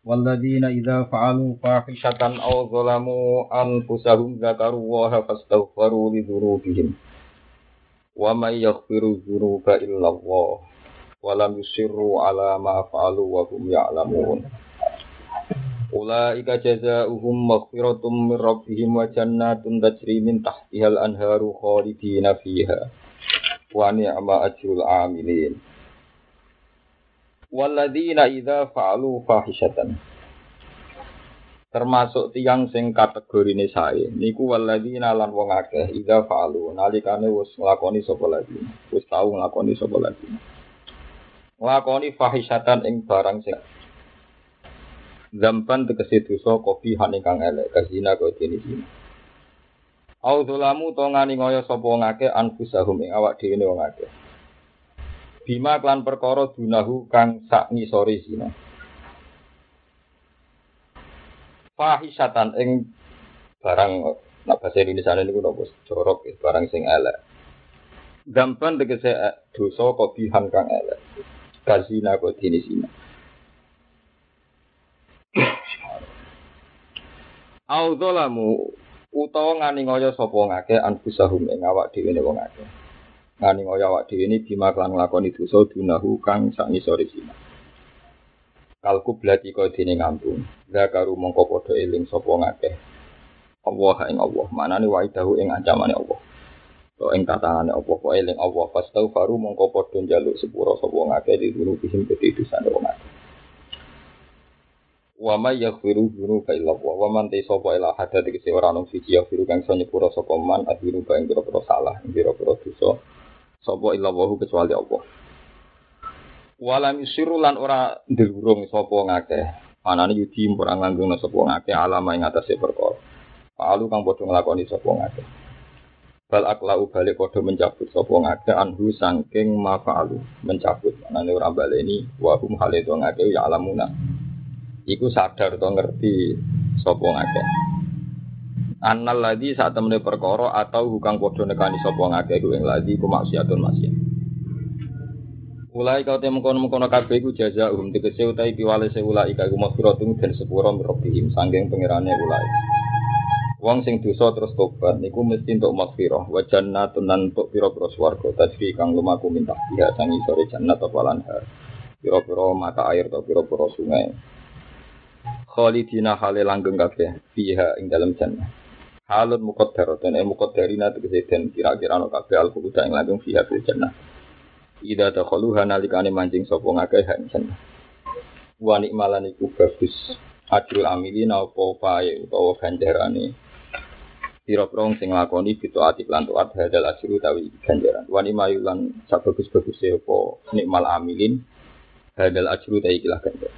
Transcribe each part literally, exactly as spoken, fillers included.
Walladzina idza fa'alu fahishatan aw zalamu anfusahum dzakarullaha fastaghfiru li dzunubihim wa may yaghfiru dzunuba illallah wa lam yusirru ala ma fa'alu wa hum ya'lamun. Ulaika jazaohum maghfiratum min rabbihim wa jannatun tajri min tahtihal anharu khalidina fiha wa ni'ma ajrul 'amilin. Walladzina idza fa'alu fahishatan, termasuk tiyang sing kategorine sae niku walladzina lan wong akeh idza fa'alu nalikane wis nglakoni sapa lagi wis tau nglakoni sapa lagi nglakoni fahishatan ing barang sing zampan tegese dosa kopi han ingkang elek kazina kaya dene iki au zalamu to ngani ngoyo sapa wong akeh anfusahum ing awak dhewe wong akeh bima klan perkara dunahu kang sak ngisore zina fahisatan ing barang nak bahasa Indonesia niku napa jorok barang sing elek gampan tegese dosa kobihan kang elek kazina kok dene zina au zalamu utawa ngani ngoyo sapa ngake anfusahum ing awak dhewe wong akeh ngani ngoyo awak dhewe ini bima klan nglakoni dosa dunahu kang sak ngisore zina kalku blati kaya dene ngambung zakaru mongko padha eling sapa ngakeh Allah ing Allah manane waidahu ing ancamane Allah to ing tatangane Allah kok eling Allah fastaghfaru mongko padha njaluk sepura sapa ngakeh dituruh bihim kedidusane wong akeh wa may yaghfiru dzunuba illa Allah wa man tasaba ila hadat iki ora ono siji yaghfiru kang iso nyepura sapa man adhiru ing pira-pira salah ing pira-pira dosa sapa illa Allah kecuali Allah. Walam yusiru lan ora ndelurung sapa ngakeh. Anane yudi ora nganggungna sapa ngakeh alama ing atase perkara. Palu kang padha nglakoni sapa ngakeh. Bal aklau balik padha mencabut sapa ngakeh anhu saking mafa'alu mencabut. Anane ora baleni wa hum hale to ngakeh ya alamuna. Iku sadar to ngerti sapa ngakeh. Annal ladzi sak temene perkara atau hukang padha nekani sapa ngakeh ku ing ladzi ku maksiatun maksiat. Ulai kau temu kono kono kabeh iku jazaahum tegese utahe piwale se ulai iku maghfiratun den sepura mirobihim sanggeng pangerane ulai. Wong sing dosa terus tobat niku mesti entuk maghfirah wa jannatun lan entuk pira-pira swarga tajri kang lumaku mintah dia sangi sore jannat apa lanhar. Pira-pira mata air atau pira-pira sungai. Khalidina hale langgeng kabeh fiha ing dalem jannah. Halun muqaddaratun e muqaddarina tegese den kira-kira ana kabeh al-quda ing langgeng fiha fil jannah. Ida takhaluha nalikane mancing sapa ngakeh hansen. Wa nikmalan iku bagus. Ajrul amilina apa pae utawa ganjarane. Pira-pira sing nglakoni fitoati lan taat hadal ajru tawi ganjaran. Wa nimayulan sabagus-baguse apa nikmal amilin hadal ajru tawi ikilah ganjaran.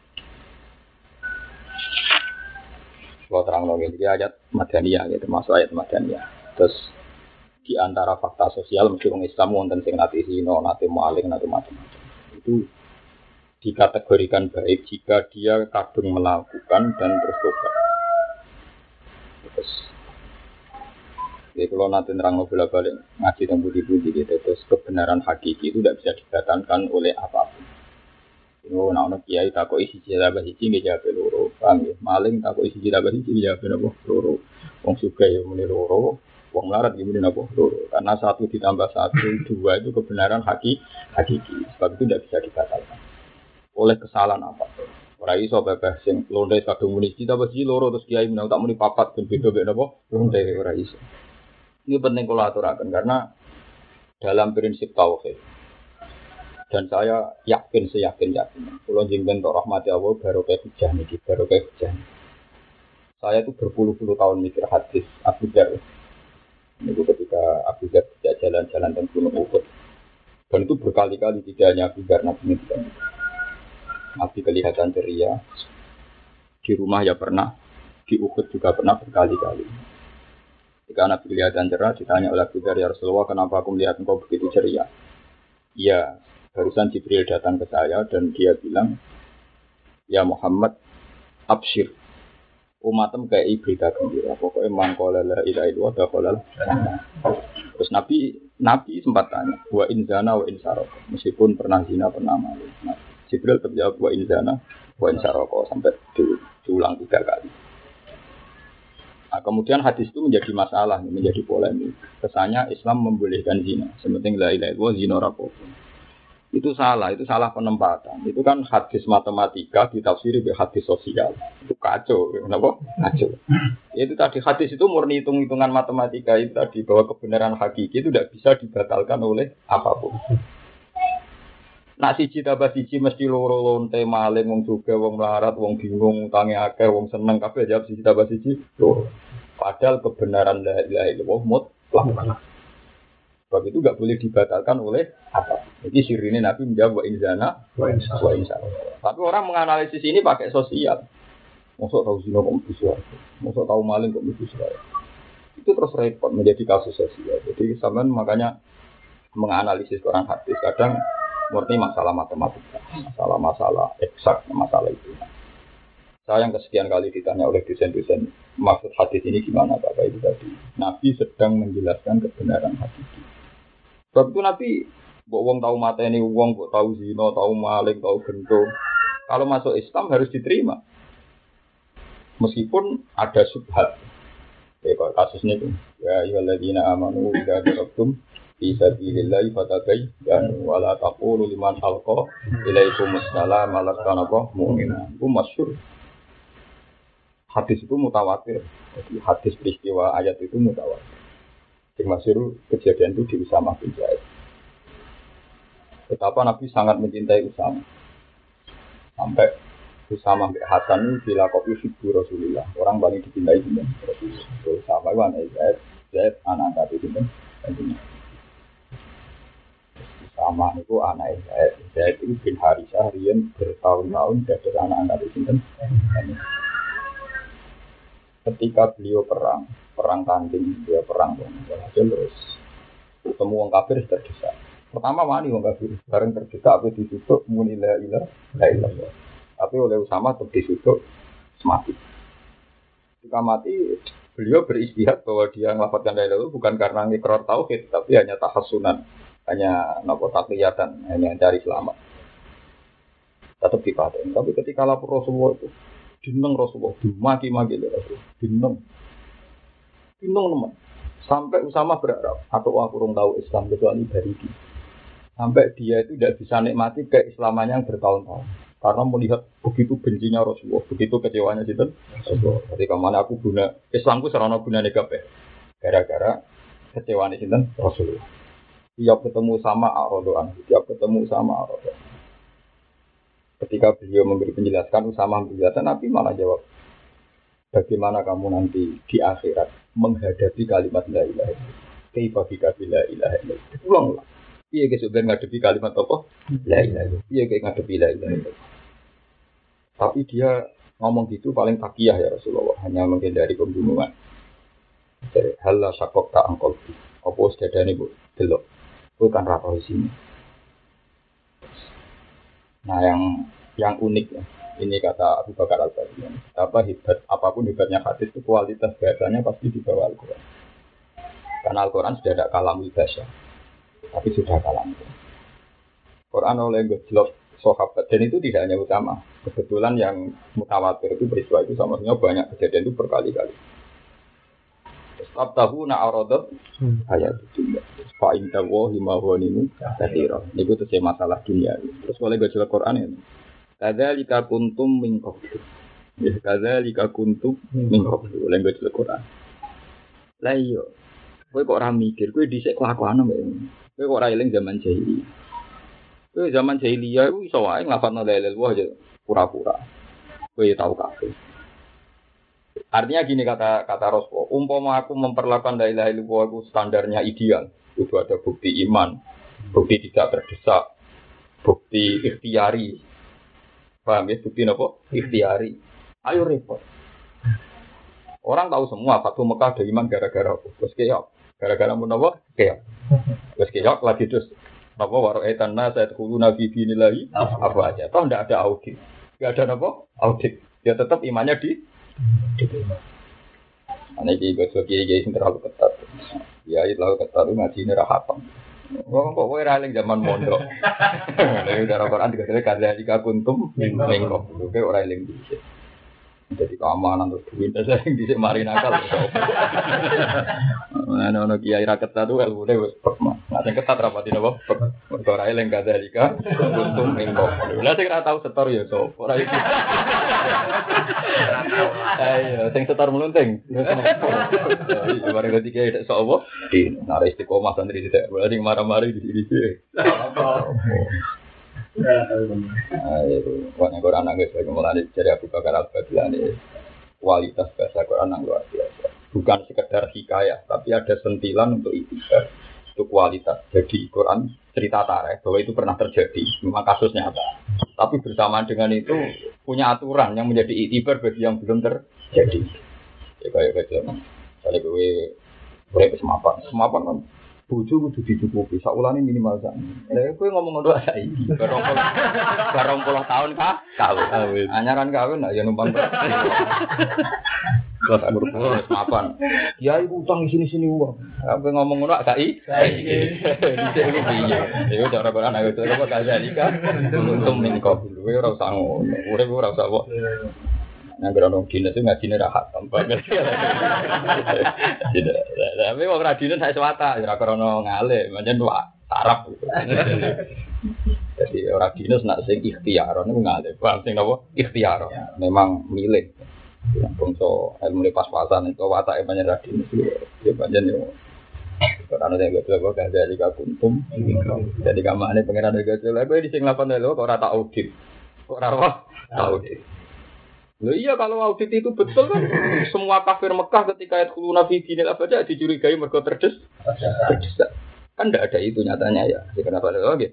Kalau terang lagi ini ayat Madaniyah, ya, termasuk ayat Madaniyah. Terus di antara fakta sosial mesti orang Islam wonten sing nate zina, nate maling, nate macam-macam. Itu dikategorikan baik jika dia kadung melakukan dan terus tobat. Terus, jadi kalau nanti nerang bola-balik ngaji tentang budi-budi gitu, terus kebenaran hakiki itu tidak bisa dibatalkan oleh apapun. Yo nak ono kiai takok isi jabah iki nggih jawab loro, paham ya? Maling takok isi jabah iki jawab napa loro. Wong sugih yo muni loro. Wong melarat gimana napa loro. Karena satu ditambah satu dua itu kebenaran haki, hakiki. Sebab itu tidak bisa dibatalkan oleh kesalahan apa. Ora iso bebas sing londe kadung muni kita besi loro terus kiai menang tak muni papat ben beda mek napa londe ora iso. Ini penting kula aturaken karena dalam prinsip tauhid dan saya yakin seyakin-yakin kula jenengan tok rahmati Allah barokah hujah niki barokah hujah. Saya itu berpuluh-puluh tahun mikir hadis Abu Dzar. Itu ketika Abu Dzar tidak jalan-jalan dan gunung Uhud. Dan itu berkali-kali tidak hanya Abu Dzar Nabi itu. Nabi kelihatan ceria. Di rumah ya pernah, di Uhud juga pernah berkali-kali. Ketika Nabi kelihatan cerah, ditanya oleh Abu Dzar, ya Rasulullah, kenapa aku melihat engkau begitu ceria? Iya, barusan Jibril datang ke saya dan dia bilang, ya Muhammad, absyir. Umatem kayak berita gembira. Pokoknya mangkola la ilaha illallah dakhalal. Terus Nabi Nabi sempat tanya, wa in zana wa in saraq. Meskipun pernah zina pernah maling. Nah, Jibril terjawab wa in zana wa insaroko sampai di, diulang tiga kali. Nah, kemudian hadis itu menjadi masalah, menjadi polemik. Kesannya Islam membolehkan zina, sementing la ilaha illallah zina rapopo. Itu salah, itu salah penempatan. Itu kan hadis matematika ditafsiri dengan hadis sosial. Itu kacau, kenapa? Kacau. Itu tadi hadis itu murni hitung-hitungan matematika itu tadi bahwa kebenaran hakiki itu tidak bisa dibatalkan oleh apapun. Nak siji tambah siji mesti loro lonte maling wong juga wong melarat wong bingung utange akeh wong seneng kabeh jawab siji tambah siji loro. Padahal kebenaran la ilaha illallah mutlak. Sebab itu enggak boleh dibatalkan oleh apa. Jadi sirine Nabi menjawab wa inzana wa insya. Tapi orang menganalisis ini pakai sosial. Mosok tahu zina kok bisa. Mosok tahu maling kok bisa. Itu terus repot menjadi kasus sosial. Jadi sampean makanya menganalisis Quran hadis kadang murni masalah matematika, masalah-masalah eksak, masalah itu. Saya yang kesekian kali ditanya oleh dosen-dosen maksud hadis ini gimana Bapak itu tadi. Nabi sedang menjelaskan kebenaran hadis. Sebab itu Nabi, kok wong tahu mateni wong, kok tahu zina, tahu maling, tahu gento. Kalau masuk Islam harus diterima. Meskipun ada subhat. Ya kalau kasus ini tuh, ya ayyuhalladzina amanu idza darabtum fi sabilillahi fatabayyanu wa la taqulu liman alqa ilaikumus salam alastana mu'mina. Itu masyhur. Hadis itu mutawatir. Jadi hadis peristiwa ayat itu mutawatir. Masyhur kejadian itu di Usamah bin Zaid. Betapa Nabi sangat mencintai Usamah. Sampai Usamah bin Hasan itu dilakopi figur Rasulullah. Orang paling dicintai itu Rasulullah. Usamah itu anak Zaid, Zaid anak Nabi itu. Usamah itu anak Zaid. Zaid itu bin Harisah riyen bertahun-tahun dari anak-anak itu. Ketika beliau perang, perang tanding, dia perang hasil terus ketemu orang kafir terdesak. Pertama wani orang kafir, bareng terdesak apa ditutup muni la ilaha illallah. Tapi oleh Usamah tetap ditutup mati. Ketika mati, beliau beristihad bahwa dia melafadzkan la ilaha illallah bukan karena ngikrar tauhid, tapi hanya tahassunan, hanya nopo takliyatan, hanya cari selamat. Tetap dipaten. Tapi ketika lapor Rasulullah itu dineng Rasulullah, dimaki-maki oleh Rasulullah, dineng, dineng teman. Sampai Usamah berharap, atau aku kurang tahu Islam kecuali dari dia. Sampai dia itu tidak bisa nikmati keislamannya yang bertahun-tahun, karena melihat begitu bencinya Rasulullah, begitu kecewanya itu Rasulullah. Ketika mana aku guna Islamku serana guna negatif, gara-gara kecewanya itu Rasulullah. Tiap ketemu sama Ar-Radoan, tiap ketemu sama Ar-Radoan. Ketika beliau memberi penjelasan, Usamah menjelaskan, Nabi malah jawab, bagaimana kamu nanti di akhirat menghadapi kalimat la ilaha illallah? Kaifa bika la ilaha illallah? Ulanglah. Piye ge sebenarnya ngadepi kalimat apa? La ilaha illallah. Piye ge ngadepi la ilaha illallah? Tapi dia ngomong gitu paling takiyah ya Rasulullah, hanya menghindari pembunuhan. Jadi halla syakok ta angkol. Apa wis dadane Bu delok. Kuwi kan ra roh isine. Nah yang yang unik ya, ini kata Abu Bakar Al-Baghdadi. Apa hebat, apapun hebatnya hadis itu kualitas bahasanya pasti di bawah Al-Quran. Karena Al-Quran sudah ada kalamul bahasa, tapi sudah kalam. Quran oleh gejlok sahabat dan itu tidak hanya utama. Kebetulan yang mutawatir itu peristiwa itu sama sebenarnya banyak kejadian itu berkali-kali. Abtahu na'aradat ayat itu. Fa inna wa lima ghanimu katsira. Niku tese masalah dunia. Terus oleh gejolak Quran ini. Kadzalika kuntum min qablu. Ya kadzalika kuntum min qablu. Oleh gejolak Quran. Lah iya. Kowe kok ora mikir, kowe dhisik kelakuan mbek. Kowe kok ora eling zaman jahiliyah. Kowe zaman jahiliyah iku iso wae nglafadzno la ilaha illallah aja pura-pura. Kowe tau kabeh. Artinya gini kata kata Rasulullah, umpama aku memperlakukan la ilaha illallah itu standarnya ideal, itu ada bukti iman, bukti tidak terdesak, bukti ikhtiari, paham ya? Bukti apa? Ikhtiari. Ayo repot. Orang tahu semua Fatu Mekah ada iman gara-gara apa? Terus keok, gara-gara menapa? Keok. Terus keok lagi terus apa waro'aitan nasa yadkhuluna fi dinillahi apa aja. Toh enggak ada audit. Enggak ada apa? Audit. Ya tetap imannya di Ana iki kok kiai-kiai sing terlalu ketat. Ya itu terlalu ketat ngaji ini ra hatam. Wong kok kowe ra eling zaman mondok. Nek udah Al-Qur'an dikatakan kadzalika kuntum min qablu. Kowe ora eling dhisik. Jadi keamanan terus duit saya yang dhisik mari nakal. Ana ono kiai ra ketat tuh ilmune wis pekma. Nek sing ketat rapati napa? Mergo ora eling kadzalika kuntum min qablu. Lah sing ra tau setor ya sapa? Ora iki. Ayo sing setor melunting. Iki mari kok kiai tek sapa? Di nare istiqomah santri tidak. Berarti marah-marah di sini sih. Ayo, wong Quran nang wis mulane dari Abu Bakar Al-Baghdadi kualitas bahasa Quran yang luar biasa. Bukan sekedar hikayah, tapi ada sentilan untuk itibar. Itu kualitas. Jadi Quran cerita tarikh bahwa itu pernah terjadi, memang kasus nyata. Tapi bersamaan dengan itu punya aturan yang menjadi itibar bagi yang belum terjadi. Ya kayak kayak misalnya gue boleh semapan, semapan kan bojo kudu dicukupi, sakulane minimal sak. Lah kowe ngomong ngono saiki, barong barong puluh tahun kah? Kawin. Anyaran kawin nak ya numpang. Kelas umur puluh semapan. Kiai utang sini-sini uang. Kowe ngomong ngono gak i? Saiki. Dhisik iki piye? Ya cara Quran ayo to kok kadzalika. Untung min qablu. Kowe ora usah ngono. Urip ora usah kok. Yang berondong dinas itu ngajine rahat tanpa ngerti. Tidak. Tapi wong ra dinas sak swata ora krono ngale, pancen wak sarap. Jadi ora dinas nak sing ikhtiar niku ngale, bang sing napa ikhtiar. Memang milih. Yang bangsa ilmu pas-pasan itu watake pancen ra dinas ya pancen yo. Karena yang gak tahu gak jadi kuntum. Jadi kamane pangeran gak tahu. Kowe di sing lapan lho kok ora tak audit. Kok ora audit. Loh iya kalau audit itu betul kan semua kafir Mekah ketika ayat khuluna fi dinil abada dicurigai mergo terdes terdesak. Kan enggak ada itu nyatanya ya. Jadi kenapa ada lagi?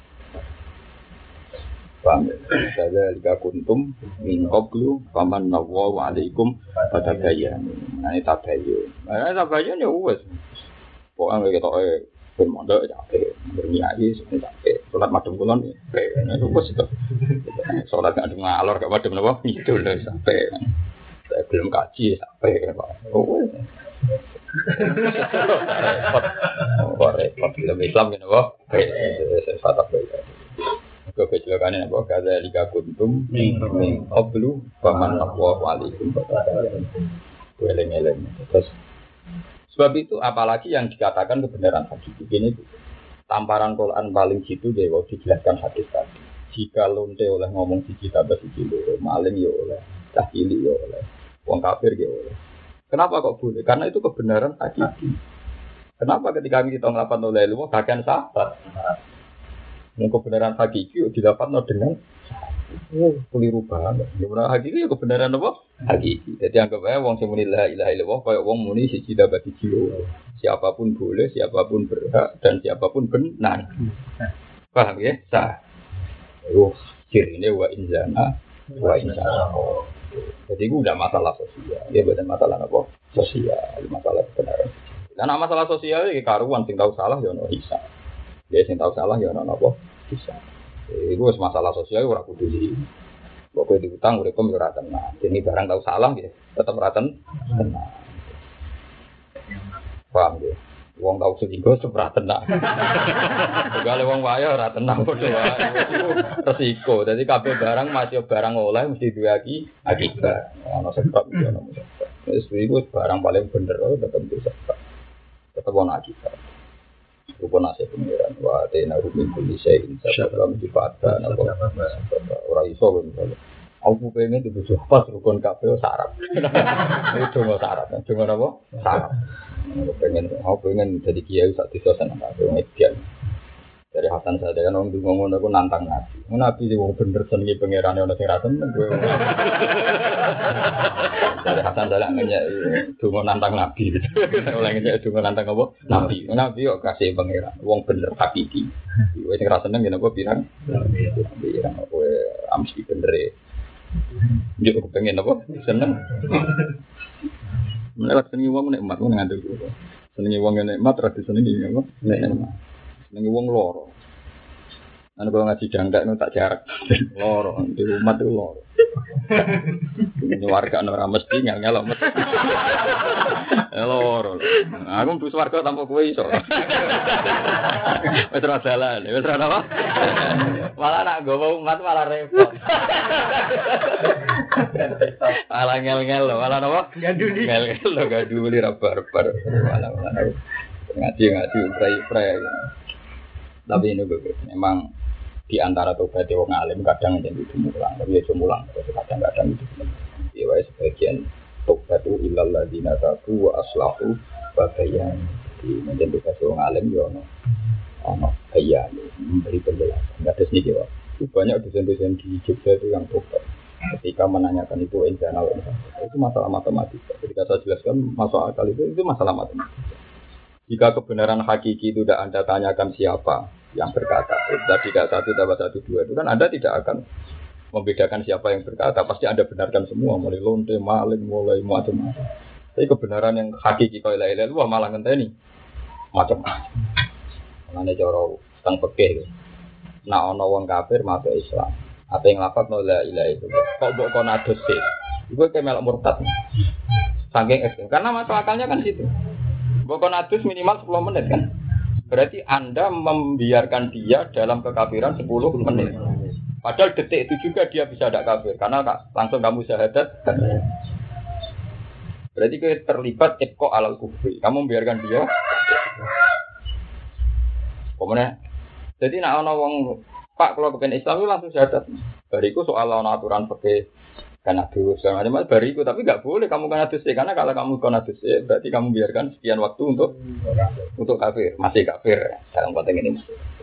Paham ya? Saya jika kuntum min qablu faman nawwa alaikum fatabayyan. Nah ini tabayun. Nah tabayun ya wes. Pokoke ketoke ben mondok ya ape berniai sampe ape salat madhep kulon ya ape wes itu. Salat gak ngalor gak madhep napa itu lho sampai saya belum kaji sampai Pak. Oh. Oh, repot film Islam kan apa? Saya fatah baik. Kau kecelakaan apa? Kada liga kuntum min qablu faman aqwa alaikum. Weleng-eleng. Terus sebab itu apalagi yang dikatakan kebenaran hadis ini tamparan Quran paling jitu dewa dijelaskan hadis tadi. Jika lonte oleh ngomong siji tambah siji loro, maling ya oleh, cah cilik ya oleh, wong kafir ya oleh. Kenapa kok boleh? Karena itu kebenaran hakiki. Kenapa ketika kita ngelapan oleh lu, bagian sahabat. Yang kebenaran hakiki didapat dengan oh, keliru banget. Kebenaran hakiki ya kebenaran apa? Hakiki. Jadi anggap aja wong sing muni la ilaha illallah kaya wong muni siji tambah siji loro. Siapapun boleh, siapapun berhak dan siapapun benar. Paham ya? Sah. Oh, kirine wa inzana wa inzana. Jadi itu udah masalah sosial. Ya bukan masalah apa? Sosial, masalah kebenaran. Karena masalah sosial iki karuan sing tahu salah ya ono isa. Dia sing tahu salah ya ono apa? Isa. Itu wis masalah sosial ora kudu di. Pokoke diutang urip kok ora tenang. Dene barang tahu salah ya tetep ora tenang. Paham ya? Wong tau selingkuh ora tenang. Segale wong wae ora tenang padha wae. Resiko. Dadi kabeh barang masih barang oleh mesti duwe iki akibat. Ana sebab ya ana sebab. Wis iku barang paling bener tetep bisa. Tetep ana akibat. Rupane nasib pengiran wa tena rumin kulise insya Allah dipatah napa ora iso kan. Aku pengen dibujuk pas rukun kabeh syarat. Itu mau syarat. Cuma apa? Syarat. Aku pengen, aku pengen jadi kiai saat itu senang aku median. Dari Hasan saya kan orang dulu ngomong aku nantang nabi. Nabi sih wong bener senengi pangeran ono sing ra seneng gue. Dari Hasan saya ngenya dungo nantang nabi. Oleh ngenya dungo nantang apa? Nabi. Nabi kok kasih pangeran. Wong bener hakiki. Wis sing ra seneng yen apa pirang? Pirang kowe amsi bener e. Yo pengen apa? Seneng. Melewat senengi wong nek mat ngandel. Senengi wong nek mat ra disenengi apa? Nek nengi wong loro. Anu kalau ngaji jangka itu tak jarak. Loro, di rumah itu loro. Warga ora mesti nyal-nyal mesti. Loro. Aku mlebu swarga tanpa kowe iso. Wis ora dalan, wis ora apa? Malah nak gowo umat malah repot. Malah ngel-ngel lho, malah apa? Gaduli. Ngel-ngel lho gaduli ra barbar. Malah malah ngaji-ngaji prai-prai. Tapi ini gue memang di antara tobat wong alim kadang jadi mulang, tapi ya mulang, kadang-kadang itu. Ya wes sebagian tobat itu ilal ladina tabu wa aslahu wa bayan. Di menjadi tobat wong alim yo ono ono bayan memberi penjelasan. Enggak ada sedikit Pak. Banyak dosen-dosen di Jogja itu yang tobat. Ketika menanyakan itu internal itu masalah matematika. Ketika saya jelaskan masuk akal itu itu masalah matematika. Jika kebenaran hakiki itu tidak Anda tanyakan siapa yang berkata, tadi tidak satu tambah satu dua itu kan Anda tidak akan membedakan siapa yang berkata, pasti Anda benarkan semua, mulai lonte, maling, mulai macam-macam. Tapi kebenaran yang hakiki kalau ilaha illallah malah ngenteni macam-macam. Mengenai cara tentang fikih, nak ono wong kafir masuk Islam, apa yang lafaz la ilaha illallah, kok mbok kono adus sih, itu kayak melok murtad, saking ekstrem, karena masuk akalnya kan situ, mbok kono adus minimal sepuluh menit kan. Berarti Anda membiarkan dia dalam kekafiran sepuluh menit. Padahal detik itu juga dia bisa tidak kafir. Karena langsung kamu syahadat. Berarti kita terlibat ibqa alal kufri. Kamu membiarkan dia. Kemudian, jadi nak ana wong Pak kalau kepen Islam itu langsung syahadat. Bariku soal ana aturan fikih karena dosa macam-macam bariku, tapi enggak boleh kamu kena dosa karena kalau kamu kena dosa berarti kamu biarkan sekian waktu untuk untuk kafir, masih kafir dalam konteks ini.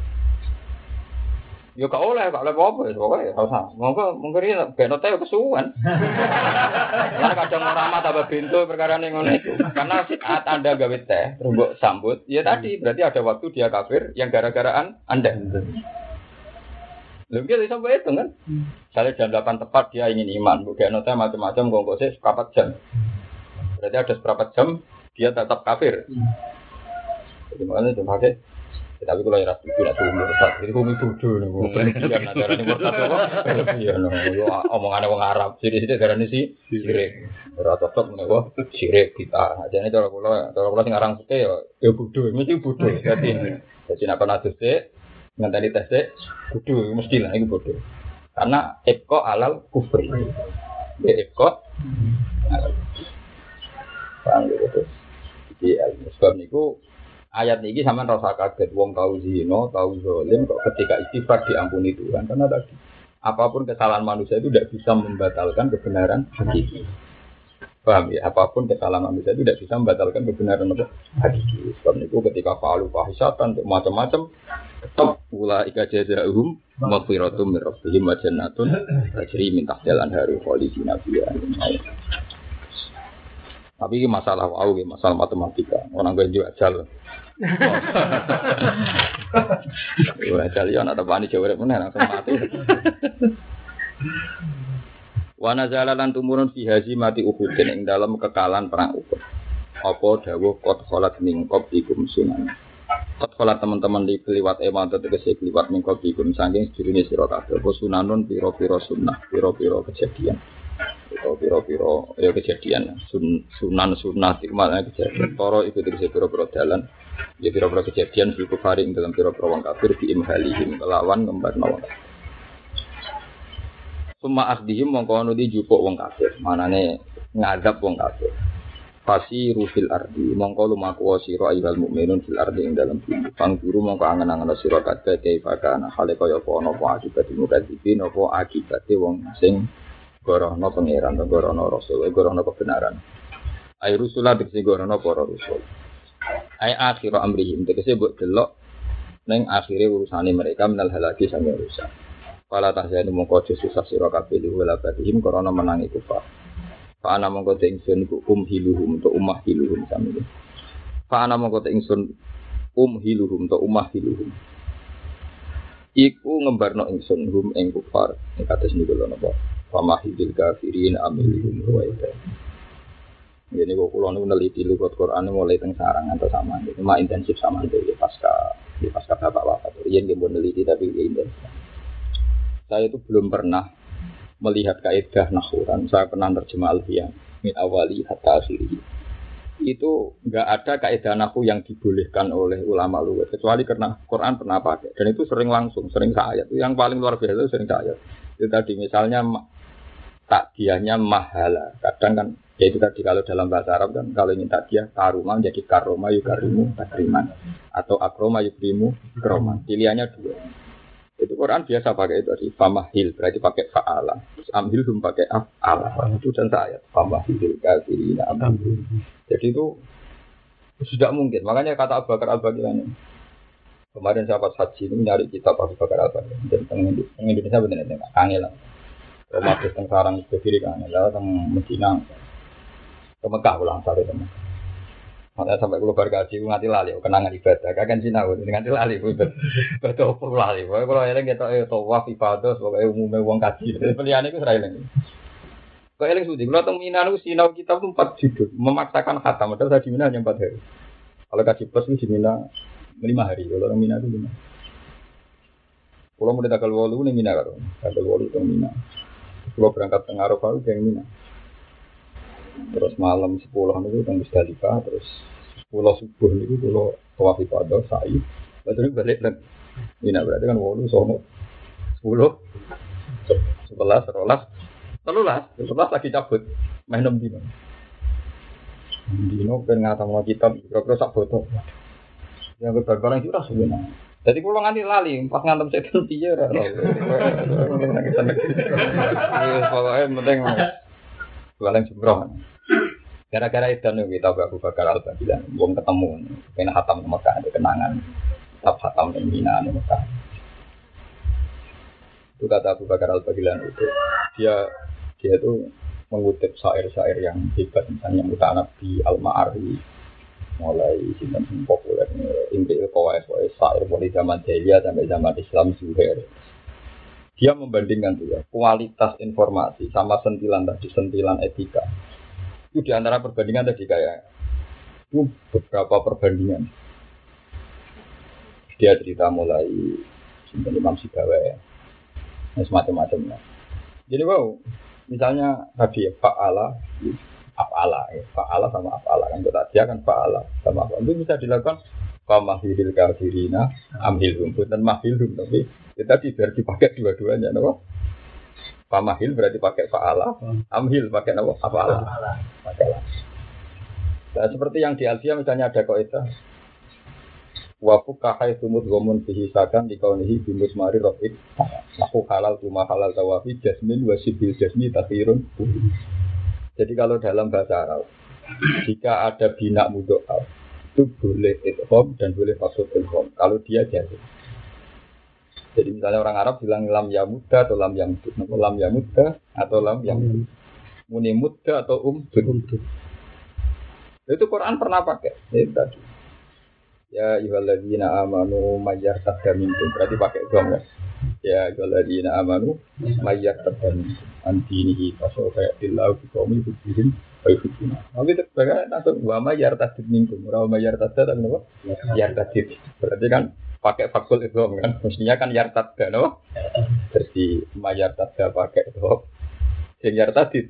Yo kau oleh, kau oleh apa? Pokoknya kau sama. Mungkin mungkin ini benot saya kesuwan. Karena kadang orang mata tambah pintu perkara ini ngono itu. Karena saat Anda gawe teh, terus sambut, ya tadi berarti ada waktu dia kafir yang gara-garaan Anda. Lalu dia sampai itu kan, misalnya jam delapan tepat dia ingin iman, bukan notnya macam-macam, gongkosnya seperempat jam. Berarti ada seperempat jam dia tetap kafir. Jadi makanya itu pakai. Tapi kalau yang rasul tidak tuh murtad, jadi kumi bodoh nih, bukan negara ini murtad apa? Iya, no, omongannya orang Arab, jadi sini negara ini sih sirik, rata cocok nih, wah sirik kita. Jadi kalau kalau kalau kalau sekarang suka ya, ya bodoh, mesti bodoh. Jadi jadi nak pernah sih. Nganteni tes dek, kudu mestilah itu bodoh. Karena ibqa alal kufri. Ya ibqa alal kufri. Paham gitu. Jadi al-musbab niku ayat niki sampean rasa kaget wong tau zina, tau zalim kok ketika istighfar diampuni Tuhan. Karena tadi apapun kesalahan manusia itu tidak bisa membatalkan kebenaran hakiki. Paham ya? Apapun kesalahan manusia itu tidak bisa membatalkan kebenaran apa? Hakiki. Sebab itu ketika fa'alu fahisatan macam-macam tetap ulaika jazaohum maghfiratum min rabbihim wa jannatun tajri min tahtiha al-anharu khalidina fiha. Tapi ini masalah wau, masalah matematika. Orang gue juga ajal. Gue ajal ya ada bani jawab mana langsung mati. Wa nazala lan tumurun fi hazimati Uhud ing dalam kekalahan perang Uhud. Apa dawuh qad khalat min qablikum sunan. Qad khalat teman-teman di liwat eman tegese liwat min qablikum saking sedurunge sira kabeh. Apa sunanun pira-pira sunnah, pira-pira kejadian. Atau pira-pira ya kejadian Sun, sunan sunnah maknane kejadian. Toro iku tegese pira-pira dalan. Ya pira-pira kejadian fil kufari ing dalam pira-pira wong kafir di imhalihim kelawan ngembarno wong kafir. Suma akhdihim mongko di jupuk wong kafir. Manane ngadab wong kafir. Fasi rufil ardi mongko lumaku sira ayyuhal mukminun fil ardi ing dalam bumi. Pangguru mongko angen-angen sira kabeh kaifa ana hale kaya apa ana apa akibat mukadzibin apa akibate wong sing gorono pangeran gorono rasul gorono kebenaran. Ai rusulah dikse gorono para rasul. Ai akhir amrihim tegese mbok delok ning akhire urusane mereka menal halaki sange rusak. Pala tahzanu mongko susah sira kabeh wala batihim korona menangi kufar. Fa ana mongko te ingsun iku umhiluhum to umah hiluhum sami. Fa ana mongko te ingsun umhiluhum to umah hiluhum. Iku ngembarno ingsun hum ing kufar ing kados niku lho napa. Fa mahidil kafirin amilhum ruwaita. Jadi kok kula niku neliti lugat Quran mulai teng sarang atau sama itu mah intensif sama itu ya pasca di pasca bapak wafat. Yen nggih mbon neliti tapi ya intensif. Saya itu belum pernah melihat kaidah nahwuran, saya pernah terjemah Alfian min awali hatta akhiri. Itu enggak ada kaidah nahwu yang dibolehkan oleh ulama luwes kecuali karena Quran pernah pakai dan itu sering langsung, sering ayat. Yang paling luar biasa itu sering ayat. Itu tadi misalnya takdiahnya mahala. Kadang kan ya itu tadi kalau dalam bahasa Arab kan kalau ingin takdiah karuma jadi karoma yukarimu takriman atau akroma yukrimu kroman. Pilihannya dua. Itu Quran biasa pakai itu tadi famahil berarti pakai faala. Terus amhil hum pakai afala. Itu dan ayat famahil kafirina amhil. Jadi itu sudah mungkin. Makanya kata Abu Bakar Al-Baghdadi kemarin saya pas haji itu nyari kitab Abu Bakar Al-Baghdadi dan teng Indonesia benar-benar kangen lah. Romatis teng sarang berdiri kangen lah teng Medina. Ke Mekah ulang satu teman. Makanya sampai kalau bergaji nganti lali, kenangan ibadah. Kakek sinau nganti lali, betul betul pun lali. Pokoknya kalau eling kita itu waf ibadah, pokoknya umumnya uang kaji. Pilihan itu serai lagi. Kalau eling sudah, kalau tentang Mina itu sinau kita tuh empat judul, memaksakan khatam. Padahal saya di Mina hanya empat hari. Kalau kaji plus itu di Mina lima hari. Kalau orang Mina itu lima. Kalau mulai tanggal walu nih Mina kan, tanggal walu itu Mina. Kalau berangkat tengah Arafah itu yang Mina. Terus malam sepuluh itu teng Musdalifah, terus sepuluh subuh itu kalau tawaf ibadah sa'i, lalu balik lagi. Ini berarti kan walu sono sepuluh, sebelas, sebelas, sebelas, sebelas lagi cabut, main enam dino. Dino pengen mau kitab, kira-kira sak foto. Yang berbarang itu rasa benar. Jadi kalau nganti lali, pas ngantem setan tiga, pokoknya penting. Jualan jumroh. Gara-gara itu nih kita Abu Bakar Al-Baghdadi belum ketemu. Kena hatam di Mekah, ada kenangan. Tetap hatam di Mina di Mekah. Itu kata Abu Bakar Al-Baghdadi itu. Dia dia itu mengutip syair-syair yang hebat, misalnya Mutanabi Al-Ma'ari, mulai sinten populer Imri Al-Qawais, syair mulai zaman Jahiliyah sampai zaman Islam Zuhair. Dia membandingkan tuh ya, kualitas informasi sama sentilan tadi, sentilan etika. Itu di antara perbandingan tadi kayak itu beberapa perbandingan. Dia cerita mulai Imam Sibawa, semacam-macamnya. Jadi wow, misalnya tadi ya fa'ala, af'ala, ya, fa'ala sama af'ala kan kita dia kan fa'ala sama af'ala. Itu bisa dilakukan famahilil kafirina amhilhum dan mahilhum tapi kita tidak dipakai dua-duanya, no? Famahil berarti pakai fa'ala, amhil pakai apa? Af'ala. Pakai. Nah, seperti yang di Alfiya misalnya ada kaidah wa fuqaha sumut gomun fihi sakan di kaunihi bimus mari rafiq. Lahu halal tuma halal tawafi jasmin wa sibil jasmi takhirun. Jadi kalau dalam bahasa Arab jika ada bina mudho'af itu boleh idgham dan boleh maksud idgham kalau dia jadi. Jadi misalnya orang Arab bilang lam yamudda atau lam yamud, lam yamudda atau lam yamud, muni mudda atau um umdud. Itu Quran pernah pakai. Ya tadi. Ya ayyuhalladzina amanu mayyartadda minkum berarti pakai dom kan. Ya ayyuhalladzina amanu mayyartadda minkum antinihi fasawfa ya'tillahu biqaumin yuhibbun wa yuhibbuna. Tapi sebagai langsung wa mayyartadda minkum, ora mayyartadda apa? Yartadid. Berarti kan pakai fakul itu kan, mestinya kan yartadda, no? Jadi mayartadda pakai itu, yang yartadid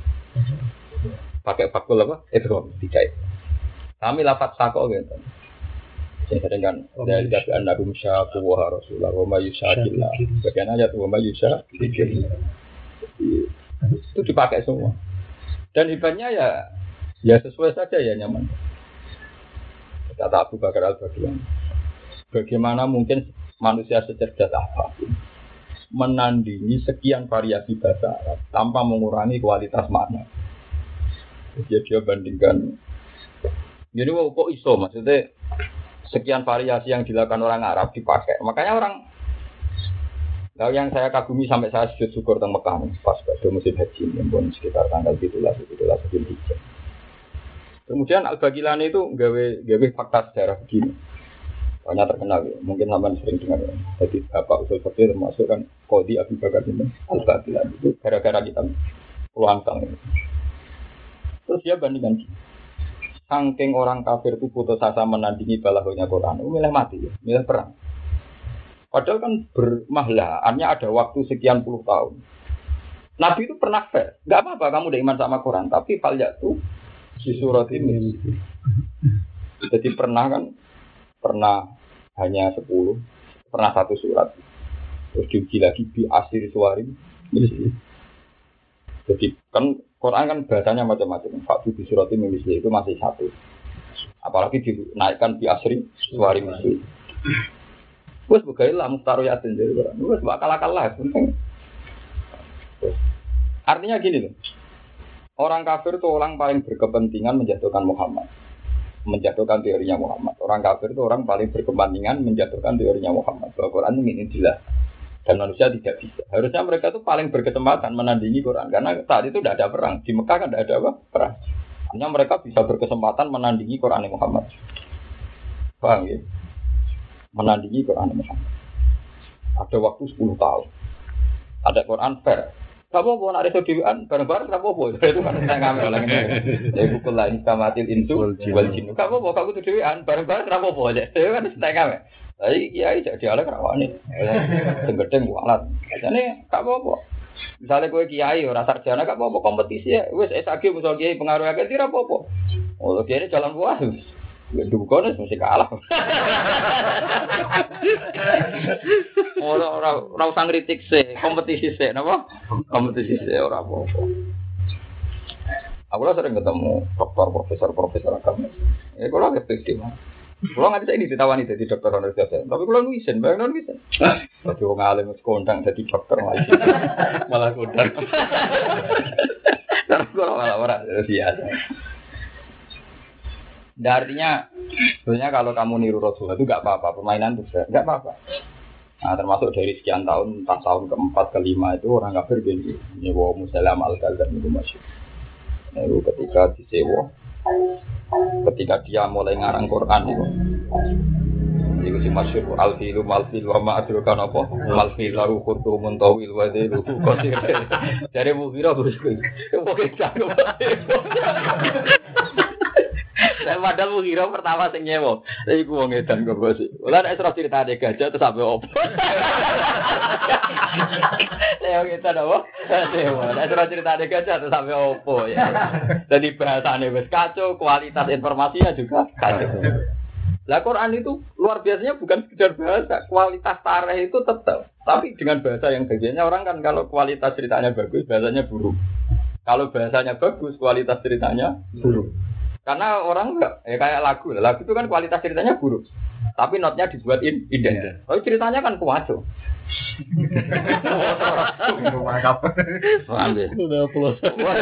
pakai fakul apa? Itu tidak. Kami lafaz sako gitu. Saya sering kan dari dari anda rumsha kuwah Rasulullah, wa mayyushakillah. Bagian ayat wa mayyushakillah. Itu dipakai semua. Dan hebatnya ya, ya sesuai saja ya nyaman. Kata Abu Bakar Al-Baghdadi. Bagaimana mungkin manusia secerdas apa menandingi sekian variasi bahasa Arab tanpa mengurangi kualitas makna. Jadi dia bandingkan. Jadi wow, kok iso maksudnya sekian variasi yang dilakukan orang Arab dipakai. Makanya orang kalau yang saya kagumi sampai saya sujud syukur teng Mekah pas pada musim haji yang sekitar tanggal tujuh belas Zulhijjah. Kemudian Al-Baghdadi itu gawe gawe fakta sejarah begini. Banyak terkenal ya, mungkin sampai sering dengar ya. Jadi Bapak Usul Fakir termasuk kan Qadi Abu Bakar bin Al-Baghdadi itu gara-gara kita peluang tang. Terus dia bandingkan saking orang kafir itu putus asa menandingi balaghahnya Quran, milih mati ya, milih perang. Padahal kan bermahlaannya ada waktu sekian puluh tahun. Nabi itu pernah fair. Enggak apa-apa kamu udah iman sama Quran, tapi fal yatu di surat ini. Jadi pernah kan pernah hanya sepuluh, pernah satu surat. Terus diuji lagi bi asir suarim. Jadi kan Quran kan bahasanya macam-macam. Faktu di surat ini itu masih satu. Apalagi dinaikkan di asri suarim itu. Wes begailah mustaru yatin jadi orang. Wes bakal-akal lah penting. Artinya gini loh. Orang kafir itu orang paling berkepentingan menjatuhkan Muhammad. Menjatuhkan teorinya Muhammad. Orang kafir itu orang paling berkepentingan menjatuhkan teorinya Muhammad. Bahwa Quran ini jelas. Dan manusia tidak bisa. Harusnya mereka itu paling berkesempatan menandingi Quran. Karena saat itu tidak ada perang. Di Mekah kan tidak ada apa? Perang. Hanya mereka bisa berkesempatan menandingi Quran Muhammad. Paham ya? Menandingi Quran Muhammad. Ada waktu sepuluh tahun. Ada Quran fair. Gak apa-apa, nak reso dewan, bareng-bareng gak apa-apa. Itu kan saya ngambil orang ini. Jadi buku lain kamatil insu, jual jinu. Gak apa-apa, gak butuh dewan, bareng-bareng gak apa-apa. Itu kan saya ngambil. Tapi kiai jadi ala kerawan nih. Tenggedeng bualan. Jadi gak apa-apa. Misalnya gue kiai, orang sarjana gak apa-apa, kompetisi ya. Wes S A G, misal kiai pengaruh agak tidak apa-apa. Oh, kiai ini jalan buah. Dukun mesti kalah. Ora ora ora usah ngritik sih, kompetisi sih, napa? Kompetisi sih ora apa-apa. Aku lah sering ketemu dokter, profesor, profesor agama. Ya kalau agak pede mah. Kalau nggak bisa ini ditawani jadi dokter honoris causa. Tapi kalau nuisen, bayang non nuisen. Tapi orang alim kondang jadi dokter malah malah kondang. Terus kalau malah orang biasa. Nah, artinya, sebenarnya kalau kamu niru Rasulullah itu nggak apa-apa, permainan itu nggak apa-apa. Nah, termasuk dari sekian tahun, entah tahun keempat, kelima itu orang kafir gini, nyewa Musalam al-Kadzab itu masyhur. Nah, itu ketika disewa, ketika dia mulai ngarang Quran itu, itu si masyhur al-filu mal-fil wa ma'adrukan apa? Mal-fil lahu khurtumun tawil wa dhilu qasir. Dari Mughirah begitu. Pokoknya jago. Saya padahal mengira pertama sing nyewa. Tapi ku wong edan kok bos. Lah nek terus critane gajah terus sampe opo. Saya kita apa? Sewa. Nek terus critane gajah terus sampe opo ya. Jadi bahasane wis kacau, kualitas informasinya juga kacau. Lah Quran itu luar biasanya bukan sekedar bahasa, kualitas tarikh itu tetap. Tapi dengan bahasa yang bagiannya orang kan kalau kualitas ceritanya bagus, bahasanya buruk. Kalau bahasanya bagus, kualitas ceritanya buruk. Karena orang enggak, ya kayak lagu, lagu itu kan kualitas ceritanya buruk, tapi notnya dibuatin indah. Tapi ceritanya kan kuaco. Rumah kapan? Ambil. Sudah pulas.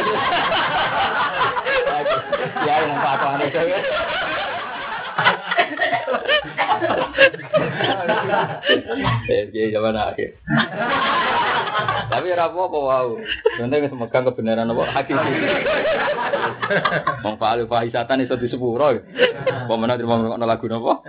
Ya yang apa apa itu. Eh, zaman akhir. Tapi rapo apa wow. Sebenarnya semegang kebenaran apa hakiki. Wong Pak Fahisatan iso disepuro. Pemenang terima ngono lagu napa?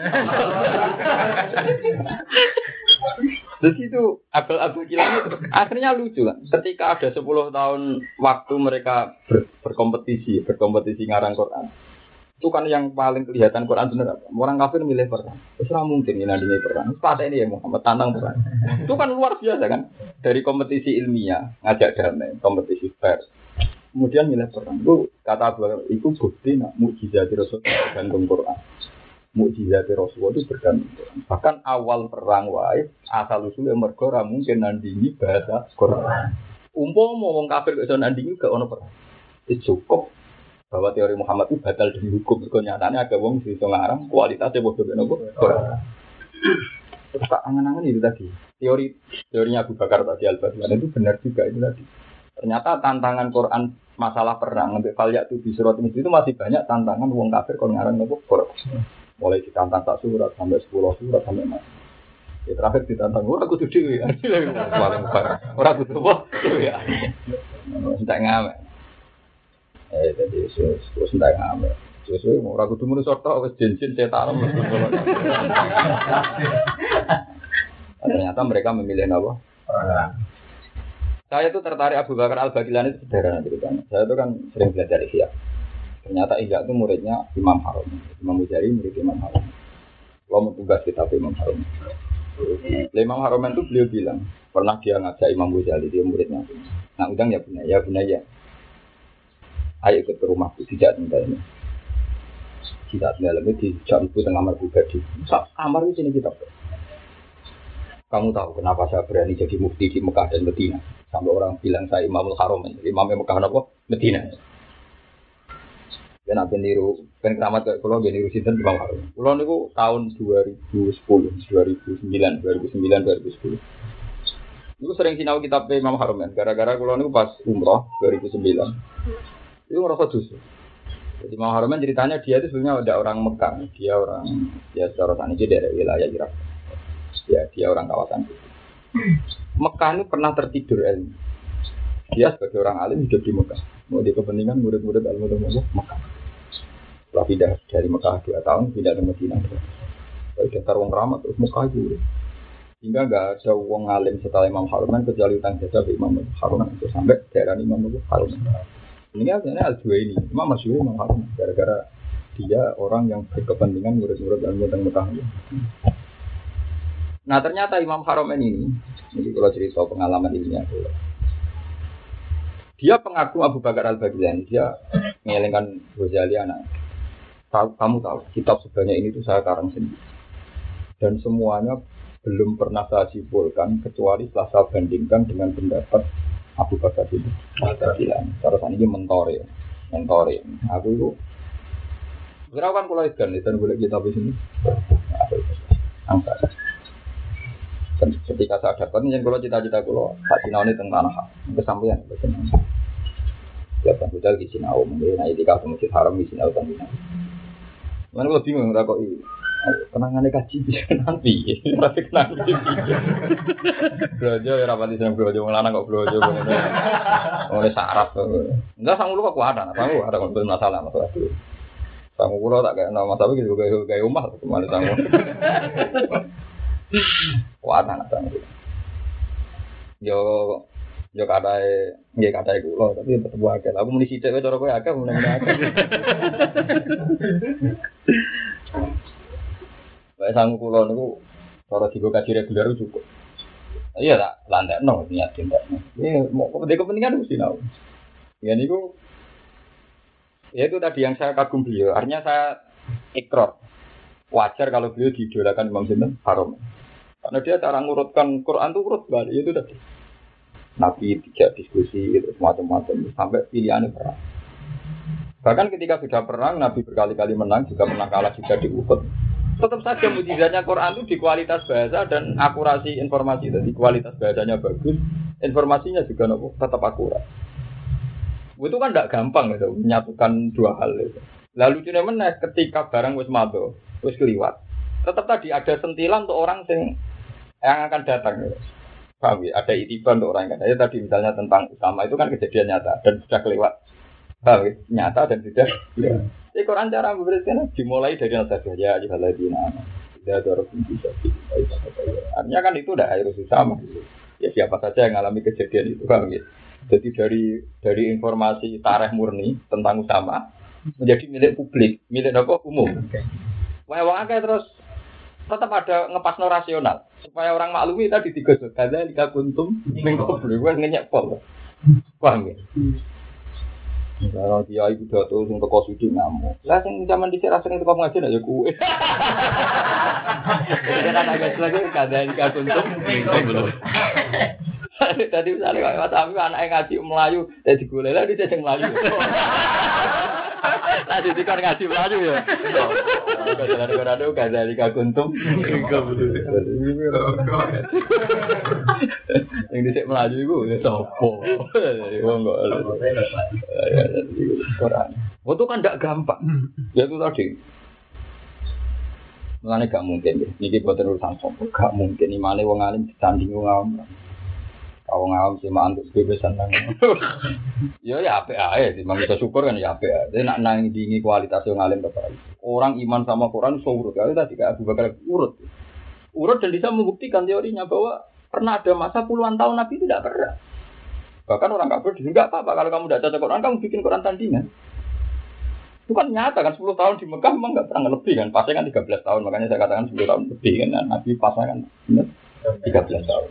Terus itu abal-abal kilang itu akhirnya lucu kan. Ketika ada sepuluh tahun waktu mereka ber, berkompetisi, berkompetisi ngarang Quran. Itu kan yang paling kelihatan Quran benar apa? Orang kafir milih Quran. Terus mungkin ini nantinya Quran. Pada ini ya Muhammad tantang Quran. Itu kan luar biasa kan. Dari kompetisi ilmiah, ngajak damai, kompetisi fair. Kemudian milih Quran. Itu kata Abu itu bukti nak mukjizat Rasul bergantung Quran. Mukjizat Rasul itu bergantung Quran. Bahkan awal perang wae asal usulnya mergo ora mungkin nandingi bahasa Quran. Umpama wong kafir kok iso nandingi gak ono perang. Itu cukup bahwa teori Muhammad itu batal demi hukum. Kenyataannya ada wong bisa ngarang kualitasnya bodoh benopo. Terus tak angan-angan itu tadi. Teori teorinya Abu Bakar tadi Al-Baghdadi itu benar juga itu tadi. Ternyata tantangan Quran masalah perang sampai falyak itu di surat ini itu masih banyak tantangan wong kafir kalau ngarang nopo Quran. Mulai ditantang tak surat sampai sepuluh surat sampai mana. Ya terakhir ditantang ora kudu dhewe. Paling parah. Ora kudu apa? Ya. Entek ngamek. Eh tadi terus terus ndak ngamek. Terus ora kudu muni sorto wis jenjin setan. Ternyata mereka memilih apa? Saya tuh tertarik Abu Bakar Al-Baghdadi itu sederhana ceritanya. Saya tuh kan sering belajar Ihya. Ternyata Ihya itu muridnya Imam Harun. Imam Muzani murid Imam Harun. Kalau mau tugas kitab Imam Harun. Imam Haromen itu beliau bilang, pernah dia ngajak Imam Ghazali, dia muridnya. Nah, udang ya punya, ya punya ya. Ayo ikut ke rumahku, tidak tinggalnya. Tidak tinggalnya di jam itu tengah kamar pribadi. Kamar di sini kita. Kamu tahu kenapa saya berani jadi mufti di Mekah dan Medina? Sampai orang bilang saya Imamul Haromen, Imamnya Mekah apa? Medina. Dan apa niru, kan keramat kayak pulau niru sinten Imam Haromen. Pulau niku tahun dua ribu sepuluh, dua ribu sembilan, dua ribu sembilan, dua ribu sepuluh. Niku sering sinau kitab Imam Haromen. Gara-gara pulau niku pas umroh dua ribu sembilan. Itu ngerasa dosa. Jadi Imam Haromen ceritanya dia itu sebenarnya ada orang Mekah, dia orang ya secara sana ini dari wilayah Irak. Ya dia orang kawasan itu. Mekah ini pernah tertidur ilmu. Dia sebagai orang alim hidup di Mekah. Mau di kepentingan murid-murid ilmu ilmu Mekah. Setelah pindah dari Mekah dua tahun pindah ke Madinah. Lalu daftar wong ramah terus Mekah itu. Hingga nggak ada wong alim setelah Imam Haromen kecuali utang jasa ke Imam Haromen itu sampai daerah Imam Haromen. Ini sebenarnya Al-Juwaini, Imam Masyhur Imam Haromen gara-gara dia orang yang berkepentingan murid-murid ilmu tentang Mekah. Nah ternyata Imam Haromen ini, ini kalau cerita pengalaman ini ya, dia pengagum Abu Bakar Al-Baghdadi, dia mengelengkan Ghazali anak. Kamu tahu, kitab sebanyak ini tuh saya karang sendiri, dan semuanya belum pernah saya simpulkan kecuali setelah saya bandingkan dengan pendapat Abu Bakar itu. Saya bilang, terus ini mentor ya, mentor ya. Aku itu, berapa kan kalau ikan, dan boleh kita di sini, angkat. Dan ketika saya dapat, yang kalau cita-cita kalau tak sinau ini tentang tanah, kesampaian, kesampaian. Siapa budal di sinau, mungkin nanti kalau masjid haram di sinau tentang. Mana kalau bingung tak kok ini. Kenangannya kaji bisa nanti, tapi nanti. Belajar ya rapat di sana belajar mengelanang kok belajar mengenai mengenai saraf. Enggak sanggup kok kuat, sanggup ada kalau masalah masalah itu. Sanggup kalau tak kayak nama sahabat gitu kayak kayak umah, cuma sanggup. Kuat anak sanggup. Yo yo kadai, nggak kadai kulo, tapi tetap wakil. Aku muni sidik, cara kowe akeh muni akeh. Baik sanggup kulo niku cara dibuka kaji reguler cukup. Iya tak landekno niat tindak. Ini mau kepentingan mesti tahu. Ya niku ya itu tadi yang saya kagum beliau. Artinya saya ikrar. Wajar kalau beliau diidolakan Imam Sinten Haromen. Karena dia cara ngurutkan Quran itu urut balik itu tadi. Nabi tidak diskusi itu macam-macam sampai pilihannya perang. Bahkan ketika sudah perang Nabi berkali-kali menang juga pernah kalah juga di Uhud. Tetap saja mujizatnya Quran itu di kualitas bahasa dan akurasi informasi. Jadi kualitas bahasanya bagus, informasinya juga nopo, tetap akurat. Itu kan tidak gampang gitu, menyatukan dua hal itu. Lalu cuma menaik ketika barang wis mado, wis keliwat. Tetap tadi ada sentilan untuk orang yang yang akan datang. Gitu. Paham ya? Ada itiban untuk orang yang akan datang. Tadi misalnya tentang Usama itu kan kejadian nyata dan sudah kelewat. Paham ya? Nyata dan sudah kelewat. Jadi Quran cara memberikan dimulai dari al-Fatihah ya ayyuhalladzina amanu idza darabtum fi sabilillah. Artinya kan itu udah harus sama. Ya siapa saja yang mengalami kejadian itu kan gitu. Jadi dari dari informasi tarikh murni tentang Usama menjadi milik publik, milik apa umum. Wah wong akeh terus tetap ada ngepasno rasional supaya orang maklumi tadi digosok kada lika kuntum ning publik wis ngenyek pol. Paham ya? Kalau dia ibu dato sing teko sudi ngamuk. Lah sing zaman dhisik rasane teko ngaji nek ya kuwe. Jadi kan agak lagi kadang kaguntum belum. Tadi misalnya Pak Mas anake ngaji Melayu, dadi golek lah dhisik sing Melayu. Lah dadi kan ngaji Melayu ya. Kadang-kadang ada kadang kaguntum enggak betul. Yang dhisik Melayu iku ya sapa? Wong kok Quran. Itu kan tidak gampang. Ya itu tadi. Mulane gak mungkin ya. Niki boten urusan sombong. Gak mungkin imane wong alim ditanding wong awam. Wong awam sing mantuk bebesan nang. Ya ya apik ae, dimang iso syukur kan ya apik ae. Nek nang ndingi kualitas wong alim tetep. Orang iman sama Quran iso urut. Kalau tadi kayak Abu Bakar urut. Urut dan bisa membuktikan teorinya bahwa pernah ada masa puluhan tahun Nabi tidak pernah. Bahkan orang kafir juga enggak apa-apa kalau kamu tidak baca Quran, kamu bikin Quran tandingan. Itu kan nyata kan sepuluh tahun di Mekah memang nggak pernah lebih kan. Pasnya kan tiga belas tahun, makanya saya katakan sepuluh tahun lebih kan. Nah, Nabi pasnya kan benar tiga belas tahun.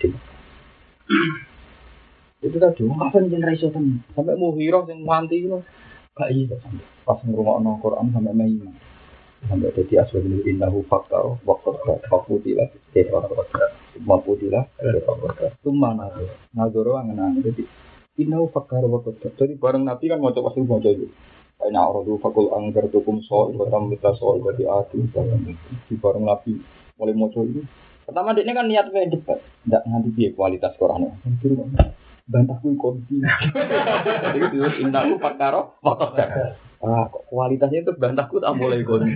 Itu tadi, kapan generasi itu sampai Muhirah yang mati itu gak iya sampai pas ngurungokno Quran sampai Maimah sampai jadi asal ini innahu fakta waktu fakutilah jadi orang fakta maputilah itu mana ngagoro angen-angen jadi innahu fakta waktu jadi bareng Nabi kan mau coba semua jadi kayak orang dulu fakul anggar tukum soal batam kita soal bagi adu di bareng Nabi mulai mau coba itu pertama dia kan niat kayak debat tidak nganti dia kualitas Qurannya bantahku konti. Jadi terus indahku pakaro motor dah. Ah, kualitasnya itu bantahku tak boleh konti.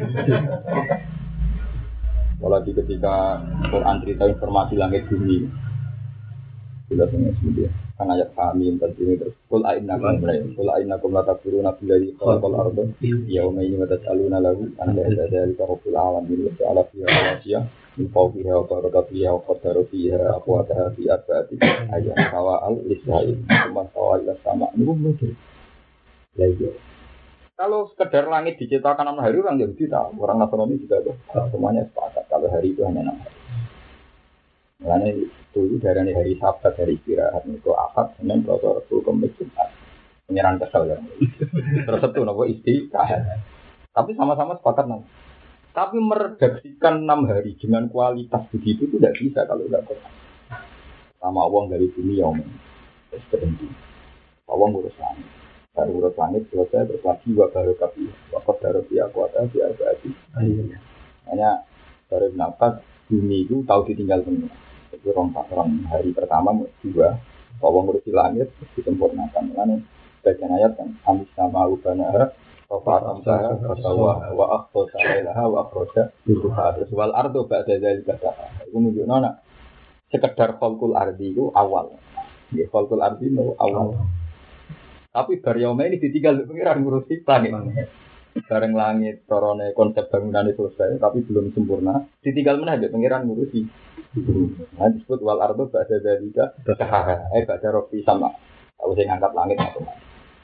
Apalagi ketika Quran cerita informasi langit bumi, sudah sangat mudah. Kan ayat kami tadi ini terus. Kul aina kum mulai. Kul aina kum lata turun nabi dari kal kal ardo. Ya umai ini mata aluna lagu. Anda ada dari kahful alam ini. Ala fiha wasiya. Info fiha wa baraka fiha wa qadara fiha aqwataha fi arba'ati ayat sawa'al lisai cuma sawa'il sama ini mungkin lagi kalau sekedar langit diciptakan enam hari orang Yahudi tahu orang Nasrani juga tahu semuanya sepakat kalau hari itu hanya enam hari makanya itu dari hari Sabat hari istirahat itu Ahad Senin Selasa Rabu Kamis Jumat penyerang kesal kan terus itu nopo istirahat tapi sama-sama sepakat nang. Tapi meredaksikan enam hari dengan kualitas begitu itu tidak bisa kalau tidak pernah. Sama uang dari dunia om, terus berhenti. Uang urus langit, baru urus langit selesai terus lagi baru kapi, waktu baru dia kuasa dia berarti. Hanya dari nafas bumi itu tahu ditinggal semua. Itu orang orang hari pertama dua, uang urus langit terus disempurnakan. Lalu bagian ayat kan amis sama ubana. Fatam sah wa wa akhto salailaha wa akhroja yutuha terus wal ardo ba'da zalika saha itu menunjukkan nak sekedar khalqul ardi itu awal ya khalqul ardi itu awal tapi baryoma ini ditinggal pengiran ngurusi langit bareng langit torone konsep bangunan itu selesai tapi belum sempurna ditinggal mana ada pengiran ngurusi nah disebut wal ardo ba'da zalika saha eh ba'da rofi sama aku saya ngangkat langit macam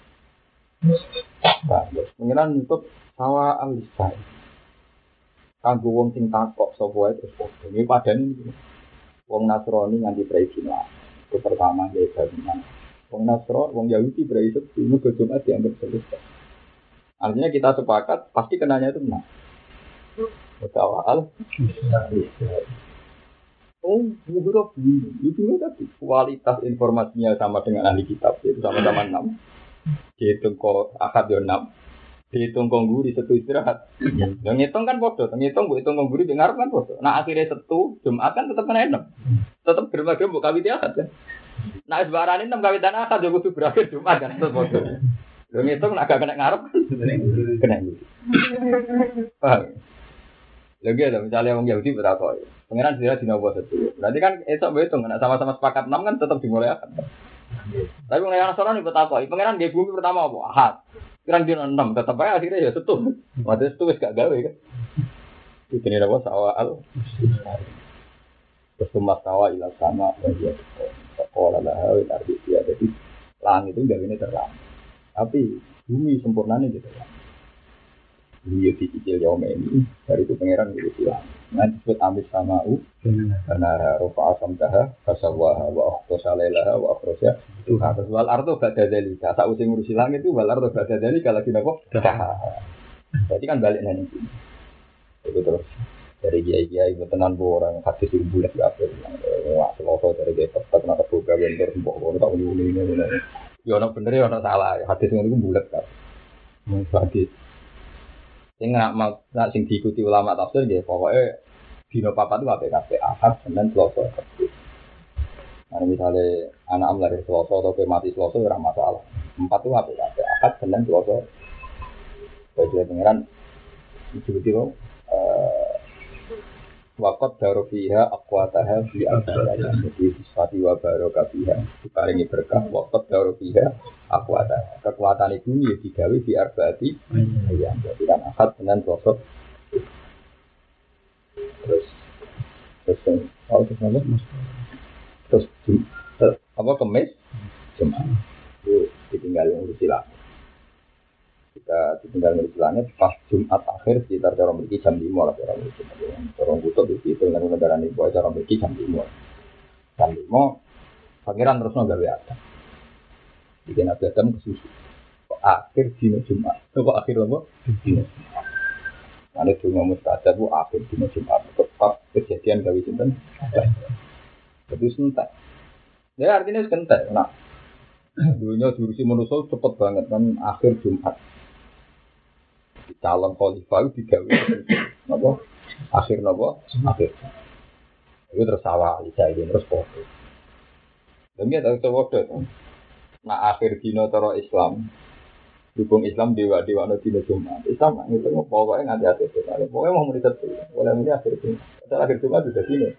nah, pengiran untuk sawa alisai. Kanggo wong sing takok sapa wae terus podo. Iki padane iki. Wong Nasrani nganti tradisional. Itu pertama ya bangunan. Wong Nasrani, wong Yahudi berisik dulu ke Jumat dianggap selesai. Artinya kita sepakat pasti kenanya itu benar. Sawa al. Oh, buruk ini. Itu tadi kualitas informasinya sama dengan ahli kitab itu sama-sama enam. Dihitung kok akad yo enam. Dihitung kok guri satu istirahat. Yang ngitung kan bodoh, ngitung bu hitung kok guri dengar kan bodoh. Nah akhirnya satu Jumat kan tetap kena enam. Tetap berbagai bu kawit akad kan. Nah sebarang enam kawitan akad yo kudu berakhir Jumat kan tetap bodoh. Yang ngitung nak gak kena ngarep kena guri. Paham? Lagi ada misalnya orang Yahudi berapa? Pengiran dia dina buat satu. Berarti kan esok berhitung, nak sama-sama sepakat enam kan tetap dimulai akad. Tapi pengiran Nasrani bertakwa, pengiran dia bumi pertama apa? Ahad. Pengiran dia enam, tetap aja akhirnya ya setu. Waktu itu wis gak gawe kan? Itu ini apa? Sawal. Terus tumas sawa ilah sama bagi sekolah lah, arti dia jadi langit itu gak ini terang. Tapi bumi sempurnanya gitu kan. Bumi itu dicicil jauh ini dari itu pengiran gitu silang. Nanti disebut amis sama u karena rofa asam dah kasawah wa akhto salailah wa akhroja itu harus wal ardo ba'da dzalika tak usah ngurusi langit itu wal ardo ba'da dzalika lagi napa jadi kan balik nang iki itu terus dari kiai-kiai tenan orang hadis sing bulat apa wah seloso dari kiai tetep nang kebuka bentor mbok ora tak ngene ngene yo ono bener yo ono salah hadis ngono iku bulat kan mung hadis sing nak mau nak sing diikuti ulama tafsir nggih pokoke dina papat itu apik-apik Ahad Senin Selasa Rabu. Nah misale anak am lahir Selasa atau mati Selasa ora masalah. Empat itu apik-apik Ahad Senin Selasa. Bae pengiran diikuti kok eh waqt darufiha aqwataha fi al-ayat jadi sifati wa barokatiha diparingi berkah waqt darufiha aqwataha kekuatan itu ya digawe di arba'ati ya jadi kan Ahad Senin Selasa terus terus oh terus apa mas terus apa Kamis Jumat itu ditinggal urus silang Ketika ditinggal dari langit pas Jumat akhir sekitar cara memiliki jam lima lah cara memiliki. Orang butuh itu dengan negara ini buat cara memiliki jam lima. Jam lima pangeran terus nggak ada. Jadi Nabi Adam kesusu. Akhir dino Jumat. Kok akhir apa? Dino. Ada cuma mustajab bu akhir dino Jumat. Tepat kejadian gawe sinten. Jadi sentak. Ya artinya sentak. Nah, dunia durusi manusia cepet banget kan akhir Jumat. Calon khalifah itu digawe. Napa? Akhir napa? Akhir. Itu terus awal isa ini terus foto. Demi ada foto. Nah akhir dino cara Islam. Dukung Islam dewa dewa no dino Jumat. Islam itu pokoknya nganti akhir Jumat. Pokoknya mau menikat boleh muni akhir Jumat. Setelah akhir Jumat sudah sini.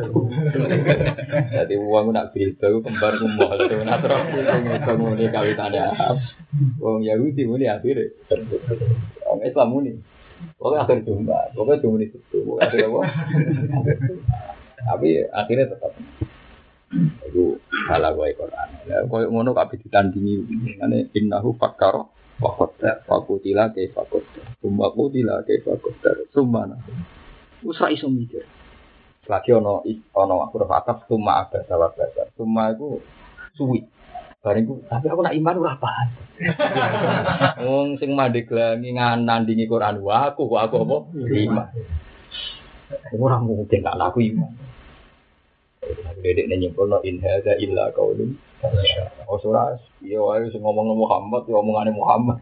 Jadi uang nak beritahu kembar kumah. Lalu natural itu muni kawitannya. Uang Yahudi muni akhir. Orang Islam muni. Pokoknya akhir Jumat. Pokoknya cuma itu. Pokoknya akhir apa? Tapi akhirnya tetap. Itu salah gue Quran. Kau ngono kabeh ditandingi. Ane innahu fakkar wa qaddar. Fakutila kaifa qaddar. Summa qutila kaifa qaddar. Sumana. Wis ra iso mikir. Lagi ono ono aku ora atas summa ada salah bahasa. Summa iku suwi. Bareng tapi aku nak iman ora paham. Wong sing mandeglangi nandingi Quran wa aku kok aku apa? Iman. Ora mungkin gak laku iman. Dedek nyimpulno in hadza illa qaulun oh surah iya wae sing ngomong Muhammad ya omongane Muhammad.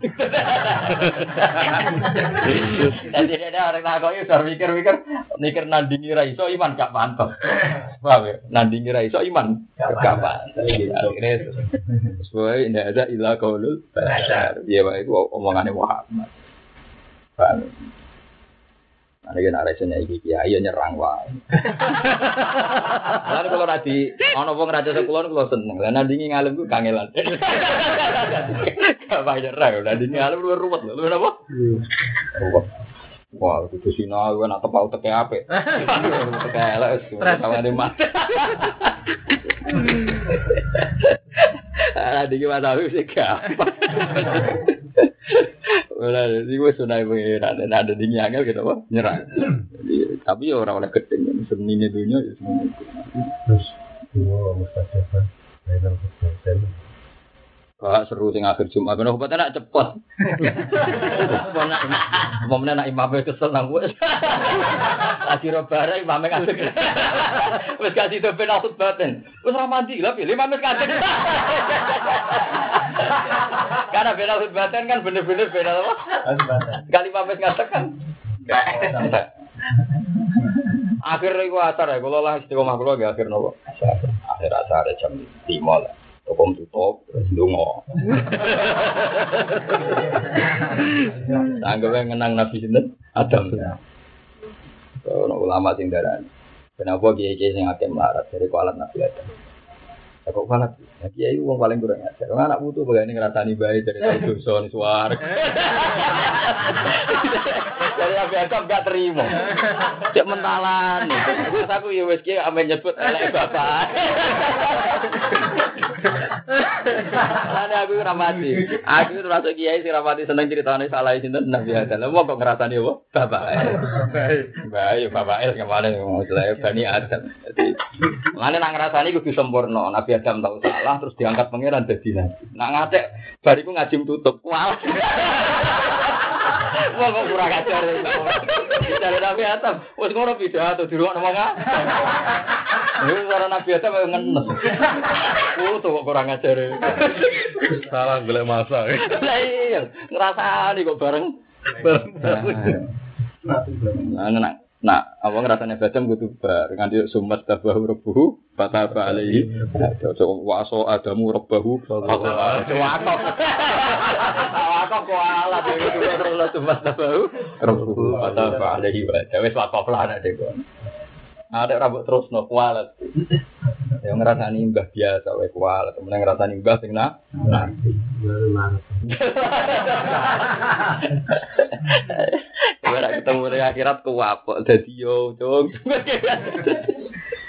Dadi ada orang tak kok iso mikir-mikir mikir nandingi ra iso iman gak pantes. Paham ya? Nandingi ra iso iman gak pantes. Akhire sesuai in hadza illa qaulul bashar. Iya wae itu omongane Muhammad. Paham. Ana yen aresane iki kiai nyerang wae. Lalu kalau nanti ana wong raja sekulon kula seneng. Lah nandingi ngalem ku kangelan. Gak bayar ra, nandingi ngalem luwih ruwet lho. Lha apa? Ruwet. Wah, kudu sinau kan atep au teke apik. Teke elek wis kawane mat. Ala diki masawi sik gampang. Ora iki wis sunai pengiran ada dingin angel gitu apa nyerang. Tapi ya ora oleh gedeng senine dunya ya semono. Terus dua mustajab final persen. Wah seru sing akhir Jumat ben obat enak cepet. Mau menak imame kesel nang wis. Lagi robare imame ngadeg. Wis kasih to ben akut baten. Wis ra mandi lha pilih imame ngadeg. Karena bela baten kan bener-bener bela apa? Sekali imame ngadeg kan. Akhir iku asar ya, kula lah istiqomah kula nggih akhir napa? Akhir asar jam lima lah. Topong tutup, terus ndonga. Anggap ngenang Nabi sinten? Adam. Ono ulama sing darani. Kenapa kiai-kiai sing akeh melarat dari kualat Nabi Adam? Ya kok kualat? Ya kiai wong paling kurang ajar. Wong anak putu begane ngrasani bae dari tahu dosa ni suar. Dari Nabi Adam gak terima. Cek mentalan. Terus aku ya wis kiai ame nyebut elek bapak. Lane aku ora mati. Aku termasuk kiai sing ora mati seneng critane salah sinten Nabi Adam. Wong kok ngrasani apa? Bapak. Bae, bapak el kemana ngomong Bani Adam. Dadi lane nang ngrasani kudu sempurna. Nabi Adam tahu salah terus diangkat pangeran dadi nabi. Nak ngatek bariku ngajim tutup. Wah. Wong kok kurang ajar. Bicara Nabi Adam, wis ngono pidato di ruang ngomong ah. Yo cara Nabi Adam ngenes. Oh, tuh kok kurang ajar. Salah golek masa. Lah iya, ngrasani kok bareng. Nah, nah, apa ngrasane badam kudu bar nganti sumat tabahu rabbuhu fataba alaihi. Waso adamu rabbahu fataba. Wakok. Wakok kuala dhewe terus sumat tabahu rabbuhu fataba alaihi. Wis wakok lah nek dhewe. Ada rambut terus no kualat. Yang ngerasani mbah biasa wae kualat, temen ngerasani mbah sing nak. Ora ketemu di akhirat kuwapok dadi yo, Cung.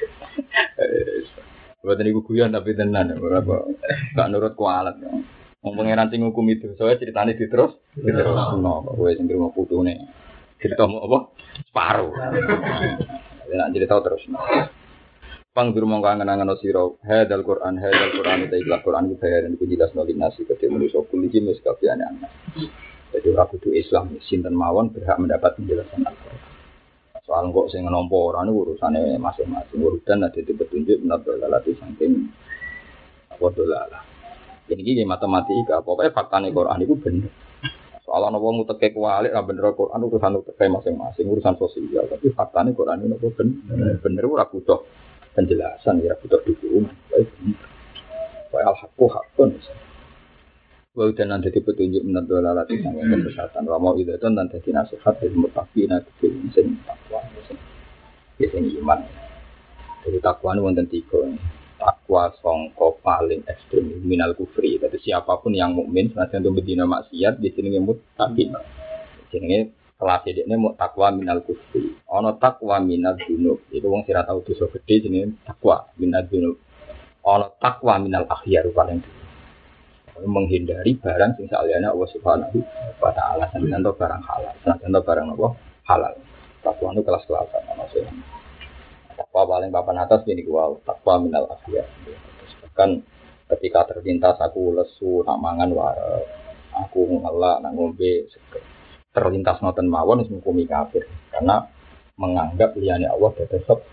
Buat niku guyon tapi tenan ora apa. Gak nurut kualat. Wong pangeran sing hukum itu, soalnya ceritane diterus, diterusno kok kowe sing ngrimo putune. Cerita mau apa? Separuh. Ya nak cerita terus. Pang durung mongko angen-angen sira, hadzal Qur'an, hadzal Qur'an ta ikhlas Qur'an iki bayaran iku jelas nol nasi ketemu manusa kuliji wis kabehane ana. Jadi ora kudu Islam sinten mawon berhak mendapat penjelasan Al-Qur'an. Soal kok sing nampa ora niku urusane masing-masing. Urutan ada di petunjuk menurut lalati saking apa dolalah. Jadi iki matematika, pokoknya faktane Qur'an iku bener. Soal ana wong teke kualik ra bener Qur'an urusan teke masing-masing, urusan sosial, tapi faktane Qur'an ini apa bener. Bener ora butuh penjelasan ya butuh dukungan. Wa al-haqqu haqqun. Wa udan nanti petunjuk menurut lalati saking kesehatan. Wa mau itu dan dadi nasihat dari muttaqina fil sing takwa. Sing iman. Jadi takwa ini wonten tiga. Takwa sangka paling ekstrem minal kufri. Jadi siapapun yang mukmin senajan itu bedina maksiat di sini muttaqin. Jenenge kelas ini mau takwa minal kufri. Ono takwa minal dunub. Itu wong sira tau dosa gede jenenge takwa minal dunub. Ono takwa minal akhyar paling dulu. Menghindari barang sing saliyane Allah Subhanahu wa taala senajan barang halal. Senajan barang apa? Halal. Takwa itu kelas-kelasan ono sing takwa paling papan atas ini gua takwa minal akhyar. Bahkan ketika terlintas aku lesu nak mangan wae, aku ngelak nak ngombe seger. Terlintas noten mawon wis ngukumi kafir karena menganggap liyane Allah dados sebab.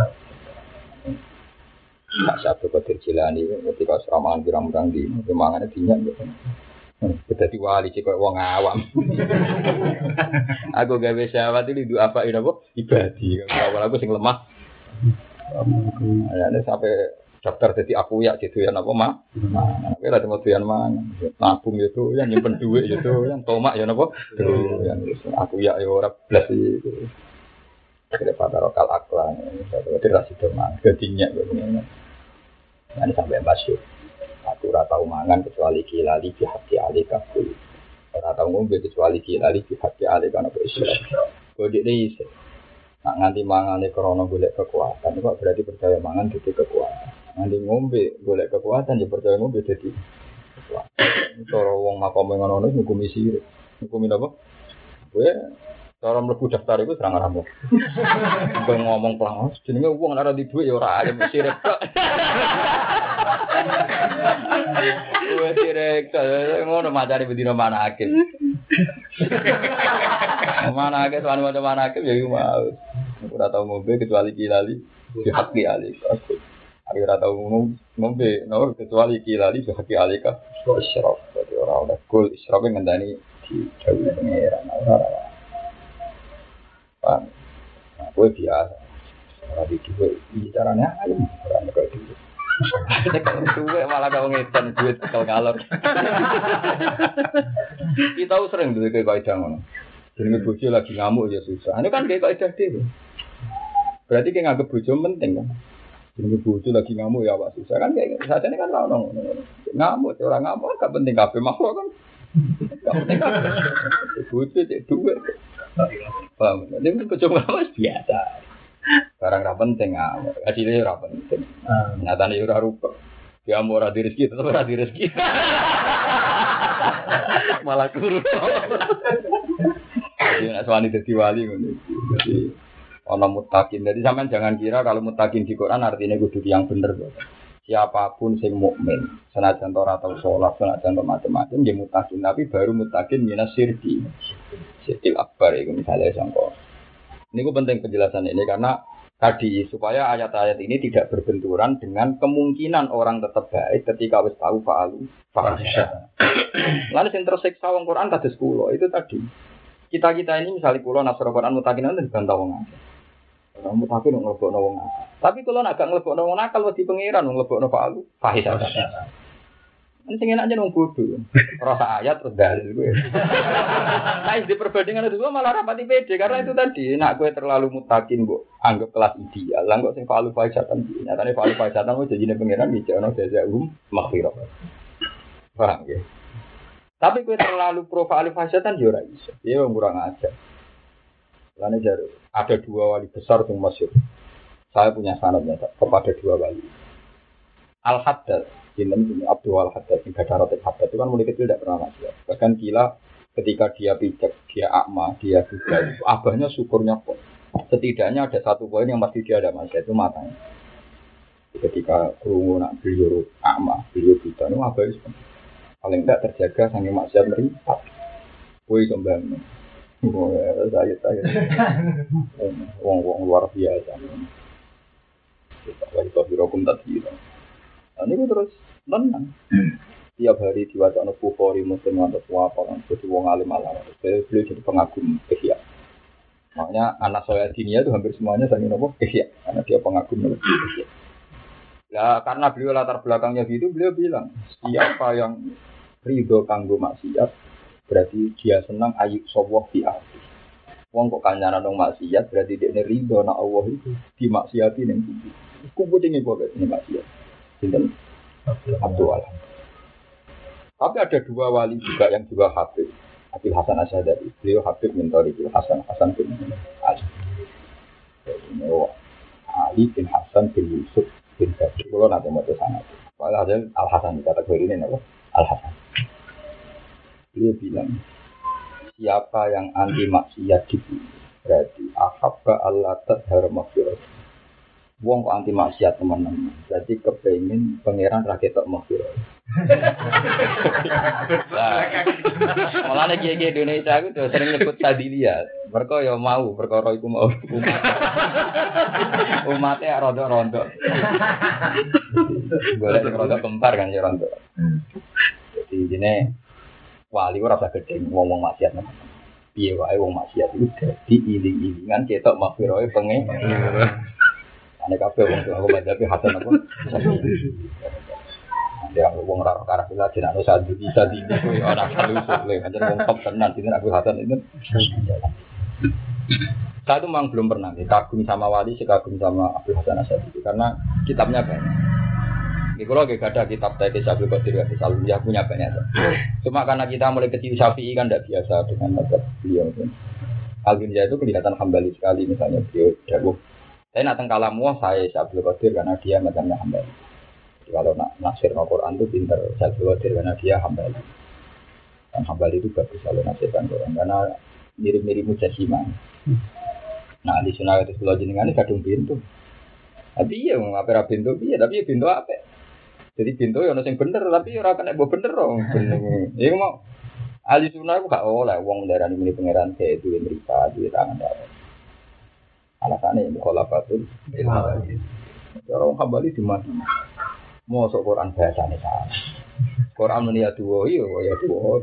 Tak satu kotir Jilani ketika seramangan pirang-pirang di mangane dinyak gitu. Dadi wali cek koyo wong awam. Aku gawe syahwat iki apa ini apa ibadi. Awal aku sing lemah. Ya sampai daftar jadi aku ya gitu ya apa mah. Nah, kowe lha temu doyan mangan. Nabung itu yang nyimpen duit itu yang tomak ya napa? Yang aku ya ya ora blas iki. Kira pada lokal aklan, jadi rasi teman, ketinya begini. Nanti sampai masuk. Aku ora tau mangan kecuali kilali di hati ali kafir. Ora tau ngombe kecuali kilali di hati ali kana Islam. Kode ini isi. Nak nganti mangane krana golek kekuatan, kok berarti percaya mangan dadi kekuatan. Nganti ngombe golek kekuatan ya percaya ngombe dadi kekuatan. Cara wong makome ngono niku ngukumi sirik. Ngukumi apa? Kowe cara mlebu daftar iku serang ramu. Kowe ngomong pelangos jenenge wong ora di dhuwit ya ora alim sirik tok. Kowe sirik ngono macane bedino manake. Manake sowan macam manake ya iku mau. Ora tau ngombe kecuali kilali di hati ali. Aku ora tau ngombe no kecuali kilali di hati ali ka. Isyraf dadi ora oleh kul isyraf ngendani di jauh pengeran ora. Nah, gue biasa. Ora di duwe bicaranya ayo ora nek duwe. Nek duwe malah kau ngedan duit kau ngalor. Kita sering duwe kaidah ngono. Jenenge bojo lagi ngamuk ya susah. Ini kan kayak kaidah dhewe. Berarti ki nganggep bojo penting kan. Jenenge bojo lagi ngamuk ya awak susah kan kayak sajane kan ono ngono. Ngamuk ora ngamuk gak penting kabeh makhluk kan. Gak penting kabeh. Bojo cek duwe. Paham, ini kecuma mas biasa. Barang ra penting ah, hasilnya ra penting. Nyatane ora rupa. Dia mau ora di rezeki, tetep ora di rezeki. Malah kurus. Jadi nek suwani dadi wali ngono. Jadi ana muttaqin. Jadi sampean jangan kira kalau muttaqin di Quran artinya kudu yang bener. Siapapun sing mukmin, senajan ora tau salat, senajan macam-macam dia muttaqin, tapi baru muttaqin minas syirki. Syirkil akbar itu misalnya sangko. Ini ku penting penjelasan ini karena tadi supaya ayat-ayat ini tidak berbenturan dengan kemungkinan orang tetap baik ketika wis tahu fa'alu fahisha. Lalu sing tersiksa wong Quran kados kula itu tadi. Kita-kita ini misalnya kula nasra Quran muttaqin itu dibantah wong akeh. Wong muttaqin nglebokno wong akeh. Tapi kula nek gak nglebokno wong nakal wedi pangeran nglebokno fa'alu fahisha. Ini sing enak aja nang bodoh. Rasa ayat terus dalil gue. Nah, di perbandingan itu malah rapati pede karena itu tadi, nak gue terlalu mutakin, Bu. Anggap kelas ideal. Lah kok sing falu faisatan iki. Nyatane falu faisatan wis janjine pangeran iki ana jazaa'um maghfirah. Paham ya? Tapi gue terlalu pro falu faisatan yo ora iso. Ya wong kurang ajar. Lane jare ada dua wali besar sing masyhur. Saya punya sanadnya kepada dua wali. Al-Haddad, ini Abdul Al-Haddad, yang gada roti Haddad itu kan mulai kecil tidak pernah maksiat. Bahkan gila ketika dia pijak, dia akma, dia buta, abahnya syukurnya kok. Setidaknya ada satu poin yang pasti dia ada maksiat, itu matanya. Ketika kerungu nak beliau akma, beliau buta, itu abahnya paling tidak terjaga sampai maksiat meripat. Woi kembang, saya saya, wong-wong luar biasa. Wali tohirokum tadi. Nah, ini terus tenang. Tiap hari diwaca anak Bukhari, Muslim atau apa kan, jadi wong alim alam. Saya beliau jadi pengagum ihya. Makanya anak saya dinia itu hampir semuanya saya nopo ihya, karena dia pengagum nopo ihya. Ya karena beliau latar belakangnya gitu, beliau bilang siapa yang ridho kanggo maksiat, berarti dia senang ayub sawah fi ardi. Wong kok kancanan dong maksiat, berarti dia ridho nak Allah itu dimaksiati ning bumi. Kumpul ini boleh ini maksiat. Sinten Abdul Alam. Tapi ada dua wali juga yang juga Habib. Abil Hasan Asy'ari. Beliau Habib min Thariqil Hasan Hasan bin Ali. Ali bin Hasan bin Yusuf bin Kabir. Kalau nanti mau ke sana. Padahal Al Hasan kategori ini apa? Al Hasan. Beliau bilang, siapa yang anti maksiat di bumi, berarti ahabba Allah tadhar maghfirah. Wong kok anti maksiat teman-teman. Jadi kepengen pangeran ra ketok maghfirah. Lah. Mulane kiye-kiye Indonesia aku tuh sering nyebut tadilia. Mergo ya mau perkara iku mau umat. Umate rondo-rondo. Golek rondo kempar kan ya rondo. Jadi dene wali ora usah gedhe ngomong maksiat. Piye wae wong maksiat iku dadi iling-ilingan ketok maghfirah pengen. Ane kabeh wong sing aku madzhabi hasan apa? Dia wong ora karo kula jenenge sadu bisa dine kuwi ora perlu suwe pancen wong top tenan dine aku hasan itu. Saya itu memang belum pernah kagum sama wali, kagum sama Abdul Hasan Asy'ari karena kitabnya banyak. Di kalau gak ada kitab tadi Syaikhul Qadir Hadis Al-Uliyah punya banyak. Cuma karena kita mulai kecil Syafi'i kan tidak biasa dengan mazhab beliau. Al-Uliyah itu kelihatan hambali sekali misalnya beliau dawuh. Saya nak teng kalamu saya Syaikhul Qadir karena dia mazhabnya hambali. Jadi kalau nak nafsir Al-Qur'an itu pintar Syaikhul Qadir karena dia hambali. Dan hambali itu bagus kalau nafsirkan Quran karena mirip-mirip mujassimah. Nah di sunnah itu sebelah jenengan kadung pintu. Tapi ya mau apa pintu piye tapi pintu apa? Jadi pintu ya ono sing bener tapi ora kena mbok bener dong. Iku mau ahli sunnah ku gak oleh wong ndarani muni pangeran ke duwe mripat duwe tangan dawa. Alasane mukhalafatul ilmu. Orang hambali di mana? Mosok Quran bahasane salah. Quran muni ya duwo iya ya duwo.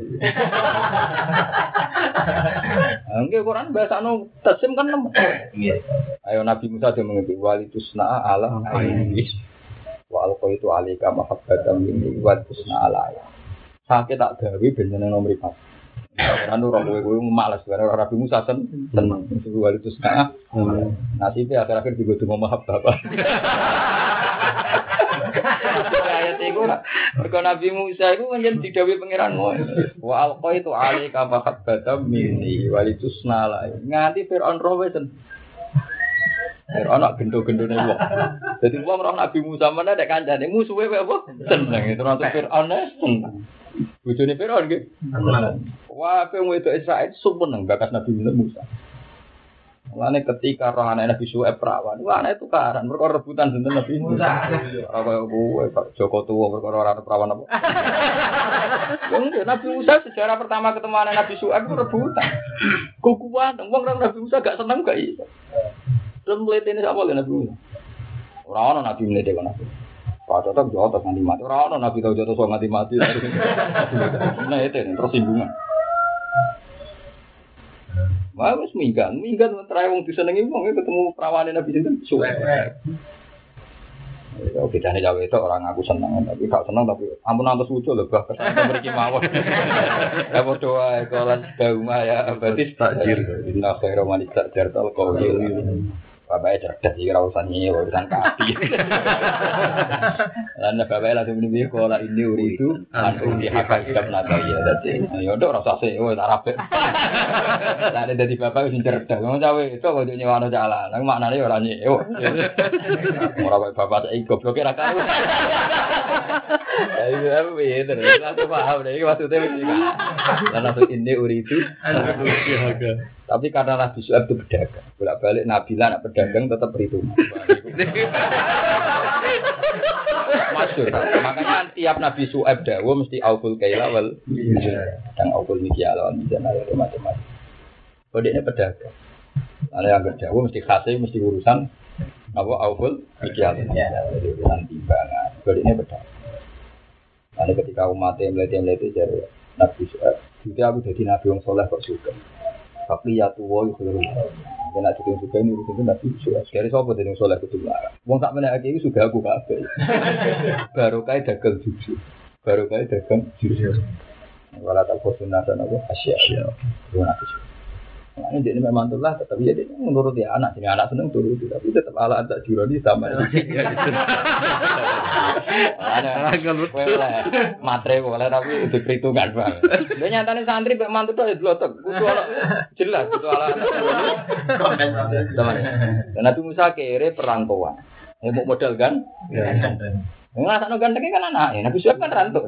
Angge Quran bahasane tasim kan nem. Ayo Nabi Musa dia mengerti wali tusna ala aini. Wa alqaitu alika mahabbatan minni wa tusna alaya. Sakit tak gawe ben jeneng nomor empat. Ora anu ora kowe malas karena Nabi Musa sen seneng wali tusna. Nasibe akhir-akhir digo donga mahabbah. Ayat iku mergo Nabi Musa iku pancen didhawuhi pangeranmu. Wa alqaitu alika mahabbatan minni wa tusna alaya. Nganti Firaun roh wis anak gendo-gendone wong. Dadi wong roh Nabi Musa mana nek kancane musuhe kok apa? Seneng itu nang Firaun seneng. Bojone Firaun nggih. Wah, pe wong itu Israil seneng bakas Nabi Musa. Mulane ketika roh anak Nabi Syuaib perawan, wah anak itu karan perkara rebutan sinten Nabi Musa. Ora kowe Pak Joko tuwa perkara ora perawan apa. Nabi Musa sejarah pertama ketemu anak Nabi Syuaib itu rebutan. Kukuan wong Nabi Musa gak seneng gak iso. Belum melihat ini siapa lagi Nabi Musa? Orang-orang Nabi melihat dia Nabi. Pak Jotok jotok nanti mati. Orang-orang Nabi tahu jotok soal nanti mati. Nah itu tersinggungan. Wah, wis minggat, minggat terakhir wong disenengi wong ketemu perawane Nabi sinten? Suwek. Ya bedane Jawa itu orang aku seneng tapi gak seneng tapi ampun antus lucu lho bah kesan mriki mawon. Ya padha wae kelas dauma ya berarti takjir. Inna khairu man takjir tal qawl. Bapaknya cerdas sih, urusan ini, urusan kaki. Lalu bapaknya langsung ini, kalau ini uri itu, langsung dihakal sikap nata ya. Jadi, yaudah rasa sih, oh tak rapi. Lalu dari bapak itu cerdas, ngomong cawe itu kalau dia nyewa jalan, nang maknanya orang nyewa. Orang bapak saya gobloknya rakau. Ya itu apa ya, terus langsung paham deh, maksudnya begini. Lalu ini uri itu, tapi karena Nabi Syuaib itu berdagang, bolak-balik Nabi lah nak berdagang tetap perhitungan. Masyhur. Makanya tiap Nabi Syuaib dawuh mesti auful kaila wal dan auful mikyal wal mizan ada macam-macam. Kodenya pedagang. Ada yang berdawuh mesti khasih mesti urusan apa auful mikyal. Jadi urusan timbangan. Kodenya pedagang. Lalu ketika umatnya melete-melete jadi Nabi Syuaib, jadi aku jadi Nabi yang soleh kok suka. Tapi ya tuwa iku lho. Nek nek sing suka ini urusan Nabi Syuaib. Dari sapa dening soleh kudu larang. Wong sak meneh iki sudah aku kabeh. Baru kae dagang jujur. Baru kae dagang jujur. Wala tak kosunah dan apa asya. Dua Nabi Syuaib. Nah, ini dia memang tulah, tapi dia menurut dia anak, jadi anak seneng turut, tapi tetap ala tak juroni sama. Ada matre boleh tapi itu perhitungan bang. Dia nyatanya santri bek mantu tuh blotok, butuh ala jelas, butuh ala. Teman, dan Nabi Musa kere perantauan, mau modal kan? Nggak tak gantengnya kan anak, Nabi Syuaib kan rantau.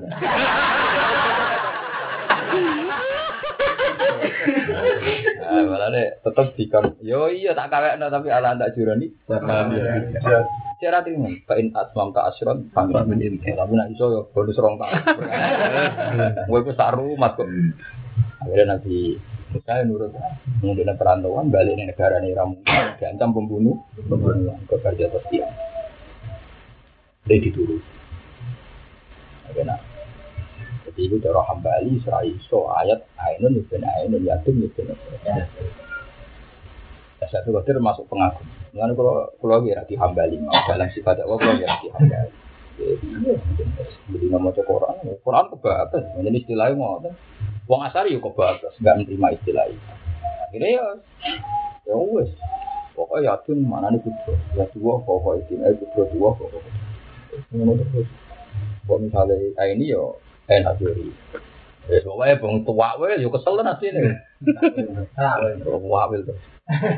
Ah, malah deh, tetap dikam. Yo iya tak kawek no, tapi ala tak jurani. Cara terima. Kain asmam tak asron, pangkat menin. Tapi nak iso yo bonus rong tak. Gue pun saru mat kok. Akhirnya nanti saya nurut. Mengenai perantauan balik di negara ini ramu. Diancam pembunuh, pembunuhan ke kerja tertiang. Dia diturut. Akhirnya. Ibu cara hambali serai so ayat ainun ibn ainun yatim ibn ya. Satu kotor masuk pengagum. Mengenai kalau kalau lagi rati hambali mau dalam sifat Allah kalau lagi rati hambali. Jadi nama Quran, Quran kebatas. Jadi istilahnya mau kan. Wong Asari yuk kebatas, nggak menerima istilah itu. Akhirnya ya, ya wes. Pokoknya yatim mana nih putra, ya dua pokok itu, eh putra dua pokok. Mengenai terus. Kalau misalnya kayak ini yo. Enak diri. Ya soalnya bang tua wel, yo kesel nanti nih. Tua wel tuh.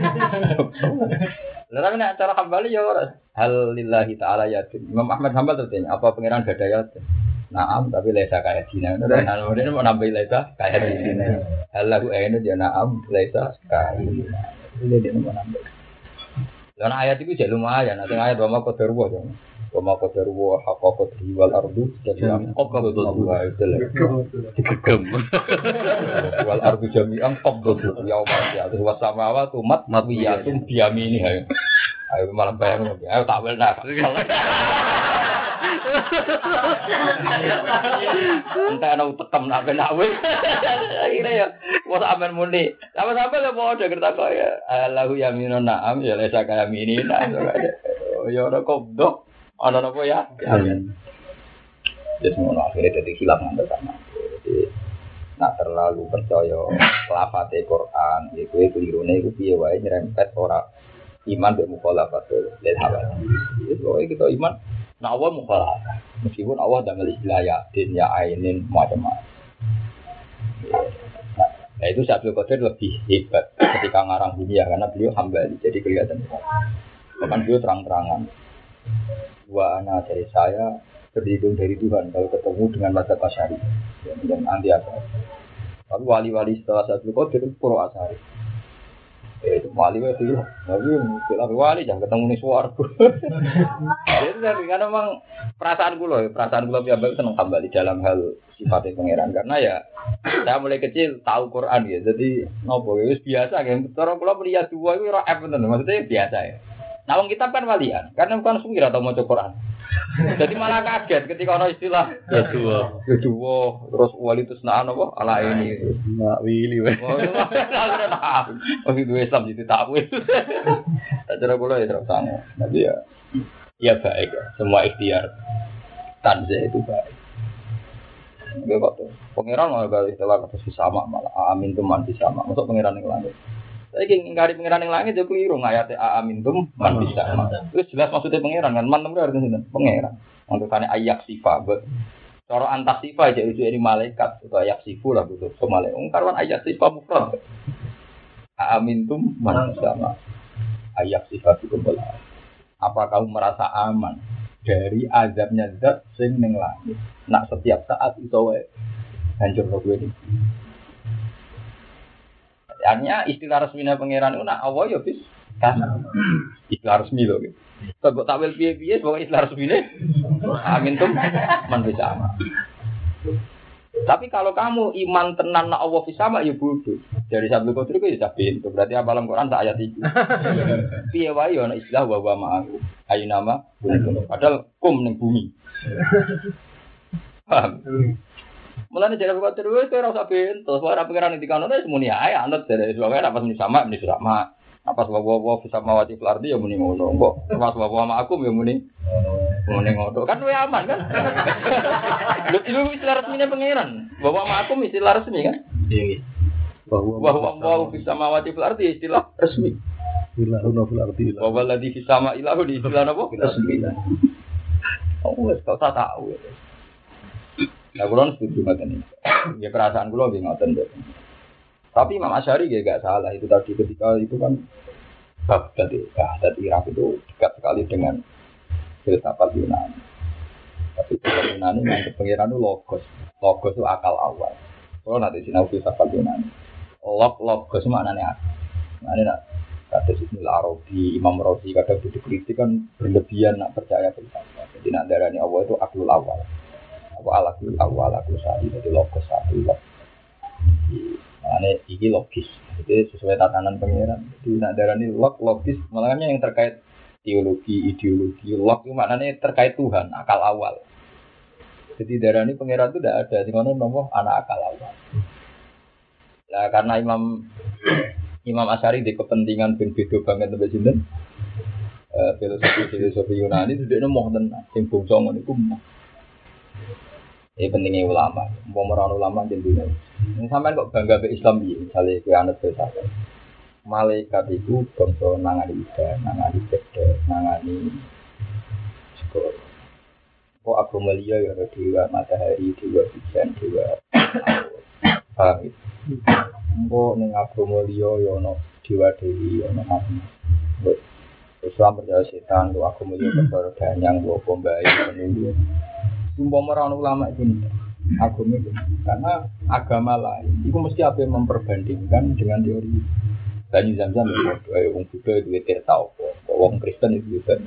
Lalu nih acara hambali ya orang. Hal lillahi taala yatim. Imam Ahmad Hambal tertanya, apa pengiran gada yatim? Naam, tapi lesa kayak Cina. Nah, kemudian mau nambah lesa kayak di sini. Hal lagu ini dia naam, lesa kayak ini. Ini dia mau nambah. Lalu ayat itu jadi lumayan. Nanti ayat dua kau terbuat dong. Wama qadaru wa haqqa qadri wal ardu jami'an qabdatuhu wa digegem wal ardu jami'an qabdatuhu yauma ya'tu was samawati matwiyatun biyamini ayo ayo malah bayang ayo tak welna entah ana utekem nak ben awe akhire ya wis amen muni sama-sama lho padha kerta kaya Allahu yaminun na'am ya lesa kaya mini ya ora kodok ana napa ya? Amin. Jadi semua akhirnya jadi hilang nang pertama. Jadi nak terlalu percaya lafate Quran, iku kelirune iku piye wae nyerempet ora iman mek mukhalafatul lil hawa. Jadi kita iman nak Allah mukhalafah. Meskipun Allah damel istilah yatin ya ainin macam-macam. Nah itu Abdul Qadir lebih hebat ketika ngarang dunia karena beliau hambali jadi kelihatan. Bahkan beliau terang-terangan. Wa ana dari saya berlindung dari Tuhan kalau ketemu dengan mazhab Asy'ari dan anti Asy'ari. Tapi wali-wali setelah Abdul Qadir itu pro Asy'ari. Eh itu wali itu, tapi kalau wali jangan ketemu nih swarga. Jadi karena memang perasaan kula, perasaan kula biasa seneng kembali dalam hal sifatnya pangeran karena ya saya mulai kecil tahu Quran ya. Jadi nopo wis biasa kan. Cara kula melihat dua itu ora F bener, maksudnya biasa ya. Nah, wong kitab kan walian, karena bukan sungguh atau mau Quran. Jadi malah kaget ketika orang istilah ya dua, ya dua, terus wali itu senaan apa? Ala ini, nak wili, weh. Oh, itu Islam jadi takwil. Tak cara bola ya terus sama. Nanti ya, ya baik ya. Semua ikhtiar tanzah itu baik. Gak kok tuh. Pangeran malah kalau istilah kata sama malah amin tuh manti sama. Masuk pangeran yang lain. Saiki ngingkari pangeran ning langit yo keliru ngayate amintum man bisa. Terus jelas maksudnya pangeran kan man itu artinya sinten? Pangeran. Maksudane ayak sifat. Cara antas sifat aja itu dari malaikat atau ayak sifu lah gitu. So malaikat. Karwan ayak sifat mufrad. Amintum man bisa. Ayak sifat itu belah. Apa kamu merasa aman dari azabnya zat sing ning langit? Nak setiap saat iso wae hancur kowe iki. Artinya istilah resminya pangeran itu nak Allah ya bis kasar. Istilah resmi loh. Kalau takwil piye-piye pokoknya istilah resminya amin tuh man bisa sama. Tapi kalau kamu iman tenan nak Allah bisa sama ya bodoh. Dari Sabtu Qadri itu ya sabin. Itu berarti apalam Quran tak ayat itu. Piye wae ana istilah wa wa ma'aku. Ayo nama padahal kum ning bumi. Paham? Mulane jare kok terus ora usah bentos, ora pengiran ndikane wis muni ae anut dari sebab apa muni sama muni sama. Apa sebab wa bisa mawati flardi ya muni ngono. Kok pas wa aku ya muni muni ngono. Kan luwih aman kan? Lho itu istilah resmine pengiran. Bahwa aku istilah resmi kan? Iya. Bahwa wa bisa mawati flardi istilah resmi. Ilahuna fil ardi. Wa walladzi fis sama ilahu di istilah apa? Resmi. Oh, wis kok tak tahu. Nah, kulon setuju ngaten iki. Ya perasaan kula nggih ngoten to. Tapi Imam Asy'ari nggih gak salah itu tadi ketika itu kan Baghdad itu, Baghdad Irak itu dekat sekali dengan filsafat Yunani. Tapi filsafat Yunani yang pengiran itu logos. Logos itu akal awal. Kalau nanti sinau filsafat Yunani. Log logos maknanya akal. Maknanya nak kata Ibnu Arabi, Imam Razi kadang dikritik kan berlebihan nak percaya filsafat. Jadi nak darani Allah itu aklul awal. Apa alakul awal aku sari jadi logos satu log. Makanya ini logis. Jadi sesuai tatanan pengiran. Jadi nak darani log logis. Makanya yang terkait teologi, ideologi, log itu maknanya terkait Tuhan, akal awal. Jadi darani pengiran itu tidak ada. Di mana nomor anak akal awal. Nah karena Imam Imam Asy'ari di kepentingan ben beda banget sampai sinten. Eh filosofi filosofi Yunani itu dia mau tenan. Sing bangsa ngono iku ini pentingnya ulama, pemeran ulama di dunia. Ini sampai kok bangga be Islam bi, misalnya kue anut filsafat. Malaikat itu bangsa nangani ibadah, nangani beda, nangani sekolah. Kok agama liya ya ada dewa matahari, dewa hujan, dewa paham itu. Kok neng agama liya ya ada dewa dewi, ada macam. Islam percaya setan, kok agama liya percaya danyang, kok pembayi, penunggu. Umpama orang ulama itu agama itu karena agama lain itu mesti apa yang memperbandingkan dengan teori Bani Zamzam itu orang Buddha itu tidak tahu orang Kristen itu juga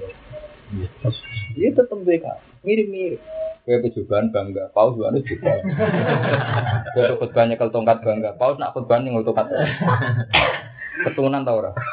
dia tetap mereka mirip-mirip kayak percobaan bangga Paus juga juga kayak khutbahnya kalau tongkat bangga Paus nak khutbahnya kalau tongkat keturunan tau ora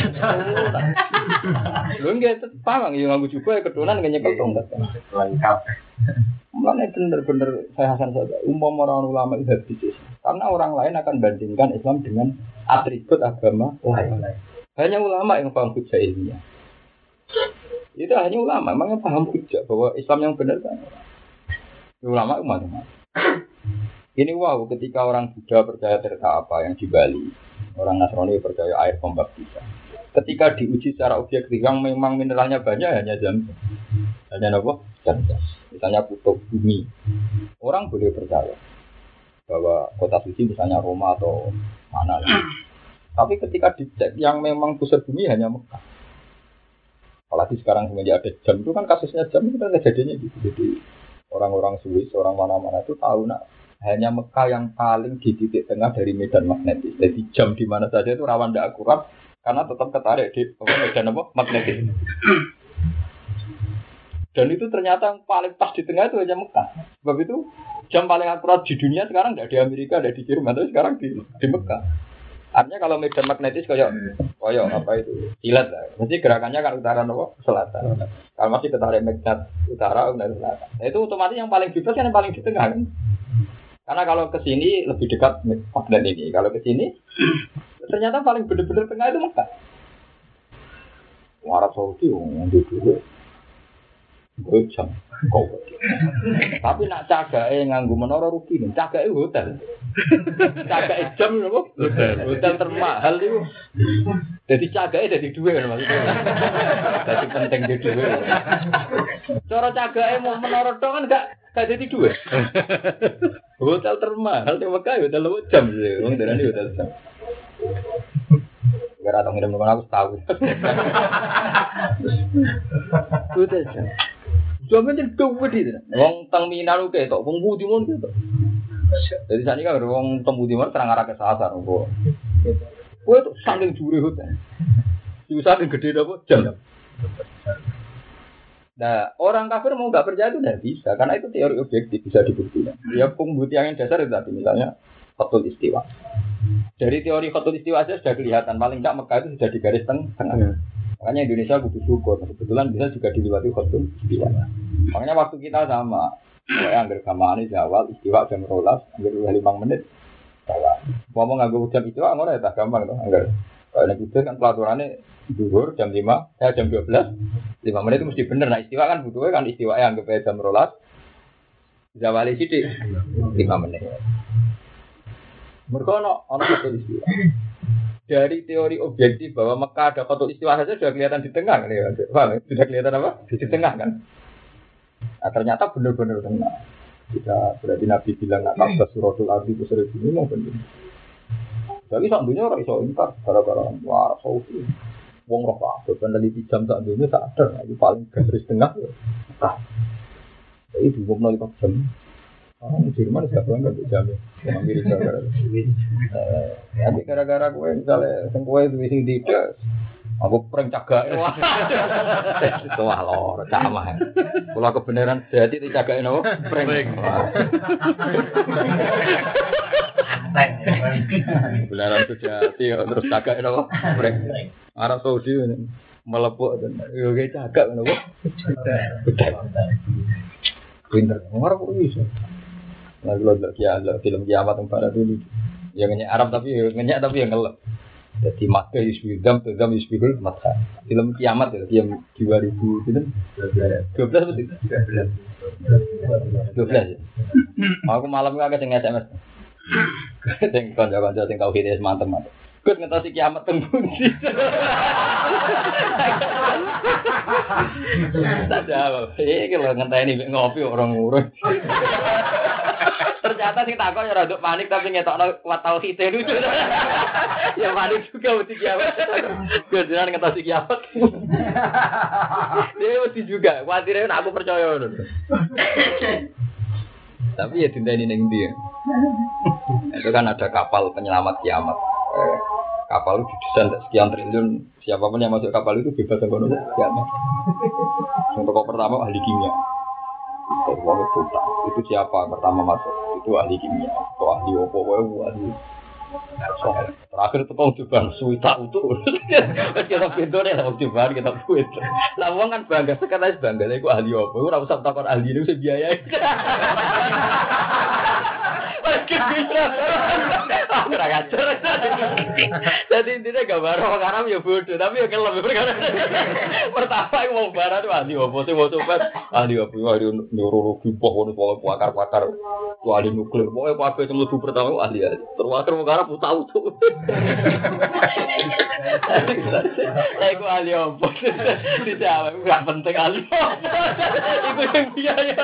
lu enggak paham yang ngaku juga keturunan nggak nyekel tongkat lengkap. Mulanya benar-benar saya hasan saja. Umum orang ulama itu habis karena orang lain akan bandingkan Islam dengan atribut agama lain. Hanya ulama yang paham hujah ilmiah. Itu hanya ulama, memang paham hujah bahwa Islam yang benar kan. Ulama umat-umat. Ini wow, ketika orang Buddha percaya ternyata apa yang di Bali, orang Nasrani percaya air pembaptisan. Ketika diuji secara objektif yang memang mineralnya banyak hanya Zam-Zam. Hanya apa? Zam-Zam. Misalnya kutub bumi. Orang boleh percaya bahwa kota suci misalnya Roma atau mana lagi. Tapi ketika dicek yang memang pusat bumi hanya Mekah. Apalagi sekarang semenjak ada jam itu kan kasusnya jam itu kan kejadiannya gitu. Jadi orang-orang Swiss, orang mana-mana itu tahu nak hanya Mekah yang paling di titik tengah dari medan magnetis. Jadi jam di mana saja itu rawan tidak akurat karena tetap ketarik di medan apa magnetis. Dan itu ternyata yang paling pas di tengah itu hanya Mekah. Sebab itu jam paling akurat di dunia sekarang tidak di Amerika, tidak di Jerman, tapi sekarang di, di Mekah. Artinya kalau medan magnetis kayak kayak apa itu silat lah. Mesti gerakannya kan utara nopo selatan. Kalau masih ketarik magnet utara dan selatan. Nah, itu otomatis yang paling bebas kan yang paling di tengah kan. Karena kalau ke sini lebih dekat magnet ini. Kalau ke sini ternyata paling benar-benar tengah itu Mekah. Arab Saudi yang dulu. Gue jam kau. Tapi nak cagake nganggo menara rugi nih. Cagake hotel. Cagake jam nopo? Hotel. Hotel termahal itu. Jadi cagake jadi duwe kan maksudnya. Jadi penting di duwe. Cara cagake mau menara tok kan enggak enggak jadi duwe. Hotel termahal di Mekah hotel jam sih. Wong darani hotel jam. Gara tong ngirim aku tahu. Hotel jam. Jaman itu duwe di sana. Wong teng Minang oke tok, wong Budi mon gitu. Jadi sani kan wong teng Budi mon terang arah ke sasar kok. Kowe tuh saking jure hotel. Susah gede apa jam. Nah, orang kafir mau nggak percaya itu tidak bisa, karena itu teori objektif bisa dibuktikan. Ya pembuktian yang dasar itu tadi, misalnya khatul istiwa. Dari teori khatul istiwa saja sudah kelihatan, paling nggak Mekah itu sudah di garis tengah. Makanya Indonesia butuh syukur, kebetulan bisa juga dilewati khatul istiwa. Makanya waktu kita sama, saya anggar gamaan ini awal istiwa jam rolas, anggar lima menit. Ngomong anggar jam istiwa, anggar ya tak gampang tuh, anggar. Kalau yang itu kan pelaturannya duhur jam lima, ya jam dua belas, lima menit itu mesti bener. Nah istiwa kan butuhnya kan istiwa yang anggap jam rolas, zawali sidik lima menit. Mereka ada orang khatul istiwa. Dari teori objektif bahwa Mekah ada khatul istiwa saja sudah kelihatan di tengah kan ya? Paham? Sudah kelihatan apa? Di tengah kan? Nah, ternyata benar-benar tengah. Jika berarti Nabi bilang nak kabeh suratul ardi kusur ini mau benar. Jadi sak dunia orang iso ingkar gara-gara wah sausi. Wong roh kabeh peneliti jam sak dunia tak ada, itu paling garis tengah. Nah. Jadi dua puluh lima jam. Orang Jerman sudah bangga untuk jamnya. Amerika gara-gara. Nanti gara-gara gue misalnya sing kowe duwe sing tidak aku prank cagake. Itu wah lho, camah. Kula kebenaran dadi dicagake nopo? Prank. Kebenaran sejati terus cagake nopo? Prank. Arab Saudi melepuk dan yo ge cagak nopo? Pinter. Ora kok iso. Lalu lo kia lo film kiamat tempat itu yang nyanyi Arab tapi nyanyi tapi yang ngelak. Jadi maka isbidam terdam isbidul mata. Film kiamat ya film dua ribu itu dua belas betul. Dua belas ya. Aku malam itu agak cengat S M S. Teng konco-konco teng kau hidup mantep mantep. Gus ngetasi kiamat tembunyi. Tak jawab. Eh kalau ngenteni ngopi orang ngurus. Ternyata sing takon ya rada panik tapi ngetokno kuat tauhid lucu. Ya panik juga mesti kiamat. Gedean ngetasi kiamat. Dia mesti juga kuatire nek aku percaya ngono. Tapi ya dinteni ning ndi. Itu kan ada kapal penyelamat kiamat. Kapal itu didesain sekian triliun, siapapun yang masuk kapal itu bebas dari kono kiamat. Yang pokok pertama ahli kimia. Wong itu itu siapa pertama masuk? Itu ahli kimia. Atau ahli opo wae ahli. Terakhir itu kau coba suita itu. Kita pintu nih, waktu coba kita buat. Lah wong kan bangga sekarang bangga. Aku ahli opo? Ora usah takon ahli itu biaya. Aku ora ngajar. Jadi intinya gambar orang Arab ya bodoh, tapi ya kelem perkara. Pertama aku mau barat tuh ahli opo sih mau coba ahli opo ahli neurologi pohon pohon pakar-pakar ahli nuklir. Pokoknya apa yang lebih pertama ahli ahli. Terus terus Arab tahu tuh. Aku ahli opo. Tidak, nggak penting ahli opo. Itu yang biaya.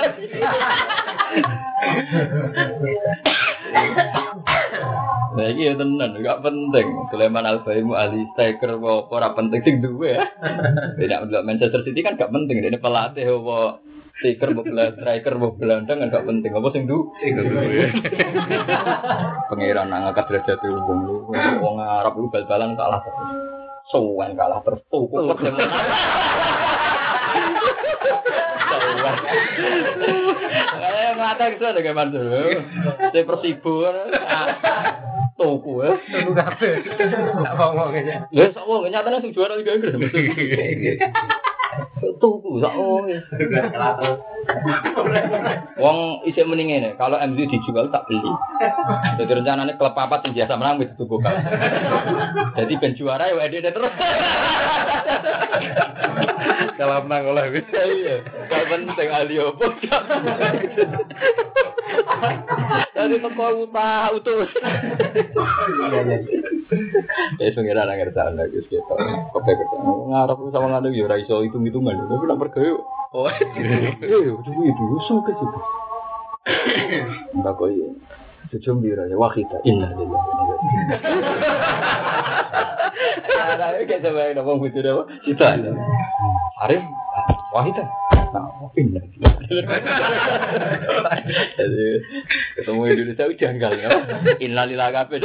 Nah iki ya tenan, enggak penting. Sulaiman Al-Baimu ahli striker apa ora penting sing duwe ya. Tidak untuk Manchester City kan enggak penting, ini pelatih apa striker bola striker bola gelandang kan enggak penting. Apa sing duwe? Pangeran ngangkat derajat wong lu. Wong Arab lu bal-balan kalah terus. Sowan kalah terus tukuk. Eh mata itu ada kayak mana dulu? Saya Persibo, Toku ya, Toku kafe, tak ngomong aja. Ya, sama nyatanya sih juara Liga Inggris. tuku sak oh. Wong isih mending ngene, kalau M Z dijual tak beli. Jadi rencananya klub papat sing biasa menang wis tuku kan. Jadi ben juara ya ede terus. Kalau menang oleh wis iya. Gak penting ahli opo. Jadi teko utah utus. Iya iya. Eh pengira nang ngerti lagi gitu. Kopi kerja. Ngarep sama ngene yo ora iso hitung-hitungan. Tapi nak pergawe. Oh. Yo itu itu suka sih. Mbak koi. Sejum bira ya wakita inna lillahi wa inna ilaihi. Ada kayak sampai ngomong gitu dah. Kita. Arif wakita. Nah, inna jadi ketemu Indonesia udah janggal ya. Innalillahi kabeh.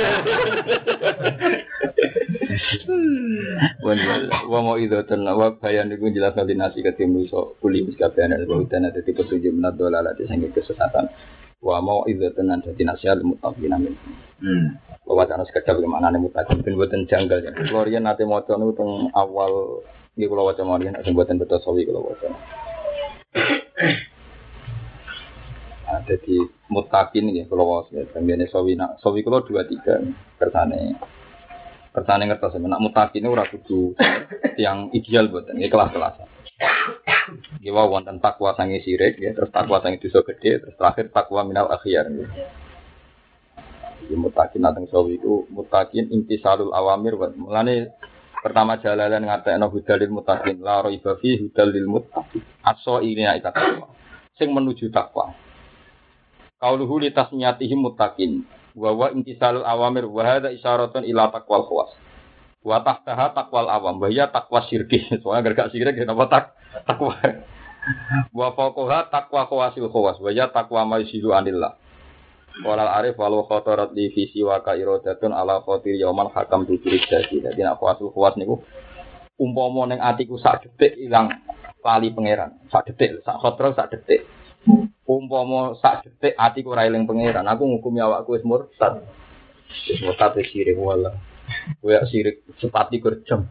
Wa mau itu tenawa bayan iku jelas koordinasi ketemu iso kuli miskabean dan ada tipe tujuh menat dolar ada sing kesesatan. Wa mau itu tenan dadi nasihat mutaqin amin. Hmm. Wacana sekedap gimana nih mutaqin ben boten janggal ya. Florian nate maca niku teng awal iki kula waca mawon nek sing boten beto sawi kula waca. Ada di mutakin ya kalau was ya tenggene sawi nak sawi kalau dua tiga kersane kersane ngertos nak mutakin itu ora kudu yang ideal buatan ya kelas-kelasan. Iki wae wonten takwa sange sirik ya terus takwa sange dosa gede terus terakhir takwa minal akhyar. Iki mutakin nateng sawi itu mutakin intisalul awamir wa mulane pertama jalalan ngatekno hudalil mutakin la raiba fi hudalil mutakin aso ini ikat takwa sing menuju takwa. Qauluhu li tasmiyatihim muttaqin wa wa intisalul awamir wa hadza isyaratun ila taqwal khawas wa tahtaha taqwal awam wa ya taqwa syirki soalnya gak sirik ya napa tak takwa wa faqaha taqwa khawasil khawas wa ya taqwa maisilu anillah walal arif walau khatarat li fi siwa ka iradatun ala khatir yauman hakam tu jadi dadi nek khawasul khawas niku umpama ning atiku sak detik ilang lali pangeran sak detik sak khotra sak detik umpama sak detik atiku ora eling pangeran aku ngukumi awakku wis murtad wis murtad wis sirik wala kowe sirik sepati kerjam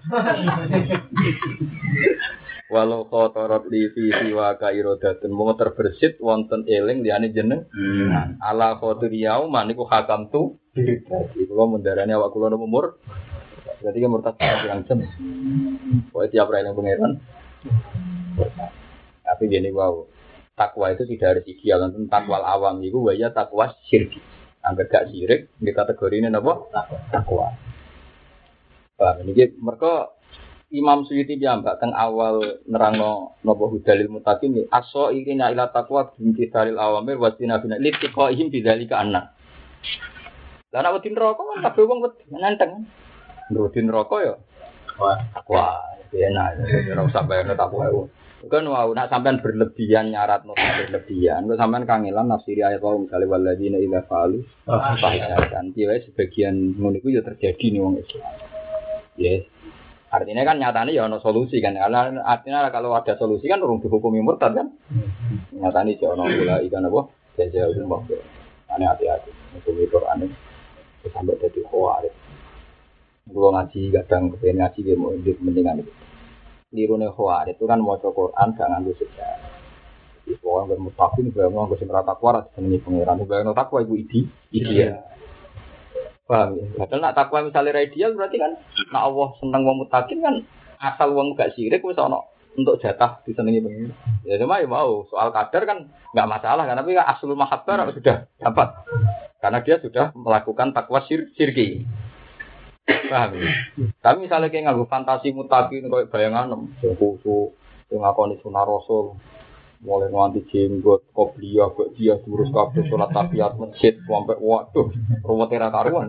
walau khotorot li fi siwa ka iradatun mung terbersit wonten eling liyane jeneng hmm. ala khotiriyau maniku hakam tu dadi kula mendarani awak kula umur berarti kan murtad pirang jam kowe tiap ora eling pangeran tapi gini wow takwa itu tidak harus ideal, tentang takwa awam itu wajah takwa syirki. Angger gak syirik, di kategori ini apa? Takwa. Nah, ini mereka Imam Suyuti jambak teng awal nerangno nopo hudalil mutakin ini aso irina ila takwa binti dalil awamir wasina bina litiqaihim bidzalika anna. Lah nek wedi neraka kan kabeh wong wedi nenteng. Wedi neraka ya. Wah, takwa. Enak, ora usah bayarno takwa. Kan wau nak sampean berlebihan nyarat nopo berlebihan, kok sampean kangelan nafsiri ayat wau misale waladina ila falu fahishatan. Piye sebagian ngono iku ya terjadi nih wong Islam. Yes. Artinya kan nyatane ya ana solusi kan. Karena artinya kalau ada solusi kan urung dihukumi murtad kan. Nyatane ya ana pula ikan apa? Jaja umum. Ane hati-hati. Hukum Quran itu sampai dadi khawarij. Kulo ngaji kadang kepen ngaji ge mau mendingan itu. Lirune khawarij itu kan maca Quran gak nganggo sejarah. Wis wong ben mustaqim bae wong sing ora takwa jenenge pangeran. Bae ono takwa iku idi, iki ya. Paham ya? Padahal nak takwa misalnya ideal berarti kan nak Allah seneng wong mustaqim kan asal wong gak syirik wis ono untuk jatah disenengi pangeran. Ya cuma ya mau soal kadar kan enggak masalah kan tapi kan aslul mahabbah sudah dapat. Karena dia sudah melakukan takwa syir syirki. Paham ya? Tapi misalnya kayak nganggo fantasi mutakin kayak bayangan sing khusuk, sing ngakoni sunah rasul, mulai nganti jenggot, qobliyah, dia durus kabeh salat tahiyat masjid sampai waduh, ruwete ra karuan.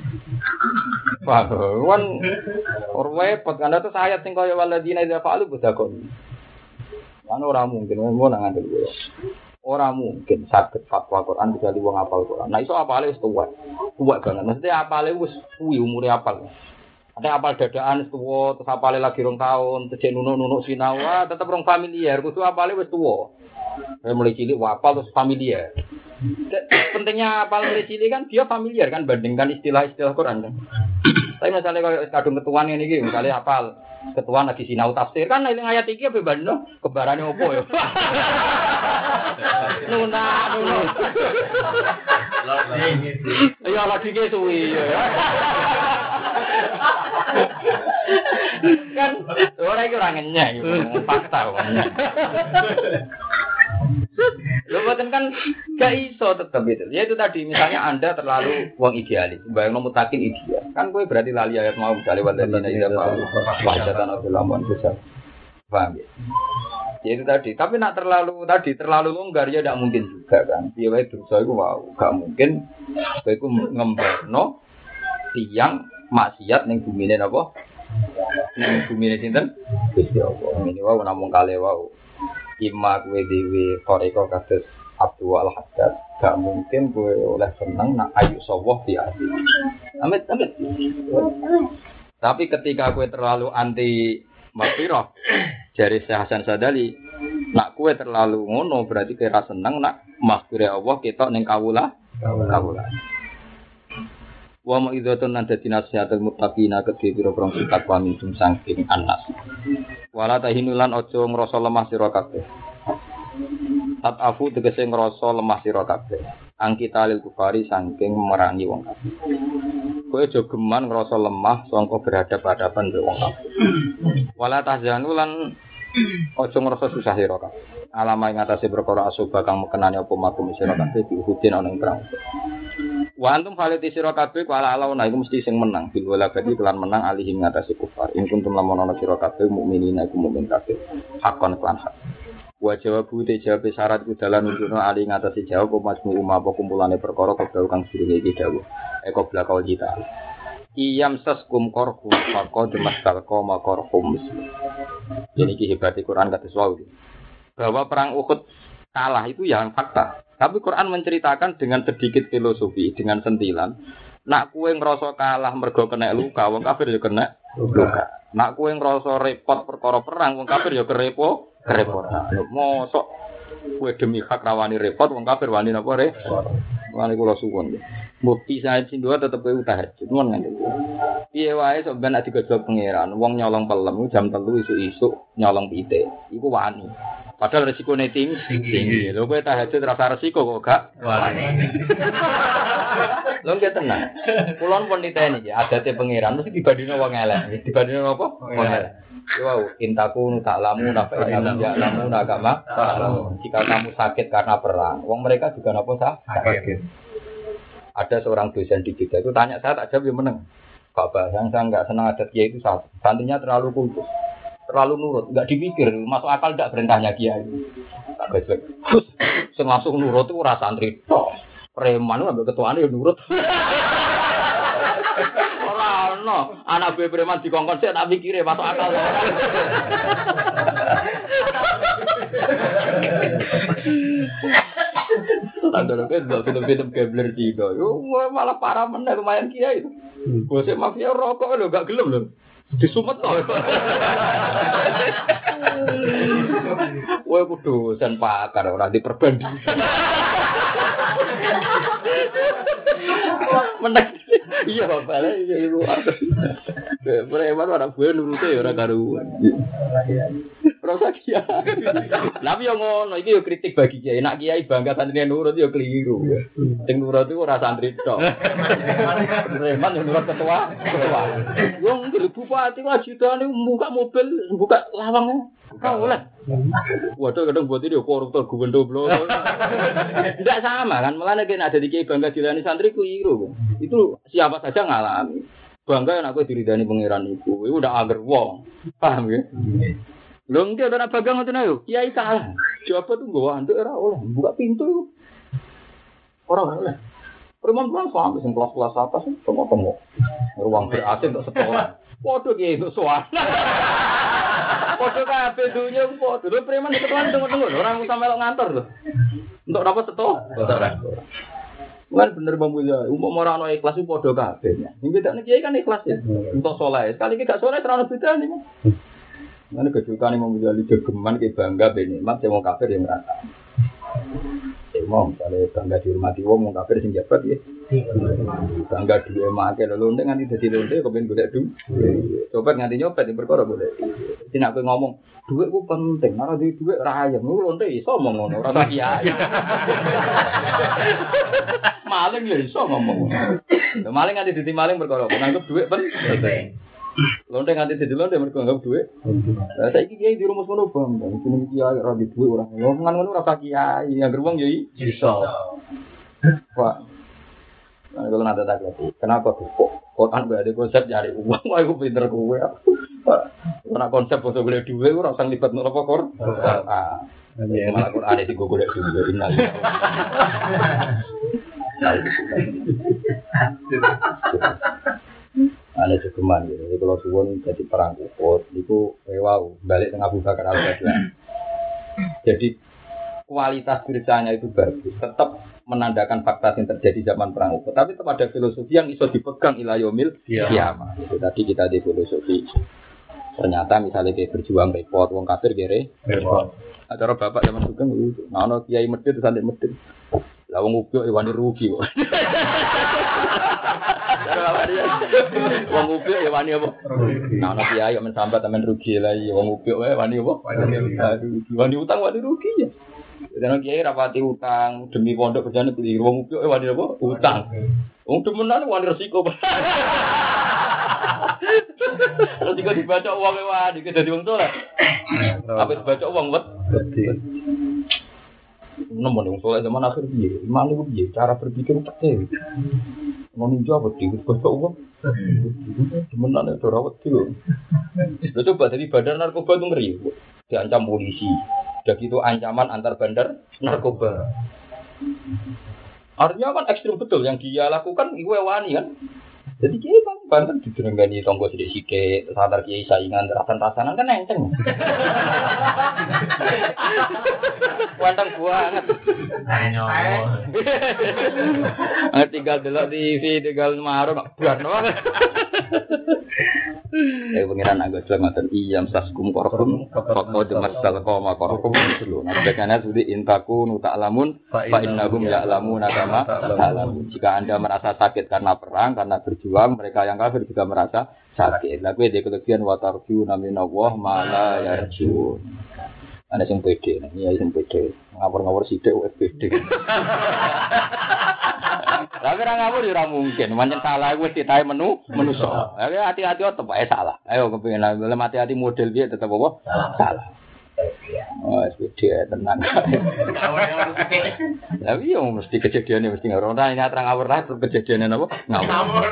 Paham? Kan repot kan itu ayat sing kaya waladina idza fa'alu budakon. Kan ora mungkin ngono nang ngandel kowe. Ora mungkin saged fatwa Quran kecuali wong hafal Quran. Nah iso apale wis tuwa. Tuwa banget. Maksudnya apale wis kuwi umure apal. Ada apal dadaan tuwa, terus apale lagi rong tahun, terus nunuk-nunuk sinau, tetep rong familiar. Kudu apale wis tuwa. Saya mulai cilik apal terus familiar. Pentingnya apal mulai cilik kan dia familiar kan bandingkan istilah-istilah Quran kan. Tapi misalnya kalau kadung ketuaan ini, gitu, misalnya hafal ketuaan lagi sinau tafsir kan eling ayat iki apa bandno kebarane opo ya. Nuna, nuna. Ya lagi ke suwi ya. Kan orang itu orang ngenyek gitu, fakta kok. Lho boten kan gak iso tetep itu. Ya itu tadi misalnya Anda terlalu wong idealis, bayang mutakin ideal. Kan kowe berarti lali ayat mau misalnya wadana ida pau wajatan ulama besar. Paham ya? Ya itu tadi, tapi nak terlalu tadi terlalu longgar ya tidak mungkin juga kan. Piye wae dosa iku wow, gak mungkin kowe iku ngembakno tiyang maksiat ning bumine napa? Ning bumine sinten? Gusti Allah. Ngene wae namung kale wae. Ima kue dewi koreko kados Abdul Al-Haddad gak mungkin kue oleh seneng nak ayu sawah di hati. Amit amit. Tapi ketika kue terlalu anti maghfirah jari Syekh Hasan Sadali, nak kue terlalu ngono berarti kira seneng nak maghfirah Allah ketok ning kawula kawula. Wa ma idzatun nan dadi nasihatul muttaqina kedhe pira-pira sifat wa min saking anas. Wala tahinulan aja ngrasa lemah sira kabeh. Tat afu tegese ngrasa lemah sira kabeh. Angkita lil kufari saking merangi wong kabeh. Kowe aja geman ngrasa lemah sangka berhadapan-hadapan mbek wong kabeh. Wala tahzanulan aja ngrasa susah sira kabeh. Alama ing atase perkara asoba kang mekenani apa makum sira kabeh diuhudin ana ing perang. Wa antum khaliti sira kabeh kala alauna iku mesti sing menang bil wala badi kelan menang alihim ngatasi kufar in kuntum lamun ana sira kabeh mukminina iku mukmin kabeh hakon kelan hak wa jawabu te jawab syarat ku dalan nunjukno ali ngatasi jawab apa majmu umma apa kumpulane perkara kabeh kang sirine iki dawuh eko blakau kita iyam saskum korhum faqad mastalqa ma korhum jadi ki hebate Quran kados wae bahwa perang Uhud kalah itu yang fakta. Tapi Quran menceritakan dengan sedikit filosofi, dengan sentilan. Nak kue ngerasa kalah mergo kena luka, wong kafir ya kena luka. Nak kue ngerasa repot perkara perang, wong kafir ya kerepo, kerepotan. Mosok kue demi hak rawani repot, wong kafir wani napa repot. Wani kula suwun. Bukti saya cindua tetep kowe tahajud, mon ngene. Piye wae sok ben nek digojlok pangeran, wong nyolong pelem jam telu isuk-isuk nyolong pite. Iku wani. Padahal resikonya tinggi, tinggi. Lho kowe tahajud rasa resiko kok gak wani. Lho nggih tenang. Kulon pun niteni ya, adate pangeran mesti dibandingno wong elek. Dibandingno apa? Wong elek. Wow, intaku tak lamu napa ilamu ya lamu agama. Jika kamu sakit karena perang, wong mereka juga napa sakit. Ada seorang dosen di kita itu tanya saya tak jawab yang meneng. Kak Bahang saya nggak senang adat kiai itu satu. Santrinya terlalu kultus, terlalu nurut, nggak dipikir, masuk akal tidak perintahnya kiai. Tak gajek. Terus langsung nurut itu rasa santri. Preman itu ambil ketuaan ya nurut. Orang no, anak gue preman dikongkon saya tak pikir masuk akal. Tanda kan film-film gambler Cina, yo malah parah meneh lumayan kiai itu. Bosnya mafia rokok lho gak gelem lho. Disumet to. Kowe kudu sen pakar ora diperbanding. Meneh. Iya bale iku. Preman ora gue nurute ora karuan. Rasa kiai. Tapi yo ngono, iki yo kritik bagi kiai. Nek kiai bangga santrine nurut yo keliru. Sing nurut iku ora santri tok. Preman yo nurut ketua, ketua. Wong bupati wajibane buka mobil, buka lawang. Kau oleh. Waduh kadang buat ini koruptor gubernur blok. Tidak sama kan, malah nek ada di kiai bangga dilani santri keliru. Itu siapa saja ngalami. Bangga yang aku diridani pangeran itu. Itu udah agar wong. Paham ya? Lho nggih ora bagang ngoten ayo. Kiai salah. Jawab tuh gua antuk ora oleh. Buka pintu iku. Ora oleh. Perempuan sampai sing kelas-kelas atas tengok-tengok. Ruang ber-A C untuk sekolah. Padha ki itu soal. Padha kabeh dunya padha. Lho preman ketuan tengok-tengok ora usah melok ngantor lho. Untuk apa seto? Bukan bener Bang Mulya, umum orang orang ikhlas itu padha kabeh. Sing bedane kiai kan ikhlas ya. Untuk saleh. Sekali iki gak saleh ora ono bedane. Mana kejukan yang membeli jogeman ke bangga benikmat yang mau kafir yang merata. mau misalnya bangga dihormati wong wong kafir sing jabat ya. Bangga duwe make lho lonte nganti dadi lonte kepen golek duwe. Coba nganti nyopet di perkara golek. Dadi nek ngomong duit ku penting, ora duwe duit ora ayem. Lu lonte iso ngomong ngono, ora tak kiai. Maling ya iso ngomong. Maling nganti dadi maling perkara nganggep duit penting. Lonte nganti dadi lonte mergo nganggep duit. Lah saiki kiai di rumus ngono bang, jeneng kiai ora di duit ora. Ngomongan ngono ora tak kiai, yang wong ya iso. Pak. Nah, kalau nanti tak lagi, kenapa tuh kok Quran gak ada konsep cari uang? Wah, aku pinter gue. Karena konsep untuk beli duit, gue rasanya libat nol pokor. Ah, malah Quran itu gue boleh duit ini. Ada cukuman gitu. Jadi kalau suwon jadi perang Uhud, itu wow balik tengah Abu Bakar Al-Baghdadi. Jadi kualitas beritanya itu bagus, tetap menandakan fakta yang terjadi zaman perang Uhud. Tapi tetap ada filosofi yang iso dipegang ila yaumil qiyamah. Itu tadi kita di filosofi. Ternyata misalnya kayak berjuang repot, wong kafir kere repot. Acara bapak zaman sugeng itu, nah ono kiai medhit sampe medhit. Lah wong ubyo wani rugi kok. Wong ubyo ya wani apa? Nah ono kiai men sambat men rugi lah wong ubyo wae wani apa? Wani utang wani rugi ya. Jangan kiai rapati utang demi pondok kerjane beli wong upyo eh wani apa? Utang. Wong demenan wani resiko. Terus juga dibaca uang e wani dadi wong saleh. Apa dibaca uang wet? Nomor wong saleh zaman akhir piye? Iman iku piye? Cara berpikir pete. Ngono jawab dibaca uang. Demenan ora wedi lho. Lha coba dari badan narkoba itu ngeri. Diancam polisi. Udah gitu ancaman antar bandar narkoba. Artinya kan ekstrim betul yang dia lakukan iku wani kan. Jadi kiai kan banten dijenengani tonggo sithik-sithik, sadar kiai saingan rasan-rasanan kan enteng. Wanteng banget. Ayo. Tinggal delok T V, tinggal marung buat banget. Eh pengiran agak selamatkan iyam saskum korkum fakko demasal koma korkum dulu. Nah sebagainya sudah intaku nuta alamun fa innahum ya'lamun kama ta'lamun. Jika anda merasa sakit karena perang, karena berjuang, mereka yang kafir juga merasa sakit. Lagu dia kelebihan watarju naminallah mala yarjun. Ada yang pede, ini yang pede. Ngawur-ngawur sidik U S P D. Tapi orang ngawur ora mungkin, pancen salah wis ditahe menu menuso. Ayo hati-hati tetep ae salah. Ayo kepengin lha hati-hati model piye tetep apa? Salah. Oh, S P D tenang. Lah iya mesti kejadiane mesti ngawur. Ora ini terang ngawur lah kejadiane napa? Ngawur.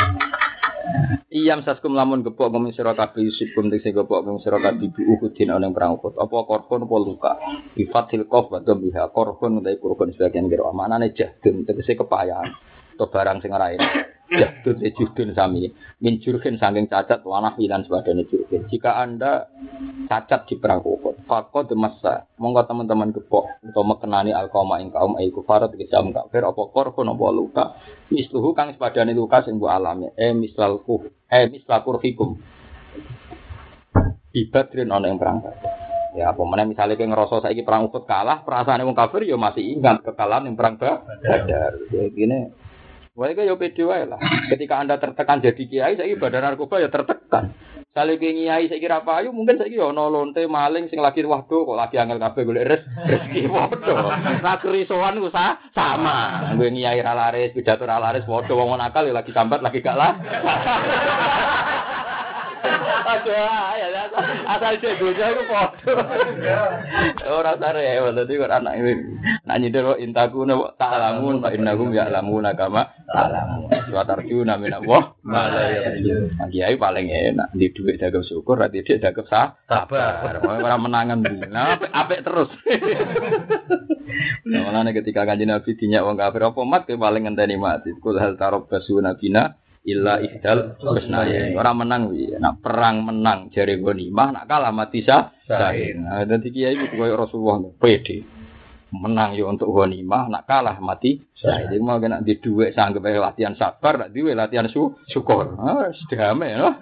Iyam saskum lamun gepok ngomong sira kabeh yusibkum tegese gepok ngomong sira kabeh Uhudin ana ing perang Uhud. Apa korban apa luka? Bi fathil qaf wa dhambiha korban utawa korban sebagian kira amanane jahdun tegese kepayahan. To barang sing ora enak. Jahdun ejudun sami minjurken saking cacat wanah lan sebagainya jurken. Jika Anda cacat di perang Uhud, faqad massa monggo teman-teman gepok utawa mekenani alqauma ing kaum ai kufar tegese am kafir apa korban apa luka. Misluhu kang sepadane luka sing mbok alami eh mislalku eh mislakurfikum ibadrin ana ing perang ya apa meneh misale kowe ngrasa saiki perang Uhud kalah perasaane wong kafir ya masih ingat kekalahan ing perang Badar ya gini wae yo pede wae lah ketika Anda tertekan jadi kiai saiki badan narkoba ya tertekan sale kiai saiki ra payu mungkin saiki yo ana lonte maling sing lagi waduh kok lagi angel kabeh golek rezeki padha ra kerisoan ku sama nggo kiai ra laris pidato ra laris padha wong nakal ya lagi sambat lagi gak lah aduh ya asal cek gojo iku padha ora sare dadi kok anak iki nak nyindir intaku ta'lamun fa innahum ya'lamuna kama ta'lamun wa tarjuna min Allah mala ya kiai paling enak di dhuwit dagang syukur ra didik dagang sabar ora menangan nah apik terus namanya ketika kanjeng Nabi dinyak wong kafir apa mat ke paling ngenteni mati kul hal tarabbasu nabina illa ihdal husnaya orang menang wi nak perang menang jare ghanimah nak kalah mati sah sahih nah dadi kiai iku koyo Rasulullah pede menang yo untuk ghanimah, nak kalah mati. Jadi mau kena di dhuwit sanggep latihan sabar, nak diwe latihan su syukur. Ah, sedame no.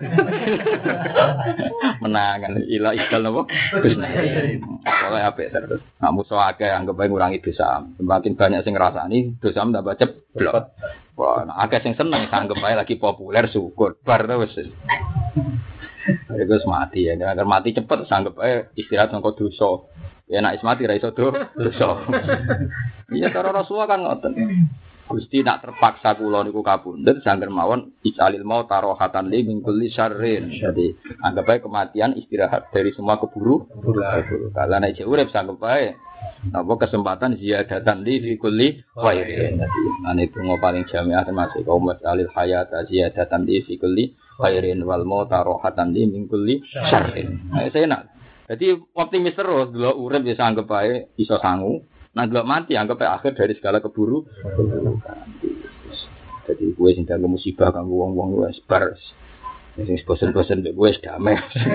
Menangan ila ikal napa? Oleh apik terus. Nak musuh akeh anggap bae ngurangi dosa. Semakin banyak sing ngrasani, dosa tambah ceblok. Wah, nah, akeh sing seneng anggap bae lagi populer syukur. Bar ta wis. Iku mati ya, agar mati cepet anggap bae istirahat nang dosa. Ya nek mati ra iso dosa. Iya cara Rasulullah kan ngoten. Gusti nak terpaksa kula niku kapundhut sangger mawon isalil mau tarohatan li min kulli syarrin. Jadi anggap bae kematian istirahat dari semua keburu. Kalau nek urip sanggup bae apa kesempatan ziyadatan li fi kulli khairin. Dadi ane tunggu paling jamiah termasuk kaum alil hayat ziyadatan li fi kulli khairin wal mau tarohatan li min kulli syarrin. Nah, saya nak jadi optimis terus, delok urip bisa anggap bae iso sangu. Nah delok mati anggap bae akhir dari segala keburu. Jadi gue sing dadi musibah kanggo wong-wong wis bar. Sing bosen-bosen mek gue wis damai.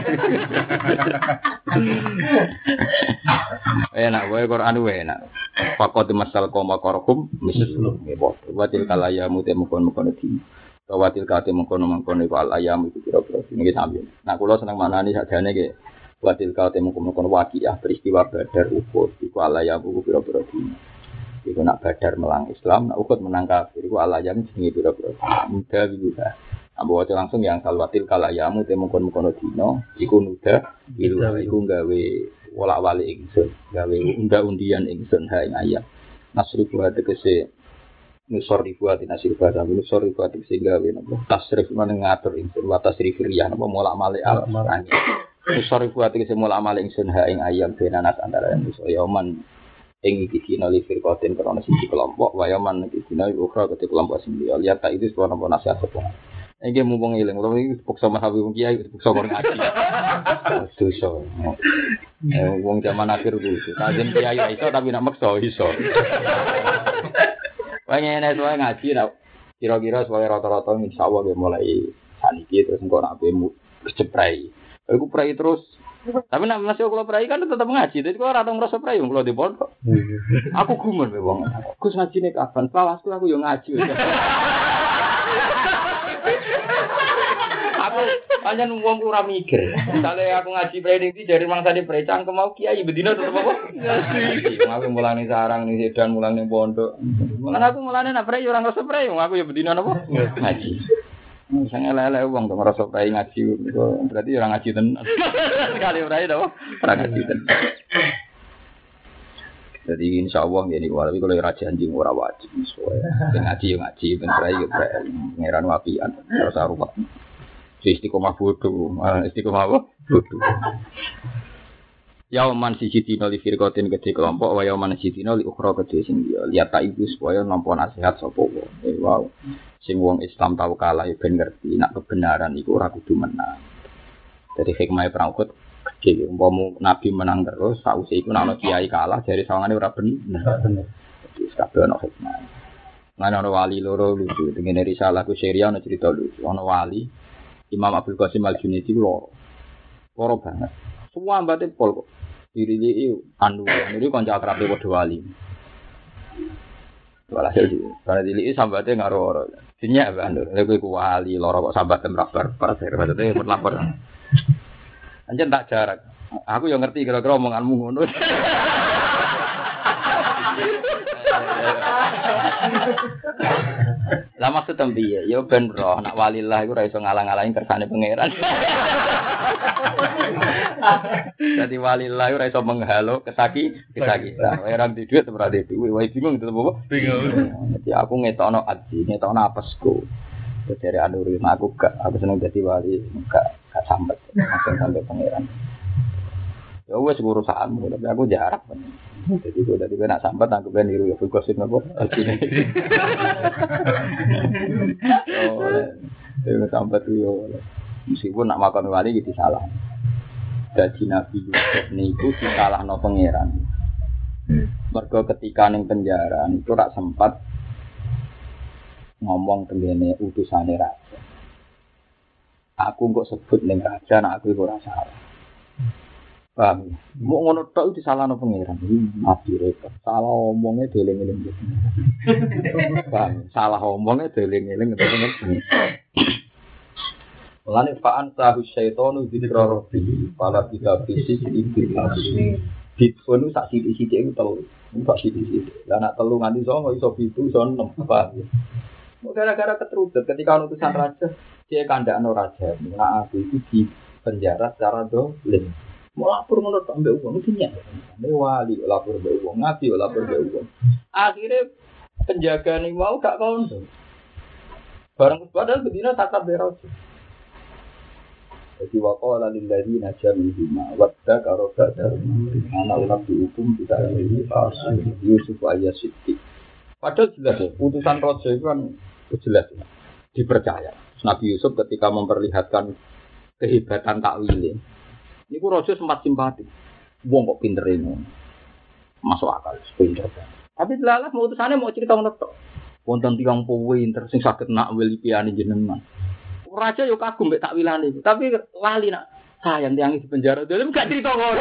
Enak wae Quran wae enak. Faqad masal qoma qarhum mislu ngebot. Watil kalaya mute mukon-mukon iki. Watil kate mukon-mukon iku al ayam iku kira-kira niki sampe. Nah kula seneng manani sakjane iki Watil kau temu kono wakiah peristiwa Badar Uhud iku alayam iku pira-pira dina. Iku nak Badar melang Islam, nak Uhud menang kafir iku alayam jenenge pira-pira. Muda biluha. Ambo waca langsung yang salwatil kalayamu temu kono dina iku nuda biluha iku gawe wolak-walik ingsun, gawe unda-undian ingsun ha ing ayam. Nasri buat tegese nusor ribuat nasir bahasa nusor ribuat tegese gawe napa tasrif meneng ngatur ingsun wa tasrif riyah napa molak-malik al Usori buat iki semula amal ingsun ha ing ayam benanas antara manusa yaman ing iki dina li firqatin krana siji kelompok wa yaman iki dina ukhra ketik kelompok sing liya lihat tak itu sebuah napa nasihat sapa. Iki mumpung eling utawa iki puksa mahawi wong kiai puksa karo ngaji. Dosa. Eh wong zaman akhir kuwi kajen kiai iso tapi nak maksa iso. Wangene soal ngaji nak kira-kira soal rata-rata insyaallah ge mulai saniki terus engko nak bemu keceprai. Aku prai terus. Tapi nek masih kalau prai kan tetap ngaji. Jadi kalau ora tau ngrasa prai kalau di pondok. Aku gumun wae wong. Gus ngajine kapan? Palasku aku yo ngaji. Aku pancen wong ora mikir. Misale aku ngaji prai iki dari mangsane prai cangkem mau kiai bedino tetep apa? Ngaji. Aku mulane sarang ning sedan mulane pondok. Mulane aku mulane nek prai yo ora ngrasa prai. Aku yo bedino napa? Ngaji. Misalnya lele uang tuh merasa prai ngaji, berarti orang ngaji tenan. Sekali prai dah, orang ngaji tenan. Jadi insya Allah jadi walaupun kalau raja anjing orang wajib, soalnya ngaji ngaji, prai prai, pangeran wapian, terus arwah. Istiqomah bodoh, istiqomah apa? Bodoh. Yauman siji dina li firqatin gede kelompok wa yauman siji dina li ukhra gede sing dia lihat ta iku supaya nampa nasihat sapa wae. Wow. Sing wong Islam tau kalah ya ben ngerti nek kebenaran iku ora kudu menang. Dari hikmah perang Uhud gede umpama nabi menang terus sause iku nek ana kiai kalah dari sawangane ora bener. Jadi kabeh ana hikmah. Lan ana wali loro lucu dengan risalah ku syariah ana cerita lucu. Ana wali Imam Abdul Qasim Al-Junaidi loro. Loro banget. Semua mbate pol kok. Diri anu, ini kanca akrabe padha wali. Walhasil iki, karena dili sambate ngaro-oro. Dinyak anu, lha kowe wali loro kok sambat temrabar, para maksudnya lapor. Anjen tak jarak. Aku yo ngerti kira-kira omonganmu ngono. Lah maksud tembiye, yo ben roh nak walillah iku ora iso ngalang-alangi kersane pangeran. Dadi walillah ora iso menghalo kesaki, kesaki. Orang di duit ora di duit, wae bingung itu apa? Bingung. Jadi aku ngetokno adi, ngetokno apesku. Terus dari anuri aku gak, aku seneng dadi wali, gak gak sampai langsung sampai pangeran. Ya wes urusanmu, tapi aku jarak. Jadi gue tadi nak sambat aku ben niru ya fokusin apa? Oh, ini sambat yo. Meskipun nak makan wali gitu salah. Jadi Nabi Yusuf niku disalahno pangeran. Mergo ketika ning penjara itu rak sempat ngomong tengene utusane raja. Aku kok sebut ning raja nek aku ora salah. Paham? Mau ngono tok itu disalahno pangeran. Nabi repot. Salah omongnya dieling-eling. Paham? Salah omongnya dieling-eling ngeten-ngeten. Mulane fa'an tahu syaitonu dzikra rabbi fala bisa fisik iki asli. Bitfonu sak sithik-sithik iku telu. Sak sithik-sithik. Lah nek telu nganti songo iso pitu iso enem. Paham? Gara-gara keterucut ketika utusan raja, dia kandakno raja. Nah aku itu di penjara secara dolim. Mau lapor menurut ambek uang itu nyak. Ambek wali lapor ambek uang, ngaji lapor ambek uang. Akhirnya penjaga nih mau gak kondo. Barang padahal bedina takab beros. Jadi waqala lil ladzina jamu bima wadda karoda darun ana ulama hukum tidak ini pas Yusuf ayat siti. Padahal jelas ya, putusan raja itu kan jelas ya, dipercaya. Nabi Yusuf ketika memperlihatkan kehebatan takwilnya, ini ku raja sempat simpati. Wong kok pinter ini, masuk akal, pinter. Tapi lalas mau utusannya mau cerita ngono. Wonten tiyang pinter sing saged nakwil piane jenengan. Raja yo kagum mek takwilane, tapi lali nak sayang tiyang di penjara. Dhewe gak cerita ngono.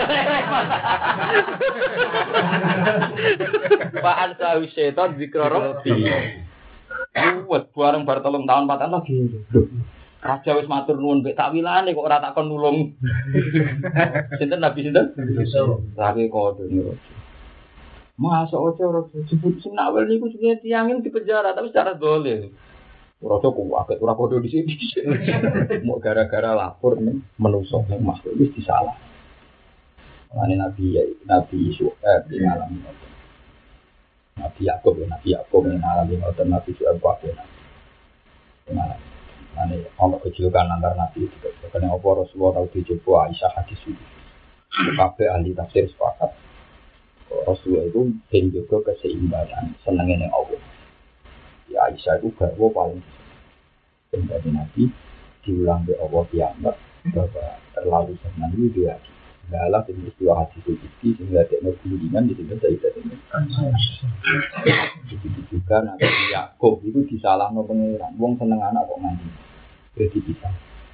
Pak Ansa Setan zikra rabbi. Buat bareng bar telung tahun empat tahun lagi. Raja wis matur nuwun mek takwilane kok ora takon nulung. Sinten Nabi sinten? Lagi kode niku. Masa ojo ora sebut sing nawel niku jenenge tiyangin di penjara tapi secara dolen. Ora kok wae ora kode di sini. Mau gara-gara lapor ning menungso ning makhluk wis disalah. Ane Nabi ya Nabi Yusuf di alam. Nabi Yakub Nabi Yakub ning alam ngoten Nabi Yusuf wae. Nah, ane ana kejulukan antar Nabi itu. Karena apa Rasulullah tau dicoba Aisyah hadis itu. Kabeh ahli tafsir sepakat. Rasulullah itu ben juga keseimbangan, senenge ning Allah. Ya Aisyah itu garwa paling dari Nabi diulang oleh Allah kiamat bahwa terlalu senang itu dia. Dalam peristiwa hadis itu sehingga teknologi-nya jadi tidak ini. Begitu juga Nabi Yakub itu disalahno pangeran. Wong seneng anak kok nganti. Jadi bisa.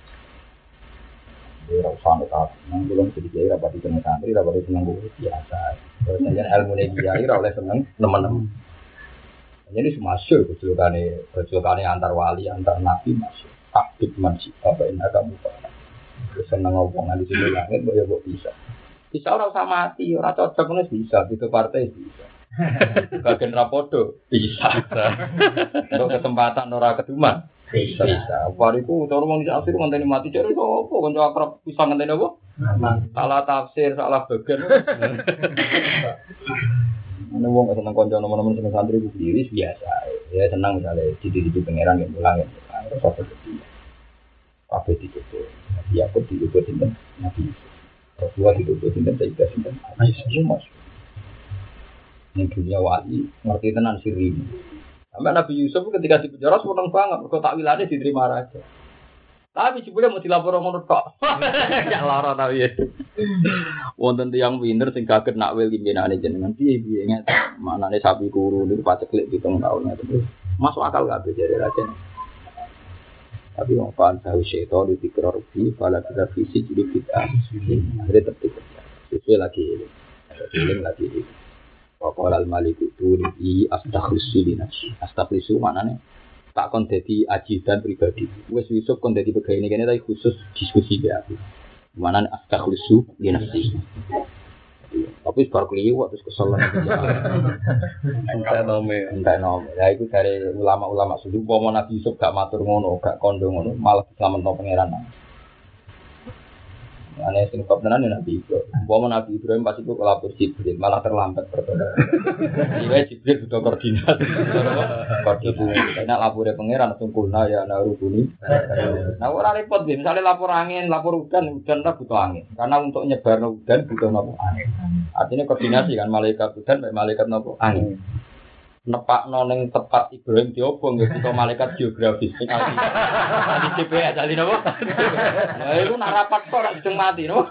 Ora usah nek nang belum sedikit rapat di tengah santri rapat di seneng biasa. Perjanjian ilmu dia ora oleh seneng teman-teman. Jadi semasuk kecilkane kecilkane antar wali antar nabi masuk. Aktif masih apa ini kamu pak. Seneng ngomongan di sini langit boleh kok bisa. Bisa ora usah mati, ora cocok ngono bisa, itu partai bisa. Bagian rapodo bisa. Untuk kesempatan ora keduman. Bisa. Bisa. Bariku cara wong iki asir ngenteni mati cari opo kanca akrab bisa ngenteni apa? Salah tafsir, salah bagian. Ana wong seneng kanca nomor-nomor seneng santri ku diri biasa. Ya senang misalnya dididik pangeran yang pulang ya. Terus apa itu? Apa itu? Ya aku diutus sinten Nabi. Rasulullah diutus sinten Sayyidah sinten. Aisyah masuk. Ning dunia wali ngerti tenan sirri. Sampai Nabi Yusuf ketika di penjara seneng banget, mergo takwilane diterima raja. Tapi jebule mau dilapor ngono tok. Ya lara ta piye. Wonten tiyang pinter sing kaget nakwil pimpinane jenengan piye-piye nget. Manane sapi kuru niku paceklik pitung taun terus. Masuk akal gak jare raja. Tapi wong pan tahu setan di pikir rugi pada kita fisik jadi kita. Akhirnya tertipu. Sesuai lagi. Sesuai lagi. Waqala al-malik turi astaghfiru li nafsi. Astaghfiru maknane tak kon dadi ajidan pribadi. Wis Yusuf kon dadi pegawai kene tapi khusus diskusi be aku. Maknane astaghfiru li nafsi. Tapi bar kliwat terus kesel nang entek nome, entek nome. Ya iku dari ulama-ulama sudah umpama Nabi Yusuf gak matur ngono, gak kondo ngono, malah diselametno pangeran. Ane sing kok tenan Nabi Ibrahim. Umpama Nabi Ibrahim pas itu kelapor Jibril malah terlambat perkara. Iki Jibril butuh koordinasi. Koordinasi. Nek lapore pangeran sungkulna ya narubuni. Nah ora repot nggih, misale lapor angin, lapor udan, udan ta butuh angin. Karena untuk nyebarno udan butuh napa angin. Artinya koordinasi kan malaikat udan mek malaikat napa angin. Nepakno ning tepat Ibrahim diobong ya butuh malaikat geografis. Di C P S ali napa? Lah iku nak rapat kok ora dijeng mati no.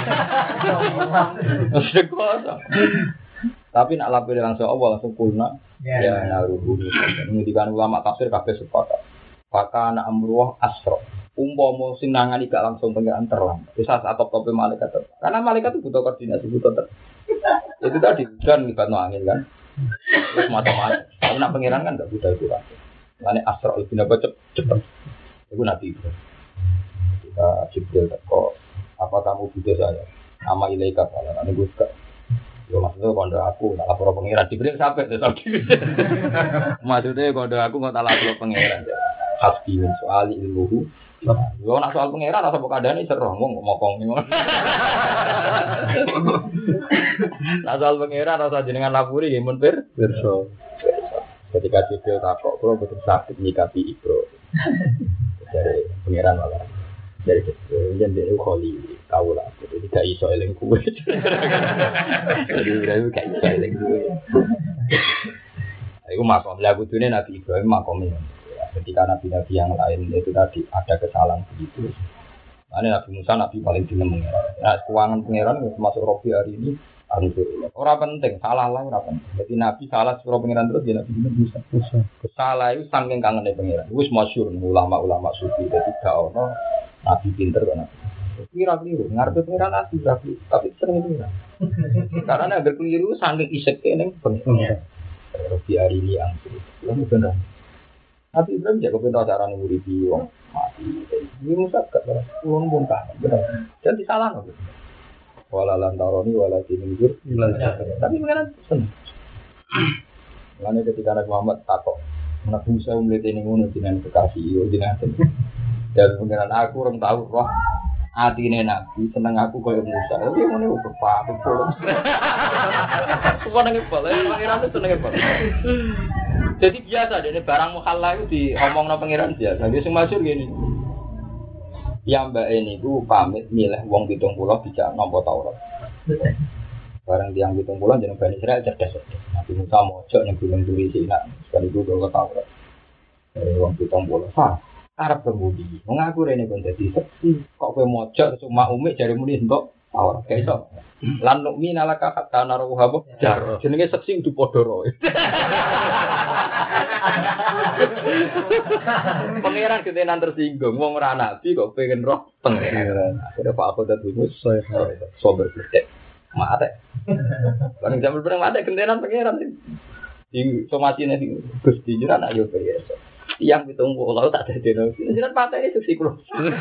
Tapi nak lapor langsung Allah langsung kulna. Ya naruh ini. Ngendikan ulama tafsir kabeh sepakat. Maka ana amruh asra. umpama sing nangani gak langsung pengiran terlambat. Bisa saat top-top malaikat. Karena malaikat itu butuh koordinasi, butuh ter. Itu tadi hujan libatno angin kan. Terus macam-macam. Tapi nak pengiran kan enggak butuh itu kan. Lane asra lebih napa cepet. Itu Nabi Ibrahim. Kita Jibril teko, apa kamu butuh saya? Nama ilaika fala ane Gus Kak. Yo maksudnya kondo aku tak lapor pengiran Jibril sampai to tadi. Maksudnya kondo aku nggak tak lapor pengiran. Hasbi min soal ilmuhu. Yo nak soal pengiran rasa pokadane seru ngomong ngomong ngono. Nak soal pengiran rasa jenengan lapuri nggih mun pir pirsa. Ketika Jibril takok kula betul sakit nyikapi Ibro. Dari pengiran malah dari Jibril yen dhewe kholi kaula jadi gak iso eling kuwe. Jadi Ibrahim gak iso eling kuwe. Iku makom lagu dune Nabi Ibrahim makom ini. Ketika nabi-nabi yang lain itu tadi ada kesalahan begitu. Nah, Nabi Musa nabi paling dinem pengiran. Nah, keuangan pengiran termasuk Robi hari ini alhamdulillah. Ora penting, salah lah ora penting. Jadi nabi salah suruh pengiran terus ya Nabi Musa. Salah itu saking kangene pengiran. Wis masyhur ulama-ulama sufi dadi gak ono nabi pinter kan. Kira keliru, ngarepe pengiran nabi tapi tapi sering itu. Karena agar keliru saking iseke ning pengiran. Robi hari ini alhamdulillah. Bener. Nabi Ibrahim jago pintu acara nih nguripi wong mati. Ini Musa gak beres, ulun pun kan bener. Dan disalah loh. Wala lantaroni wala tinujur. Tapi mengenai seneng. Mengenai ketika Nabi Muhammad takok, Nabi Musa melihat ini ngono dengan kekasih, dengan dan mengenai aku orang tahu roh hati ini Nabi seneng aku kaya Musa. Tapi yang ini udah apa pun. Semua nengep balik, pangeran itu nengep balik. Jadi biasa deh, barang mukhallah itu diomongno pangeran biasa. Dia sing masyhur gini. Ya mbak ini ku pamit milih wong pitung puluh bisa nampa Taurat. Barang tiang pitung puluh jeneng Bani Israil cerdas. Nabi Musa mojok ning gunung Turi Sina, sekali ku gawa Taurat. Eh wong pitung puluh. Ha, arep kemudi. Wong aku rene kon dadi seksi. Kok kowe mojok cuma umik jare muni entuk Taurat. Kayak iso. Lan nukmi nalaka kata naruh apa? Jar. Jenenge seksi kudu padha roe. Pangeran ketenan tersinggung, wong ora nabi kok pengen roh pangeran. Akhire Pak aku dadi musuh sober gede. Mate. Bareng jam berang mate ketenan pangeran. Di somatine di Gusti jiran ayo biasa. Tiang pitung puluh tak dadeno. Jiran patene seksi kulo.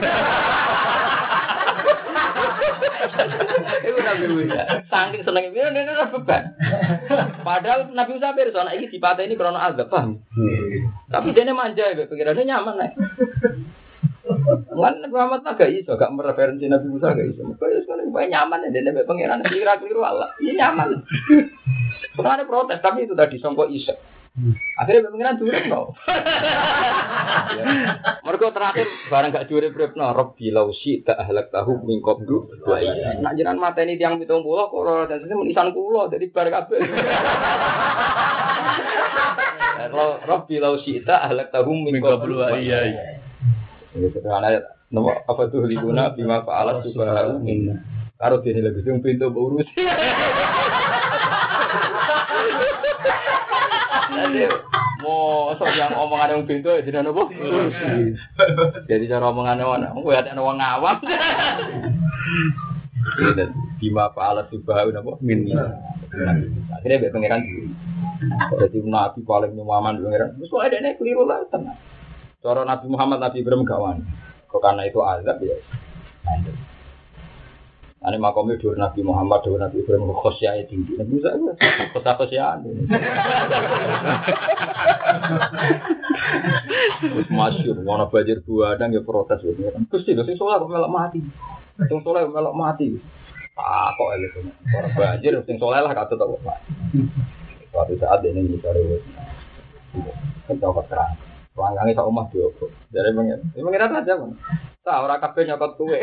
Iku Nabi Musa, saking senenge piye nek ora beban. Padahal Nabi Musa pirsa anak iki dipateni krana azab, paham? Tapi dene manja ya, pikirane nyaman nek. Lan Muhammad agak iso, gak mereferensi Nabi Musa gak iso. Kok iso nek nyaman dene mek pangeran kira-kira Allah. Iya nyaman. Soalnya protes, tapi itu tadi songkok iso. Akhirnya pengiran durip no. Mereka terakhir barang gak durip no. Robbi lausi tak ahlak tahu mingkop du. Nak jiran mata ini tiang pitung pulau kok dan sini menisan pulau jadi bar kabel. Kalau Robbi lausi tak ahlak tahu mingkop du. Iya iya. Ini sederhana ya. Nomor apa tuh liguna bima faalat subhanahu minna. Karo dene lagi sing pintu urus. Mau sok yang omongan yang pintu jadi apa? Jadi cara omongannya mana? Gue ada orang awam. Dan bima faalat subhanahu apa? Minna. Akhirnya be pangeran diri. Jadi Nabi paling nyaman pangeran. Terus kok ada nek keliru lah tenang. Cara Nabi Muhammad Nabi Ibrahim kawan. Kok karena itu azab ya. Ane makomnya dur Nabi Muhammad dur Nabi Ibrahim khosyah tinggi. Nabi Musa itu khosyah-khosyah. Terus masyhur mana banjir buadang ya protes gitu. Gusti lho sing saleh kok melok mati. Sing saleh melok mati. Ah kok elek. Ora banjir sing saleh lah katut kok mati. Suatu saat ini dicari. Kan coba terang. Wangange sak omah diopo. Dari pengen. Ini pengen aja, Bang. Tak ora kabeh nyokot kowe.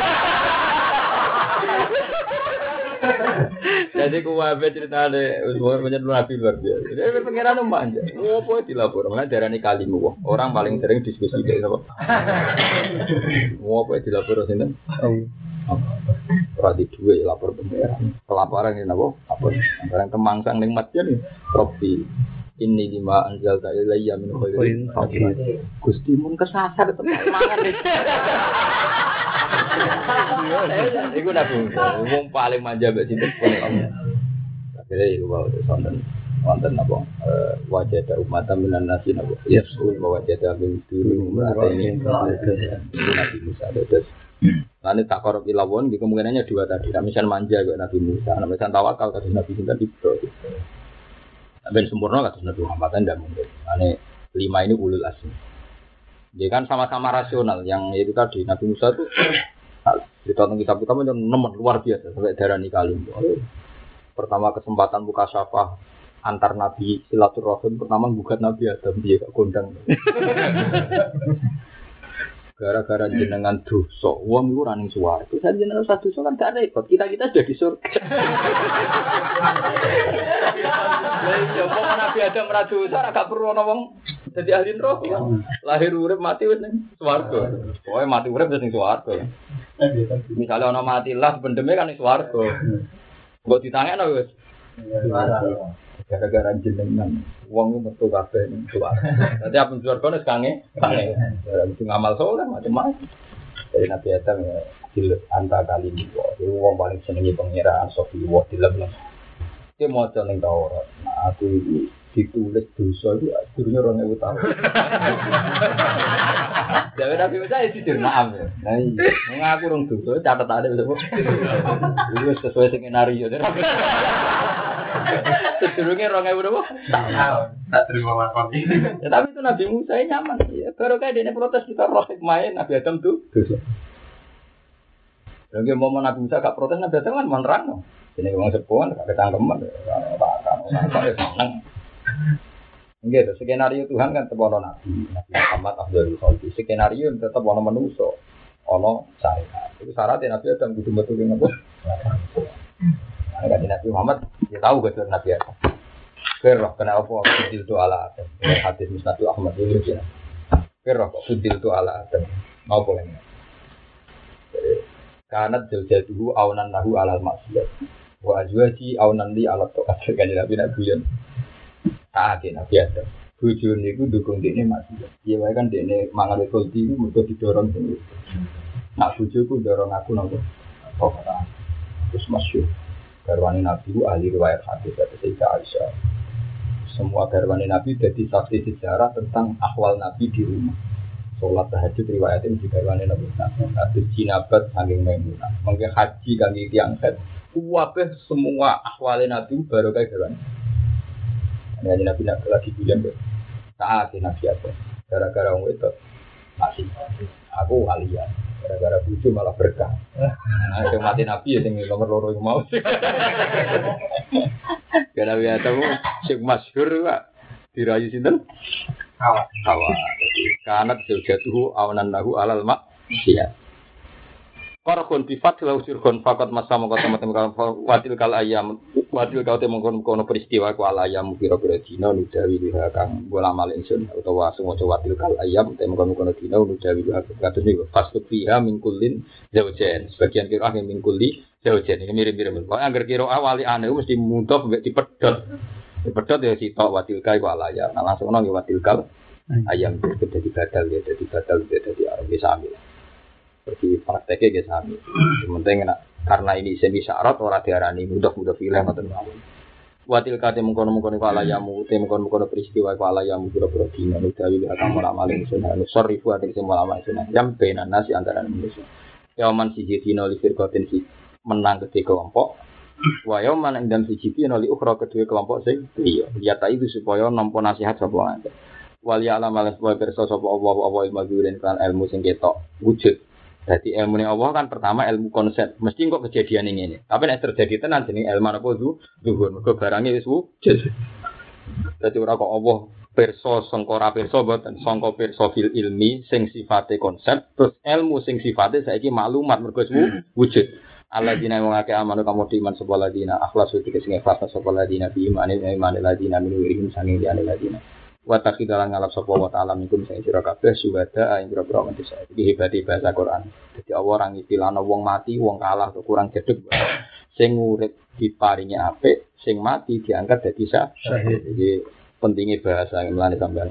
Jadi kuwabe ceritane wis menyet Nabi luar biasa. Jadi pengiran manja. Opo dilapor, malah darani kalimu. Orang paling sering diskusi iki apa? Opo dilapor sinten? Ora di duwe lapor pengiran. Pelaporan ini napa? Apa? Barang kemangsang ning masjid nih. Robi Ini lima anjal tak ilayya min khairin fakir. Gusti mun kesasar tetep mangan. Iku nabi wong paling manja mbek sinten pun. Akhire iku wae sonten wonten apa wajah ada umat minan nasi napa. Yes, wajah ada min turun ini Nabi Musa terus. Lalu tak korup ilawon, di kemungkinannya dua tadi. Misal manja ke Nabi Musa, misal tawakal ke Nabi Musa di Ibrahim. Ben sempurna kata Nabi Muhammad tidak mungkin. Lalu lima ini ulul asmi. Dia kan sama-sama rasional. Yang itu tadi Nabi Musa itu cerita tentang kitab kita yang nomor luar biasa sampai darah nikalim. Pertama kesempatan buka syafah antar Nabi silaturahim pertama bukat Nabi Adam dia gak kondang. Gara-gara jenengan dosa, wong iku ora ning swarga. Saya jenengan satu dosa kan gak repot. Kita-kita jadi surga. Lah iya, kok Nabi Adam ora dosa, ora gak perlu ana wong dadi ahli neraka. Lahir urip mati wis ning swarga. Pokoke mati urip wis ning swarga. Misale ana mati lah pendeme kan ning swarga. Mbok ditangekno wis. Gara-gara jenengan wong metu kabeh ning swarga. Dadi apa swarga nek kange, kange. Itu ngamal saleh macam-macam. Dari Nabi Adam ya dilet anta kali ini. Jadi wong paling senengi pangeran sofi wa dilem. Dia maca ning Taurat. Nah, aku iki ditulis dosa itu durunge dua ribu tahun. Jadi Nabi Musa itu dirmaaf ya. Nah, ngaku rong dosa catetane wis. Wis sesuai skenario. Sedurunge dua ribu berapa? Tahun. Tak terima lakon. Ya tapi itu Nabi Musa nyaman. Ya baru kayak dene protes kita roh main Nabi Adam tuh dosa. Lagi mau Nabi Musa gak protes Nabi Adam kan menerang. Ini wong sepuhan gak ketangkeman. Apa ya seneng. Gitu, skenario Tuhan kan tetap ono Nabi, Nabi Muhammad Abdul Khalid. Skenario tetap ono manusia, ono saya. Itu syaratnya Nabi Adam kudu betul dengan apa? Nah, kan Nabi Muhammad dia tahu betul Nabi Adam. Kerah kena apa? Fudil tu ala Adam. Hadis Musnad Ahmad itu sih. Kerah fudil tu ala Adam. Mau boleh? Karena jauh-jauh awanan nahu alal maksiat. Wa azwaji awanan li alat tokat. Kan Nabi Nabi yang ah, dia Nabi Adam. Bujur ni ku dukung dia ni masih. Dia kan dia ni mangan ekologi itu mesti didorong sendiri. Nak bujurku dorong aku nongko. Oh, terus masuk. Garwani Nabi itu ahli riwayat hadis dari Sayyidah Aisyah. Semua garwani Nabi jadi saksi sejarah tentang akhwal Nabi di rumah. Sholat tahajud riwayatnya di garwani Nabi. Hadis jinabat saking Maimunah. Mungkin haji kami tiang set. Wabah semua akhwal Nabi baru kayak garwani. Ini Nabi Nabi lagi bilang ber, saat ini Nabi apa? Gara-gara orang itu masih aku aliyah. Gara-gara bucu malah berkah. Nah, itu mati Nabi ya tinggal nomor loro yang mau. Gara Nabi Adam sing masyhur Pak dirayu sinten? Hawa. Hawa. Karena sejatuh awanan lahu alal mak. Iya. Qarqun bi fatil usirkun faqat masama kata teman-teman watil kal ayam watil kau te mengkono peristiwa ku al ayam pira-pira dina nudawi liha kang bola mal ingsun utawa semoco watil kal ayam te mengkono dina nudawi liha kados niku fasuk fiha min kullin zaujain sebagian kira ah min kulli zaujain ini mirip-mirip kok angger kira awali ane mesti muntah mbek dipedhot dipedhot ya sitok watil kai ku al ayam nah langsung nang watil kal ayam dadi badal ya dadi badal dadi arep sami seperti prakteknya guys kami. Sementing karena ini semi syarat orang diarani mudah-mudah film atau apa. Watil kate mengkono-mengkono kala yamu, te mengkono-mengkono peristiwa kala yamu pura-pura dina nudawi akan mulamalin sunnah. Sorry buat iki semula sunnah. Jam benan nasi antara manusia. Yaman siji dina li firqatin si menang kedua kelompok. Wa yaman ing dan siji dina li ukhra kedua kelompok sing iya. Lihat itu supaya nampa nasihat sapa wae. Wali alam alas wa pirsa sapa Allah wa ilmu gulen kan ilmu sing ketok wujud. Jadi ilmu ini Allah kan pertama ilmu konsep. Mesti kok kejadian ini. Tapi nek terjadi tenan jenenge ilmu apa itu? Zuhur. Mergo barange wis wujud. Dadi ora kok Allah pirsa sangka ora pirsa mboten sangka pirsa fil ilmi sing sifate konsep terus ilmu sing sifate saiki maklumat mergo wis wujud. Alladzina wong akeh amanu kamu diman sapa ladina akhlasu iki sing ikhlas sapa ladina bi imane imane ladina min wirihim sange diane ladina. Wa taqidalan ngalap sapa wa ta'ala minkum sing sira kabeh suwada ing pira-pira manusa. Iki hebate bahasa Quran. Dadi Allah ora ngitilana wong mati, wong kalah atau kurang gedhe. Sing urip diparingi apik, sing mati diangkat dadi syahid. Iki pentingnya bahasa yang melani sampean.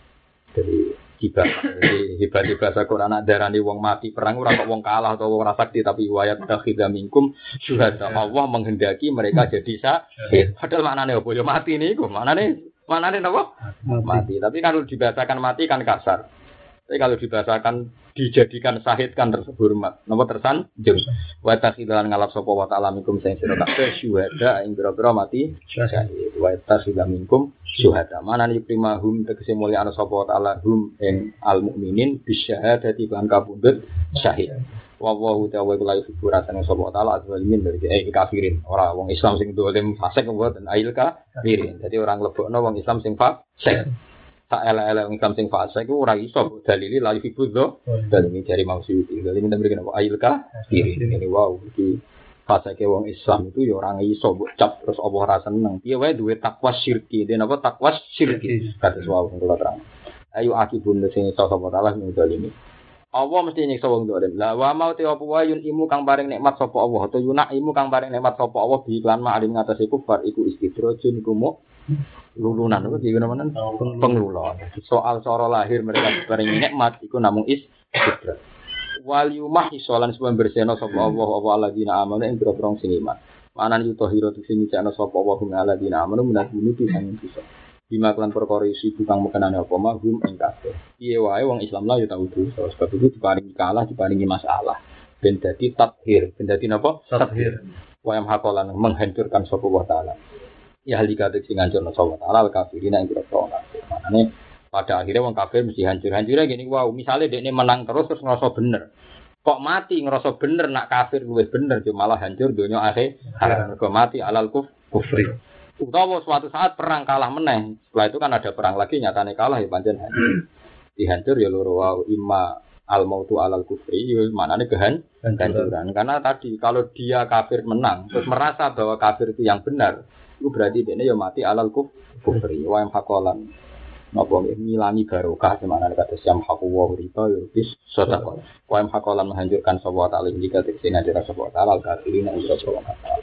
Jadi hibah, jadi hibah di bahasa Quran ada darani wong mati perang ora kok wong kalah atau wong rasakti tapi wayat dakhidha minkum syuhada. Allah menghendaki mereka jadi syahid. Padahal maknane apa ya mati niku? Maknane maknane napa? Mati. mati. Tapi kalau dibahasakan mati kan kasar. Tapi kalau dibahasakan dijadikan syahid kan terhormat. Napa tersanjung? Wa takhilan ngalap sapa wa ta'ala minkum sing sira kabeh syuhada ing pira-pira mati syahid. Wa takhilan minkum syuhada. Manane primahum tegese mulya ana sapa wa ta'ala hum ing al mukminin bisyahadati lan kapundhut syahid. Wa wa ta'ala la yuhibbu rasane sapa wa ta'ala azwalimin dari eh kafirin. Ora wong Islam sing dolim fasik mboten ail kafirin. Dadi orang lebokno wong Islam sing fasik. Tak elek-elek wong Islam sing fasik iku ora iso dalili la yuhibbu dan ini dari maksud ini kita berikan apa ail kafir ini wow iki fasike wong Islam itu ya orang iso mbok cap terus Allah ora seneng piye wae duwe takwa syirki den apa takwa syirki kados wow kula terang ayo akibun sing iso sapa taala ning dalimi Allah mesti nyiksa wong dolim la wa mau te apa wae yun imu kang paring nikmat sapa Allah atau yunak imu kang paring nikmat sapa Allah bi iklan ma'alim ngatasi kufar iku istidrojun iku mu lulunan itu jadi mana pengelulon. Soal cara lahir mereka diparingi nikmat itu namung is fitrat. Wal yumah isolan sebab bersihna sapa Allah wa alladzina amanu ing boro-boro sing iman. Manan yuto hiro sing nyana sapa Allah wa alladzina amanu menawi nutu sing bisa. Bima kelan perkara isi tukang mekenane apa mahum ing kabeh. Piye wae wong Islam lah ya tau dosa sebab itu diparingi kalah diparingi masalah. Ben dadi tathir, ben dadi napa? Tathir. Wa yam hakolan menghancurkan sapa wa taala. Ya halika sing ngancurna sapa taala kafirin ing boro-boro kafir. Makane pada akhirnya wong kafir mesti hancur-hancurnya gini wow, misalnya dekne menang terus terus ngerasa bener. Kok mati ngerasa bener nak kafir luwih bener cuma malah hancur donya akhir. Mergo mati alal kuf kufri. Utawa suatu saat perang kalah meneh. Setelah itu kan ada perang lagi nyatane kalah ya pancen hancur. Dihancur ya loro wow imma al mautu alal kufri ya maknane kehancuran. Karena tadi kalau dia kafir menang terus merasa bahwa kafir itu yang benar itu berarti dia ya mati alal kuf kufri wa hakolan napa ngilangi barokah semana kata siam haku wa riba ya bis sedekah wa hakolan menghancurkan sapa ta'ala indikatif sing ada sapa ta'ala kafirin ing sapa